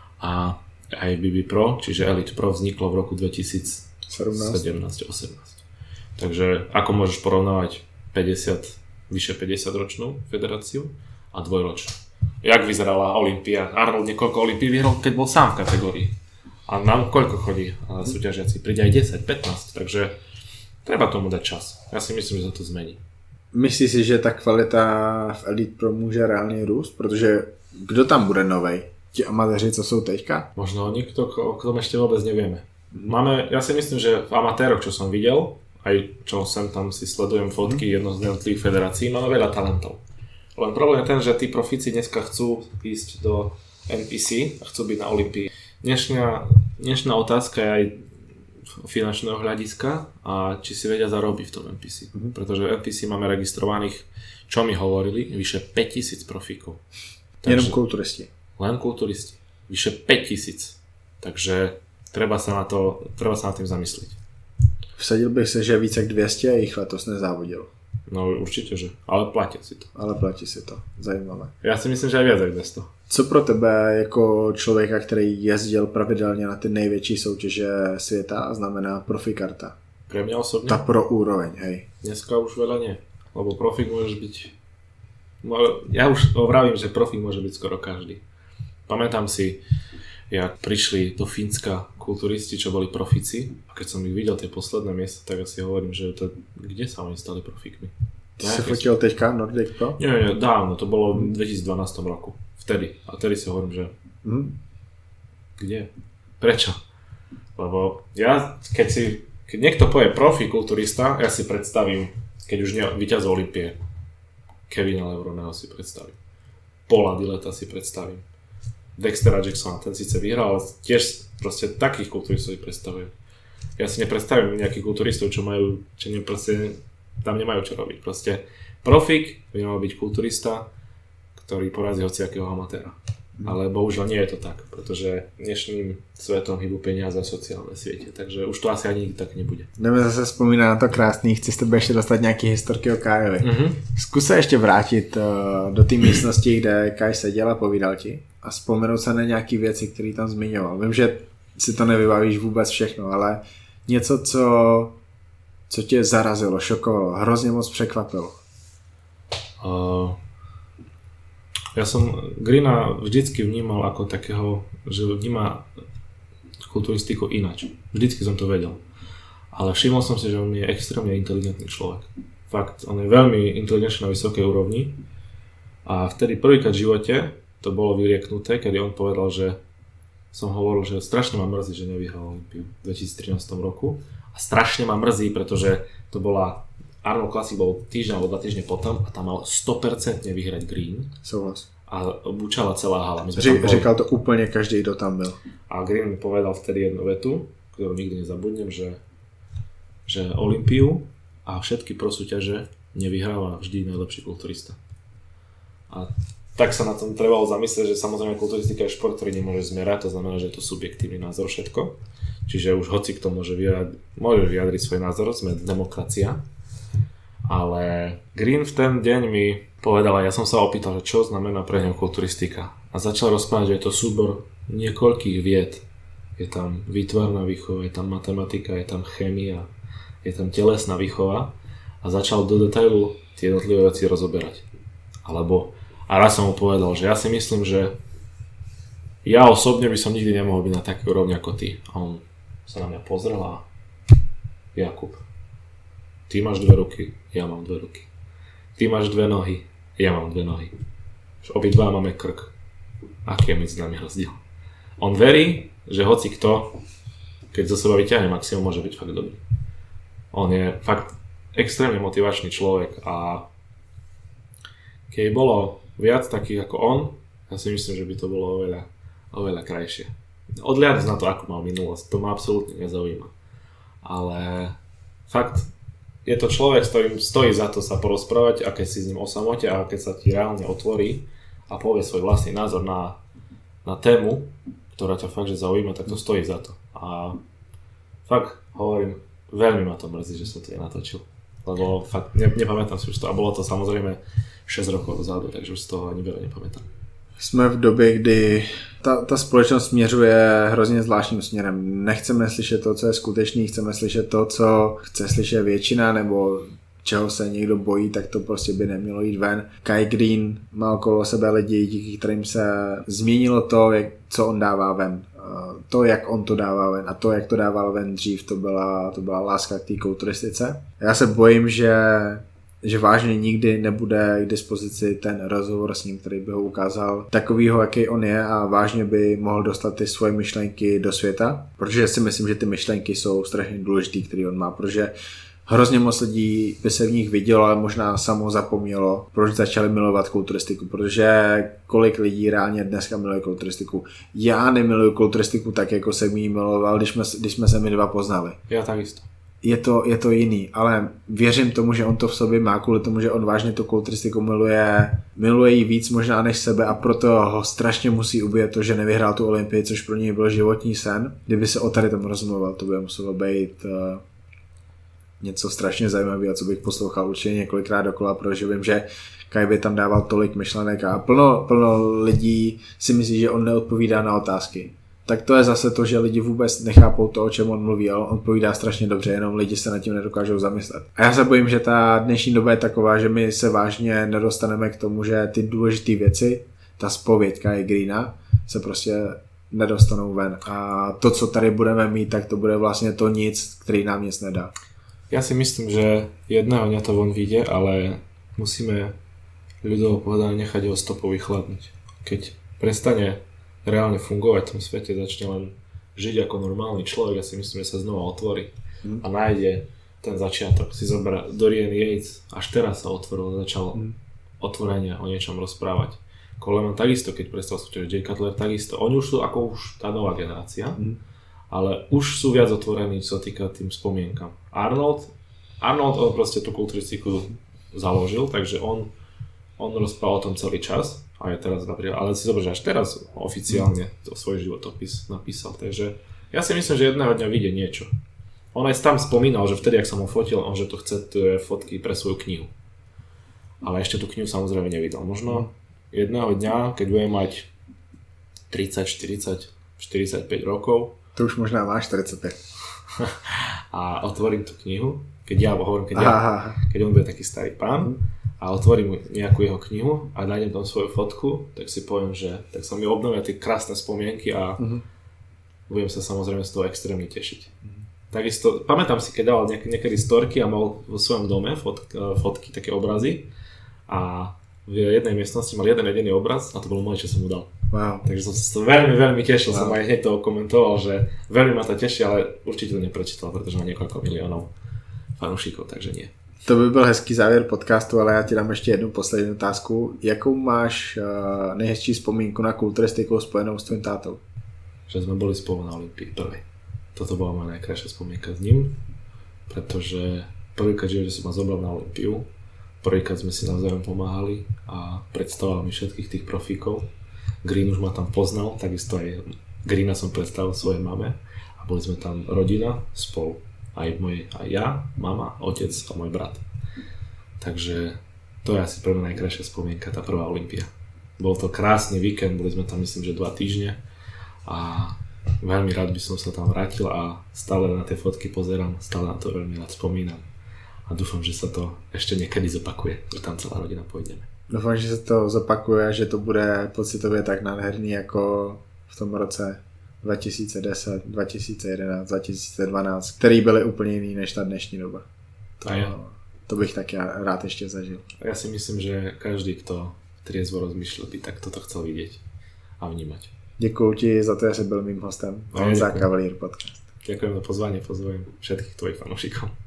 [SPEAKER 2] a á ef bé bé Pro, čiže Elite Pro vzniklo v roku dvetisícsedemnásť osemnásť. Takže ako môžeš porovnávať päťdesiat, vyše päťdesiat ročnú federáciu a dvojročnú? Jak vyzerala Olympia? Arnold niekoľko Olympií vyhral, keď bol sám v kategórii. A nám koľko chodí súťažiaci? Príde aj desať, pätnásť, takže treba tomu dať čas. Ja si myslím, že sa to zmení.
[SPEAKER 1] Myslíš si, že ta kvalita v Elite Pro může reálně růst? Protože kdo tam bude novej? Ti amatéři, co jsou teďka?
[SPEAKER 2] Možno nikto, o tom ešte vôbec nevieme. Máme, ja si myslím, že v amatéroch, čo som videl, aj čo sem tam si sledujem fotky jedno z jednotlivých federácií, máme veľa talentov. Len problém je ten, že tí profíci dneska chcú ísť do en pí sí a chcú byť na Olympii. Dnešná, dnešná otázka je aj finančného hľadiska a či si vedia zarobiť v tom en pí sí. Mm-hmm. Pretože en pí sí máme registrovaných, čo mi hovorili, vyše päťtisíc profíkov.
[SPEAKER 1] Takže, jenom kulturisti.
[SPEAKER 2] Len kulturisti. Vyše päťtisíc. Takže treba sa na to, treba sa na tým zamyslieť.
[SPEAKER 1] Vsadil bych se, že více jak dvě stě jich letos nezávodil.
[SPEAKER 2] No určitě, že. Ale platí si to.
[SPEAKER 1] Ale platí si to. Zajímavé.
[SPEAKER 2] Já si myslím, že aj viac jak dvesto.
[SPEAKER 1] Co pro tebe jako člověka, který jezdil pravidelně na ty největší soutěže světa, znamená profikarta?
[SPEAKER 2] Pre mňa osobne?
[SPEAKER 1] Ta pro úroveň, hej.
[SPEAKER 2] Dneska už veľa nie. Lebo profik môžeš byť... Ja už vravím, že profik môže byť skoro každý. Pamätám si, jak prišli do Fínska kulturisti, čo boli profici, a keď som ich videl tie posledné miesta, tak asi hovorím, že to, kde sa oni stali profikmi?
[SPEAKER 1] Ty si fotil teďka Nordic Pro?
[SPEAKER 2] Nie, nie, dávno, to bolo v dvetisícdvanásť roku. Vtedy. A vtedy si hovorím, že mm. kde? Prečo? Lebo ja, keď si, keď niekto povie profi kulturista, ja si predstavím, keď už nie víťaz Olympie, Kevina Levroneho si predstavím. Paula Dilleta si predstavím. Dextera Jacksona, ten síce vyhral, ale tiež proste takých kulturistov si predstavujem. Ja si nepredstavím nejakých kulturistov, čo majú, čo ne, proste, tam nemajú čo robiť. Proste profik by mal byť kulturista, ktorý porazí hociakého amatéra. Mm. Ale bohužiaľ nie je to tak, pretože dnešným svetom hýbu peniaze a sociálne siete, takže už to asi ani nikdy tak nebude.
[SPEAKER 1] Jdeme zase vzpomínat na to krásný, chci s tebe ještě dostat nějaký historky o Kájovi. Mm-hmm. Zkus se ještě vrátit uh, do té místnosti, kde Kaj seděl a povídal ti a vzpomenout se na nějaký věci, které tam zmiňoval. Vím, že si to nevybavíš vůbec všechno, ale něco, co, co tě zarazilo, šokovalo, hrozně moc překvapilo.
[SPEAKER 2] Uh... Ja som Greena vždycky vnímal ako takého, že vníma kulturistiku inač. Vždycky som to vedel. Ale všimol som si, že on je extrémne inteligentný človek. Fakt, on je veľmi inteligentný na vysokej úrovni. A vtedy prvýkrát v živote to bolo vyrieknuté, kedy on povedal, že som hovoril, že strašne ma mrzí, že nevyhral Olympiu v dvetisíctrinásť roku. A strašne ma mrzí, pretože to bola Arnold Classic bol týždeň alebo dva týždne potom a tam mal sto percent vyhrať Green.
[SPEAKER 1] Souhlas.
[SPEAKER 2] A bučala celá hala. My
[SPEAKER 1] Řek, říkal to úplně každý, kdo tam byl.
[SPEAKER 2] A Green mi povedal vtedy jednu vetu, ktorú nikdy nezabudnem, že, že Olympiu a všetky prosúťaže nevyhráva vždy najlepší kulturista. A tak sa na tom trebalo zamyslieť, že samozrejme kulturistika je šport, ktorý nemôže zmerať, to znamená, že je to subjektívny názor všetko. Čiže už hoci kto môže vyjadriť, môže vyjadriť svoj názor, sme demokracia. Ale Green v ten deň mi povedal, a ja som sa opýtal, že čo znamená pre ňa kulturistika. A začal rozprávať, že je to súbor niekoľkých vied. Je tam výtvarná výchova, je tam matematika, je tam chémia, je tam telesná výchova. A začal do detailu tie jednotlivé veci rozoberať. Alebo, a raz som mu povedal, že ja si myslím, že ja osobne by som nikdy nemohol byť na takej úrovni ako ty. A on sa na mňa pozrel a Jakub, ty máš dve ruky, ja mám dve ruky. Ty máš dve nohy, ja mám dve nohy. Obidva máme krk. Aký je medzi nami rozdiel? On verí, že hoci kto, keď zo seba vyťahne maximum, môže byť fakt dobrý. On je fakt extrémne motivačný človek a keď bolo viac takých ako on, ja si myslím, že by to bolo oveľa, oveľa krajšie. Odliadnúť na to, ako mal minulosť, to ma absolútne nezaujíma. Ale fakt, je to človek, s ktorým stojí za to sa porozprávať, a keď si s ním o samote a keď sa ti reálne otvorí a povie svoj vlastný názor na, na tému, ktorá ťa fakt, že zaujíma, tak to stojí za to. A fakt, hovorím, veľmi ma to mrzí, že som to nenatočil. Lebo fakt, ne, nepamätám si už to. A bolo to samozrejme šesť rokov dozadu, takže už z toho ani veľa nepamätám.
[SPEAKER 1] Jsme v době, kdy ta, ta společnost směřuje hrozně zvláštním směrem. Nechceme slyšet to, co je skutečný, chceme slyšet to, co chce slyšet většina, nebo čeho se někdo bojí, tak to prostě by nemělo jít ven. Kai Greene má okolo sebe lidi, díky kterým se změnilo to, jak, co on dává ven. To, jak on to dává ven a to, jak to dával ven dřív, to byla, to byla láska k té kulturistice. Já se bojím, že že vážně nikdy nebude k dispozici ten rozhovor s ním, který by ho ukázal takovýho, jaký on je, a vážně by mohl dostat ty svoje myšlenky do světa, protože si myslím, že ty myšlenky jsou strašně důležitý, který on má, protože hrozně moc lidí by se v nich vidělo, ale možná samo zapomnělo, proč začali milovat kulturistiku, protože kolik lidí reálně dneska miluje kulturistiku. Já nemiluju kulturistiku tak, jako jsem ji miloval, když jsme, když jsme se my dva poznali.
[SPEAKER 2] Já takisto.
[SPEAKER 1] Je to, je to jiný, ale věřím tomu, že on to v sobě má, kvůli tomu, že on vážně tu kulturistiku miluje, miluje jí víc možná než sebe, a proto ho strašně musí ubít to, že nevyhrál tu Olympii, což pro něj byl životní sen. Kdyby se o tady tom rozmluval, to by muselo být uh, něco strašně zajímavého, co bych poslouchal určitě několikrát dokola, protože vím, že Kai by tam dával tolik myšlenek a plno, plno lidí si myslí, že on neodpovídá na otázky. Tak to je zase to, že lidi vůbec nechápou to, o čem on mluví, ale on povídá strašně dobře, jenom lidi se nad tím nedokážou zamyslet. A já se bojím, že ta dnešní doba je taková, že my se vážně nedostaneme k tomu, že ty důležité věci, ta zpověď Kai Greena, se prostě nedostanou ven. A to, co tady budeme mít, tak to bude vlastně to nic, který nám nic nedá.
[SPEAKER 2] Ja si myslím, že jedného dňa to von vyjde, ale musíme ľudovo povedané nechať jeho stopou vychladnúť. Keď prestane reálne fungovať v tom svete, začne len žiť ako normálny človek, ja si myslím, že sa znova otvorí mm. a nájde ten začiatok. Si zoberá Dorian Yates, až teraz sa otvoril, začal mm. otvorene o niečom rozprávať. Coleman takisto, keď prestal súťažiť, Jay Cutler takisto. Oni už sú ako už tá nová generácia, mm. ale už sú viac otvorení, čo sa týka tým spomienkam. Arnold, Arnold on proste tú kulturistiku založil, takže on, on rozprával o tom celý čas. A je teraz napríklad, ale si zober, že až teraz oficiálne to svoj životopis napísal, takže ja si myslím, že jedného dňa vyjde niečo. On aj tam spomínal, že vtedy, ak som ho fotil, on že to chce tie fotky pre svoju knihu. Ale ešte tú knihu samozrejme nevydal. Možno jedného dňa, keď bude mať tridsať, štyridsať, štyridsaťpäť rokov.
[SPEAKER 1] To už možná má štyridsaťpäť.
[SPEAKER 2] A otvorím tú knihu, keď ja hovorím, keď, ja, keď on bude taký starý pán, a otvorím nejakú jeho knihu a nájdem tam svoju fotku, tak si poviem, že tak sa mi obnovia tie krásne spomienky a uh-huh. budem sa samozrejme z toho extrémne tešiť. Uh-huh. Takisto, pamätám si, keď dával niek- niekedy storky a mal vo svojom dome fot- fotky, také obrazy, a v jednej miestnosti mal jeden jediný obraz a to bolo moje, čo som mu dal.
[SPEAKER 1] Wow.
[SPEAKER 2] Takže som sa veľmi, veľmi tešil, wow. Som aj hneď to komentoval, že veľmi ma to teší, ale určite to neprečítal, pretože má niekoľko miliónov fanúšikov, takže nie.
[SPEAKER 1] To by byl hezký závěr podcastu, ale já ti dám ještě jednu poslední otázku. Jakou máš uh, nejhezčí vzpomínku na kulturistiku spojenou s tvým tátou?
[SPEAKER 2] Že sme boli spolu na Olympii prvej. Toto bola moja najkrajšia spomienka s ním, pretože prvýkrát, že som ma zobral na Olympiu, prvýkrát sme si navzájom pomáhali a predstavoval mi všetkých tých profíkov. Green už ma tam poznal, takisto aj Greena som predstavil svojej mame a boli sme tam rodina spolu. Aj, môj, aj ja, mama, otec a môj brat. Takže to je asi pre mňa najkrajšia spomienka, tá prvá Olympia. Bol to krásny víkend, boli sme tam myslím, že dva týždne a veľmi rád by som sa tam vrátil a stále na tie fotky pozerám, stále na to veľmi rád spomínam a dúfam, že sa to ešte niekedy zopakuje, že tam celá rodina pôjdeme.
[SPEAKER 1] Dúfam, že sa to zopakuje a že to bude pocitově tak nádherný jako v tom roce dva tisíce deset, dva tisíce jedenáct, dva tisíce dvanáct, který byly úplně jiný než ta dnešní doba. To, to bych tak já rád ještě zažil.
[SPEAKER 2] Ja si myslím, že každý, kto triezvo rozmýšľa, by tak toto chcel vidieť a vnímať.
[SPEAKER 1] Děkuju ti za to, že jsi byl mým hostem. Honza Cavalier podcast.
[SPEAKER 2] Ďakujem za pozvanie, pozvem všetkých tvojich fanúšikov.